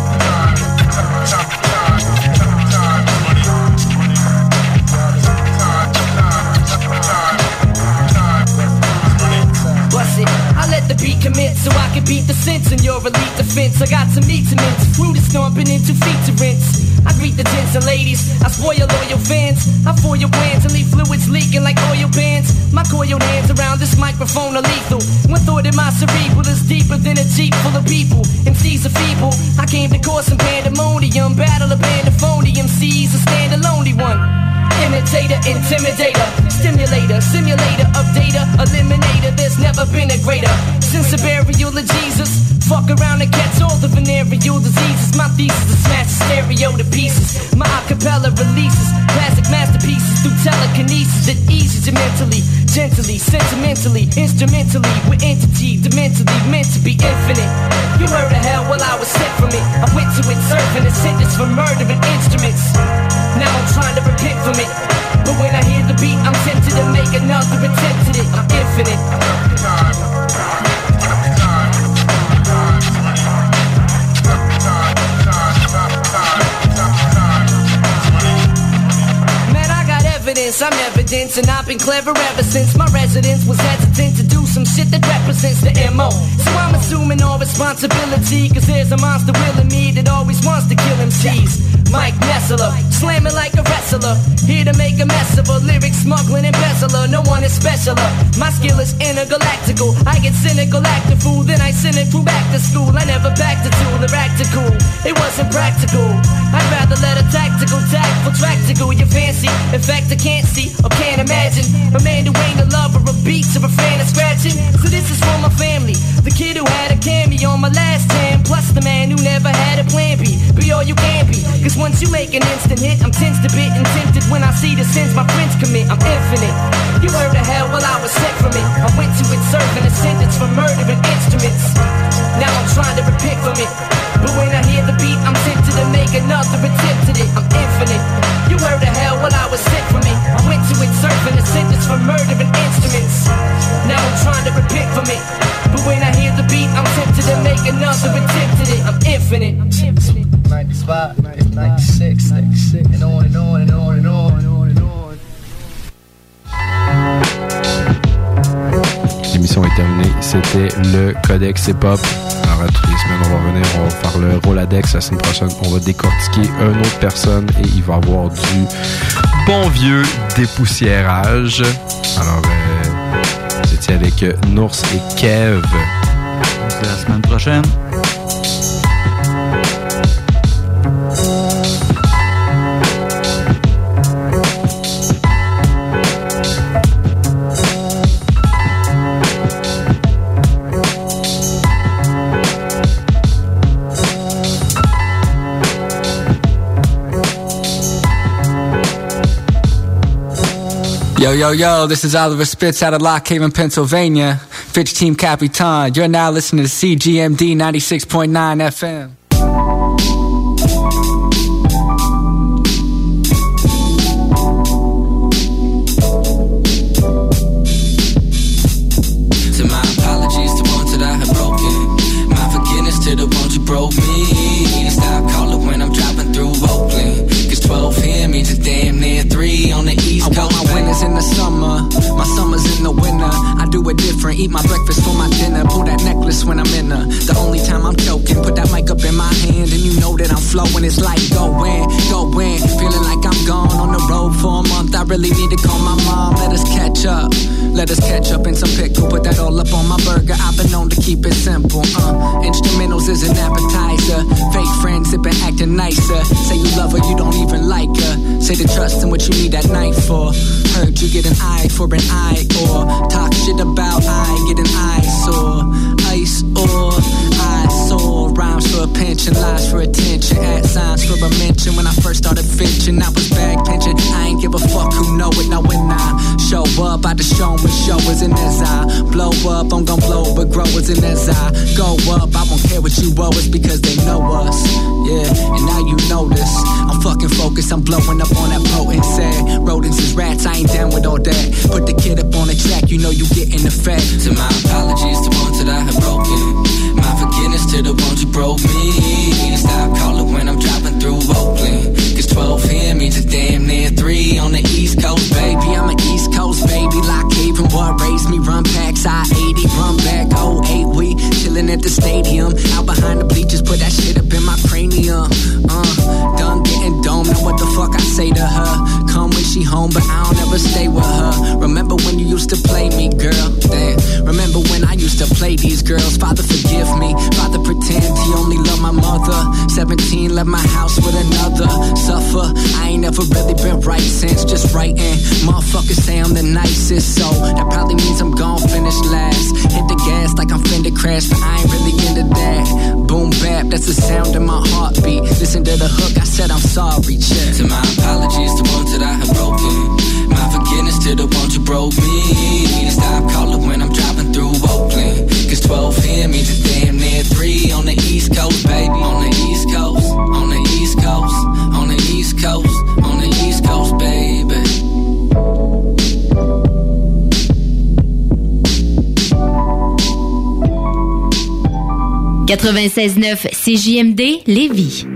Speaker 6: I let the beat commit so I can beat the sense in your elite defense. I got some meat to mince, fruit is stomping into feet to rinse. I greet the gents and ladies, I spoil loyal fans. I foil your plans and leave fluids leaking like oil bands. My coiled hands around this microphone are lethal. One thought in my cerebral is deeper than a jeep full of people. MCs are feeble, I came to cause some pandemonium. Battle a band of phony MCs, a stand-alone one. Imitator, intimidator, stimulator, simulator of data, eliminator. There's never been a greater since the burial of Jesus. Fuck around and catch all the venereal diseases. My thesis is smash the stereo to pieces. My acapella releases classic masterpieces through telekinesis that eases you mentally, gently, sentimentally, instrumentally. With entity, dementally meant to be infinite. You heard of hell while I was sent from it. I went to it serving a sentence for murdering instruments. Now I'm trying to repent from it. But when I hear the beat, I'm tempted to make another attempt at it. I'm infinite. I'm evidence and I've been clever ever since my residence was hesitant to do some shit that represents the MO. So I'm assuming all responsibility, cause there's a monster willing me that always wants to kill MCs. Mike Nessler, slamming like a wrestler, here to make a mess of a lyric smuggling embezzler. No one is specialer, my skill is intergalactical. I get cynical, act a fool, then I send it through back to school. I never backed a tool or act a cool, it wasn't practical. I'd rather let a tactical tact for track to tickle your fancy. In fact, I can't see or can't imagine a man who ain't a lover of beats or a fan of scratching. So this is for my family, the kid who had a cameo on my last time, plus the man who never had a plan B. Be all you can be, cause once you make an instant hit, I'm tensed a bit and tempted when I see the sins my friends commit. I'm infinite. You heard of hell, well I was sent from it. I went to it serving a sentence for murdering instruments. Now I'm trying to repent from it, but when I hear the beat, I'm tempted to make another attempt at it. I'm infinite. You heard of hell, well I was sent from it. I went to it serving a sentence for murdering instruments. Now I'm trying to repent from it, but when I hear the beat, I'm tempted to make another attempt at it. I'm infinite.
Speaker 7: 95, 96, and on and on and on and on and on and on.
Speaker 1: L'émission est terminée. C'était le Codex Hip-Hop. Alors, à toutes les semaines, on va revenir, on va faire le Roladex. La semaine prochaine, on va décortiquer une autre personne et il va y avoir du bon vieux dépoussiérage. Alors, j'étais avec Nours et Kev.
Speaker 2: C'est la semaine prochaine.
Speaker 11: Yo, yo, yo, this is Oliver Spitz out of Lock Haven, Pennsylvania. Fitch Team Capitan. You're now listening to CGMD 96.9 FM.
Speaker 12: So my apologies to ones that I have broken. My forgiveness to the ones who broke me. Stop calling when I'm dropping through Oakland. 12 here means it's damn near 3 on the East Coast.
Speaker 11: I want my winters in the summer, my summers in the winter. I do it different, eat my breakfast for my dinner. Pull that necklace when I'm in her. The only time I'm joking, put that mic up in my hand and you know that I'm flowing. It's like go in, feeling like I'm gone on the road for a month. I really need to call my mom, let us catch up. Let us catch up in some pickle, put that all up on my burger. I've been known to keep it simple. Instrumentals is an appetizer. Fake friends have been acting nicer. Say you love her, you don't even like her. Say to trust in what you need that night for. Heard you get an eye for an eye, or talk shit about I get an eyesore. Ice or I saw rhymes for a pension, lies for attention, at signs for a mention. When I first started fishing, I was bag pinching. I ain't give a fuck who know it. Now when I show up, I just show me showers in as I blow up. I'm gon' blow, but growers in as I go up. I won't care what you owe us because they know us. Yeah, and now you know this. I'm fucking focused, I'm blowing up on that potency. Rodents is rats, I ain't down with all that. Put the kid up on the track, you know you getting the fat.
Speaker 12: So my apologies to ones that I have broken. My forgiveness to the ones who broke me. Stop calling when I'm dropping through Oakland. 12 here means it's damn near 3 on the East Coast, baby. I'm an East Coast baby. Lock Haven, what raised me? Run packs, I-80, run back, 08. We chillin' at the stadium. Out behind the bleachers, put that shit up in my cranium. Done getting dome, now what the fuck I say to her? Come when she home, but I don't ever stay with her. Remember when you used to play me, girl? Damn. Remember when I used to play these girls? Father, forgive me. Father, pretend he only loved my mother. 17, left my house with another. Suffer, I ain't never really been right since. Just writing. Motherfuckers say I'm the nicest, so that probably means I'm gon' finish last. Hit the gas like I'm finna crash, but I ain't really into that. Boom bap, that's the sound in my heartbeat. Listen to the hook, I said I'm sorry, check. So my apologies to ones that I have broken. My forgiveness to the ones who broke me. Stop calling when I'm dropping through Oakland. 12 here means it's damn near 3 on the East Coast, baby. On the East Coast, on the East Coast, on the East Coast, on the East Coast, baby.
Speaker 18: « 96.9 CJMD Lévis.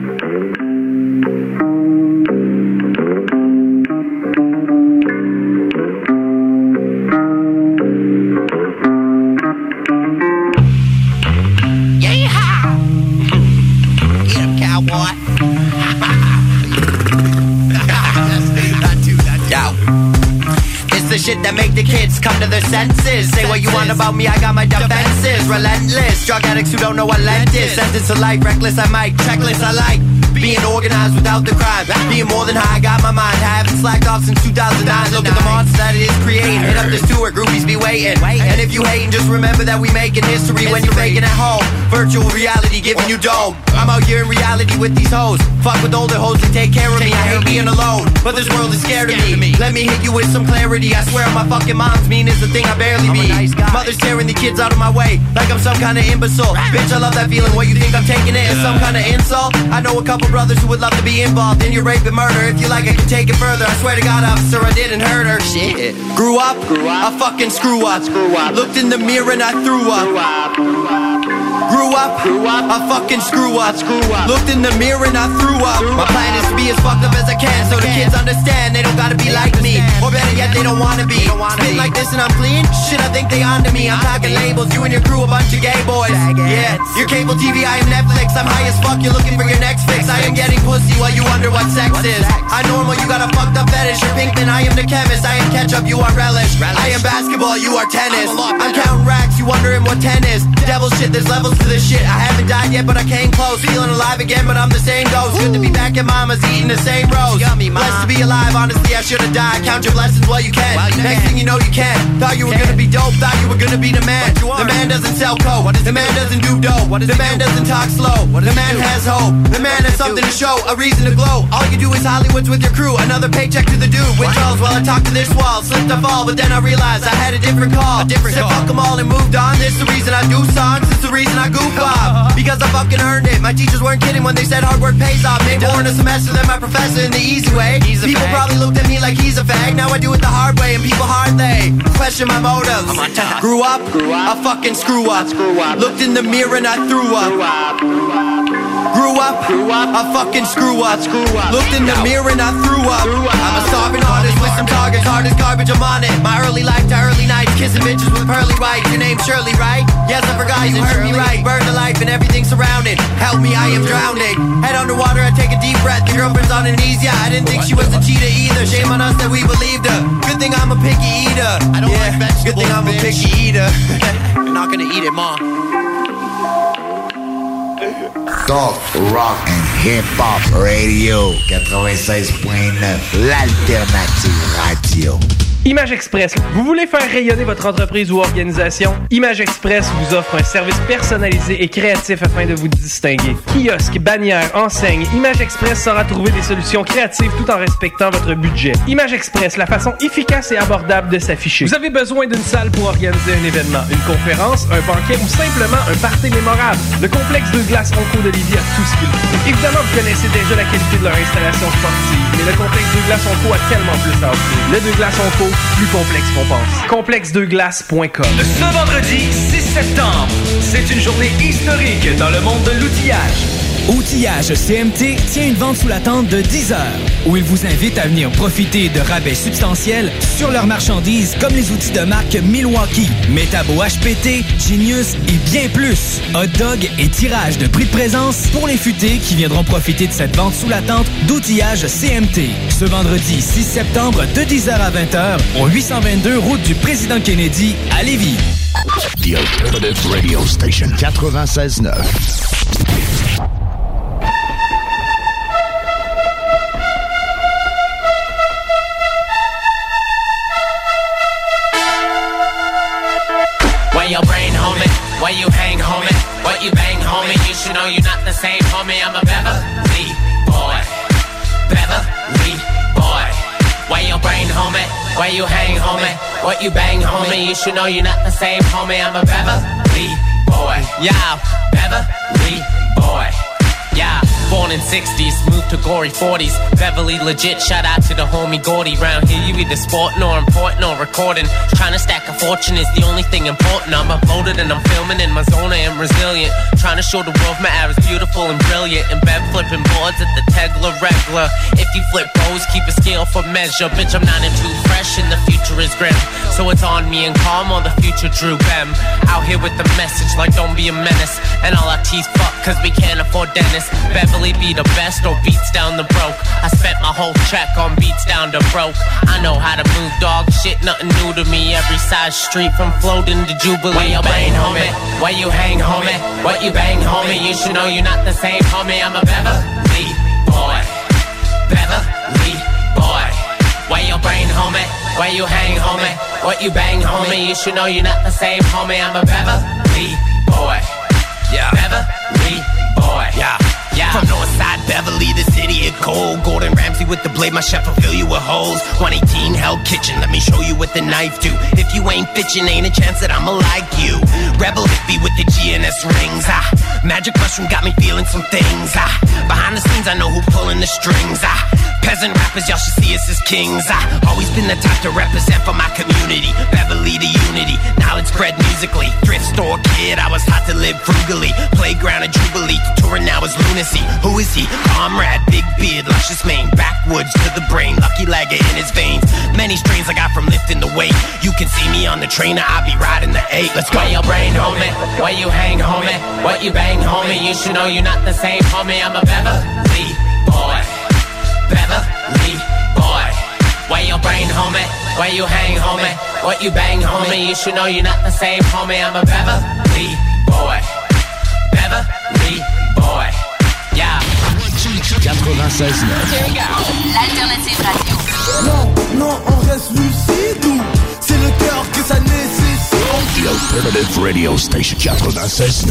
Speaker 16: Shit that make the kids come to their senses. Say what you want about me, I got my defenses. Relentless, drug addicts who don't know what Lent is. Sentenced to life, reckless, I might checklist, I like Being organized without the crime. Being more than high, got my mind. Haven't slacked off since 2009. Look at the monster that it is creating. Hit up this tour, groupies be waiting. And if you hating, just remember that we making history when you're faking at home. Virtual reality giving you dome. I'm out here in reality with these hoes. Fuck with older hoes that take care of me. I hate being alone, but this world is scared of me. Let me hit you with some clarity. I swear my fucking mom's mean is the thing I barely be. Mother's tearing the kids out of my way like I'm some kind of imbecile. Bitch, I love that feeling. What you think I'm taking it as some kind of insult? I know a couple brothers who would love to be involved in your rape and murder. If you like, I can take it further. I swear to God, officer, I didn't hurt her. Shit. Grew up, I fucking screw up. Looked in the mirror and I threw up. Grew up, I fucking screw up. Looked in the mirror and I threw up. My plan is to be as fucked up as I can, so the kids understand they don't gotta be like me. Or better yet, they don't wanna be. Spit like this and I'm clean? Shit, I think they onto me. I'm talking labels, you and your crew a bunch of gay boys. Yeah, your cable TV, I am Netflix. I'm high as fuck, you're looking for your next fix. I am getting pussy while you wonder what sex is. I normal, you got a fucked up fetish. You're Pinkman, I am the chemist. I am ketchup, you are relish. I am basketball, you are tennis. I'm counting racks, you wondering what 10 is. Devil shit, there's levels to this shit. I haven't died yet, but I came close. Feeling alive again, but I'm the same ghost. Good to be back at mama's eating the same roast. Blessed to be alive, honestly, I should've died. Count your blessings while you can. Next thing you know, you can. Thought you were gonna be dope, thought you were gonna be the man. The man doesn't sell coke. The man doesn't do dope. The man doesn't talk slow. The man has hope. The man has something to show, a reason to glow. All you do is Hollywood's with your crew. Another paycheck to the dude. Withdrawals while I talk to this wall. Slipped and fall, but then I realized I had a different call. Said fuck them all and moved on. This the reason I do songs. This the reason I goof off. Because I fucking earned it. My teachers weren't kidding when they said hard work pays off. Made more in a semester than my professor in the easy way. People probably looked at me like he's a fag. Now I do it the hard way and people hard they question my motives. Grew up, I fucking screw up. Looked in the mirror and I threw up. Grew up, I fucking screw up. Looked in the mirror and I threw up. I'm a starving artist with some targets, hard as garbage, I'm on it. My early life to early nights, kissing bitches with pearly whites. Your name's Shirley, right? Yes, I forgot you heard me right. Burn the life and everything surrounded. Help me, I am drowning. Head underwater, I take a deep breath. The girlfriend's on her knees, yeah, I didn't think she was a cheater either. Shame on us that we believed her. Good thing I'm a picky eater. I don't like vegetables, good thing I'm a picky eater. You're not gonna eat it, Mom.
Speaker 8: Talk, rock and hip-hop radio 96.9, l'alternative radio.
Speaker 9: Image Express. Vous voulez faire rayonner votre entreprise ou organisation? Image Express vous offre un service personnalisé et créatif afin de vous distinguer. Kiosque, bannière, enseigne, Image Express saura trouver des solutions créatives tout en respectant votre budget. Image Express, la façon efficace et abordable de s'afficher. Vous avez besoin d'une salle pour organiser un événement, une conférence, un banquet ou simplement un party mémorable. Le complexe de glace Onco de Lévis a tout ce qu'il faut. Évidemment, vous connaissez déjà la qualité de leur installation sportive, mais le complexe de glace Onco a tellement plus à offrir. Le de glace Onco, plus complexe qu'on pense. Complexedeglace.com.
Speaker 10: Ce vendredi 6 septembre, c'est une journée historique dans le monde de l'outillage. Outillage CMT tient une vente sous la tente de 10 heures, où il vous invite à venir profiter de rabais substantiels sur leurs marchandises comme les outils de marque Milwaukee, Metabo HPT, Genius et bien plus. Hot dog et tirage de prix de présence pour les futés qui viendront profiter de cette vente sous la tente d'outillage CMT. Ce vendredi 6 septembre de 10h à 20h au 822 route du Président Kennedy à Lévis.
Speaker 19: The Alternative Radio Station 96.9.
Speaker 13: Your brain, homie, where you hang, homie, what you bang, homie, you should know you're not the same, homie, I'm a Beverly boy, Beverly boy. Where your brain, homie, where you hang, homie, what you bang, homie, you should know you're not the same, homie, I'm a Beverly boy, yeah, Beverly boy. Yeah, born in 60s, moved to gory 40s. Beverly legit, shout out to the homie Gordy. Round here you either sporting or important or recording. Trying to stack a fortune is the only thing important. I'm uploaded and I'm filming in my zone, I am resilient. Trying to show the world my air is beautiful and brilliant. In bed flipping boards at the Tegla regular. If you flip bows, keep a scale for measure. Bitch, I'm not in too fresh and the future is grim. So it's on me and calm or the future Drew Bem. Out here with the message like don't be a menace. And all our teeth fuck cause we can't afford dentists. Beverly be the best or beats down the broke. I spent my whole check on beats down to broke. I know how to move, dog. Shit, nothing new to me. Every side street from Floating to Jubilee. Where you bang, homie? Where you hang, homie? What you bang, homie? You should know you're not the same, homie. I'm a Beverly what you bang, homie. You should know you're not the same, homie. I'm a Beverly boy. Yeah. Beverly boy. Yeah. Yeah. From Northside Beverly, the city of gold. Gordon Ramsay with the blade, my chef will fill you with holes. 118 Hell Kitchen, let me show you what the knife do. If you ain't bitchin', ain't a chance that I'ma like you. Rebel hippie with the GNS rings. Magic mushroom got me feeling some things. Behind the scenes, I know who pulling the strings. Peasant rappers, y'all should see us as kings. Always been the type to represent for my community. Beverly to unity, knowledge spread musically. Thrift store kid, I was taught to live frugally. Playground of Jubilee, touring now is lunacy. Who is he? Comrade, big beard, luscious mane. Backwoods to the brain, lucky lagger in his veins. Many strains I got from lifting the weight. You can see me on the trainer, I'll be riding the 8. Let's go. Where your brain, homie? Where you hang, homie? What you bang, homie? You should know you're not the same, homie. I'm a Beverly boy. Beverly boy. Where your brain, homie? Where you hang, homie? What you bang, homie? You should know you're not the same, homie. I'm a Beverly boy. Beverly boy. Yeah.
Speaker 19: 96.9.
Speaker 18: L'alternative radio.
Speaker 5: Non, on reste lucide ou c'est le cœur que ça nécessite.
Speaker 19: The Alternative Radio Station 96.9.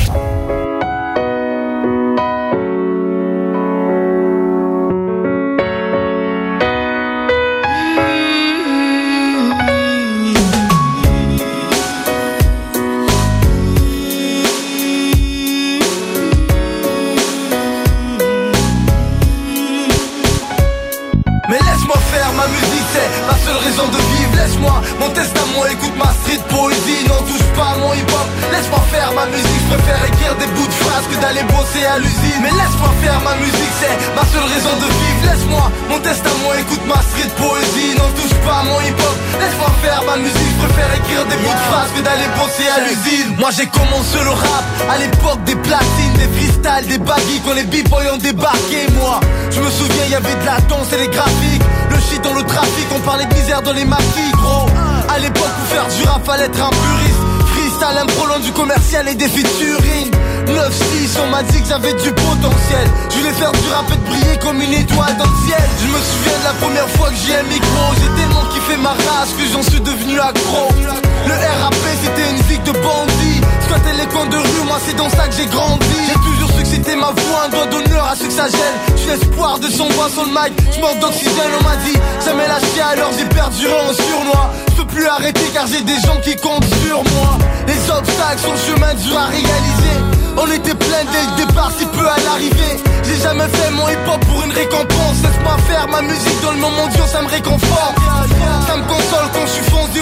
Speaker 5: De vivre, laisse-moi mon testament, écoute ma street poésie, n'en touche pas à mon hip-hop. Laisse-moi faire ma musique, je préfère écrire des bouts de phrases que d'aller bosser à l'usine. Mais laisse-moi faire ma musique, c'est ma seule raison de vivre. Laisse-moi mon testament, écoute ma street poésie, n'en touche pas à mon hip-hop. Laisse-moi faire ma musique, je préfère écrire des bouts de phrases que d'aller bosser à l'usine. Moi j'ai commencé le rap à l'époque des platines, des freestyles, des baggy, quand les b-boys ont débarqué. Moi, je me souviens, il y avait de la danse et des graphiques. Le shit dans le trafic, on parlait de misère dans les maquis, gros. À l'époque, pour faire du rap, fallait être un puriste. Freestyle, impro loin du commercial et des featuring. 9-6, on m'a dit que j'avais du potentiel. Je voulais faire du rap et de briller comme une étoile dans le ciel. Je me souviens de la première fois que j'ai un micro. J'ai tellement kiffé ma race que j'en suis devenu accro. Le RAP, c'était une zig de bandits. Squatter les coins de rue, moi c'est dans ça que j'ai grandi. J'ai toujours su que c'était ma voix, un doigt d'honneur à ceux que ça gêne. Je suis l'espoir de son voix sur le mic. Je manque d'oxygène, on m'a dit jamais lâcher, alors j'ai perduré en surnois. Je peux plus arrêter car j'ai des gens qui comptent sur moi. Les obstacles sur le chemin dur à réaliser. On était plein dès le départ, si peu à l'arrivée. J'ai jamais fait mon hip-hop pour une récompense. Laisse-moi faire ma musique dans le moment dur, ça me réconforte. Ça me console quand je suis foncé.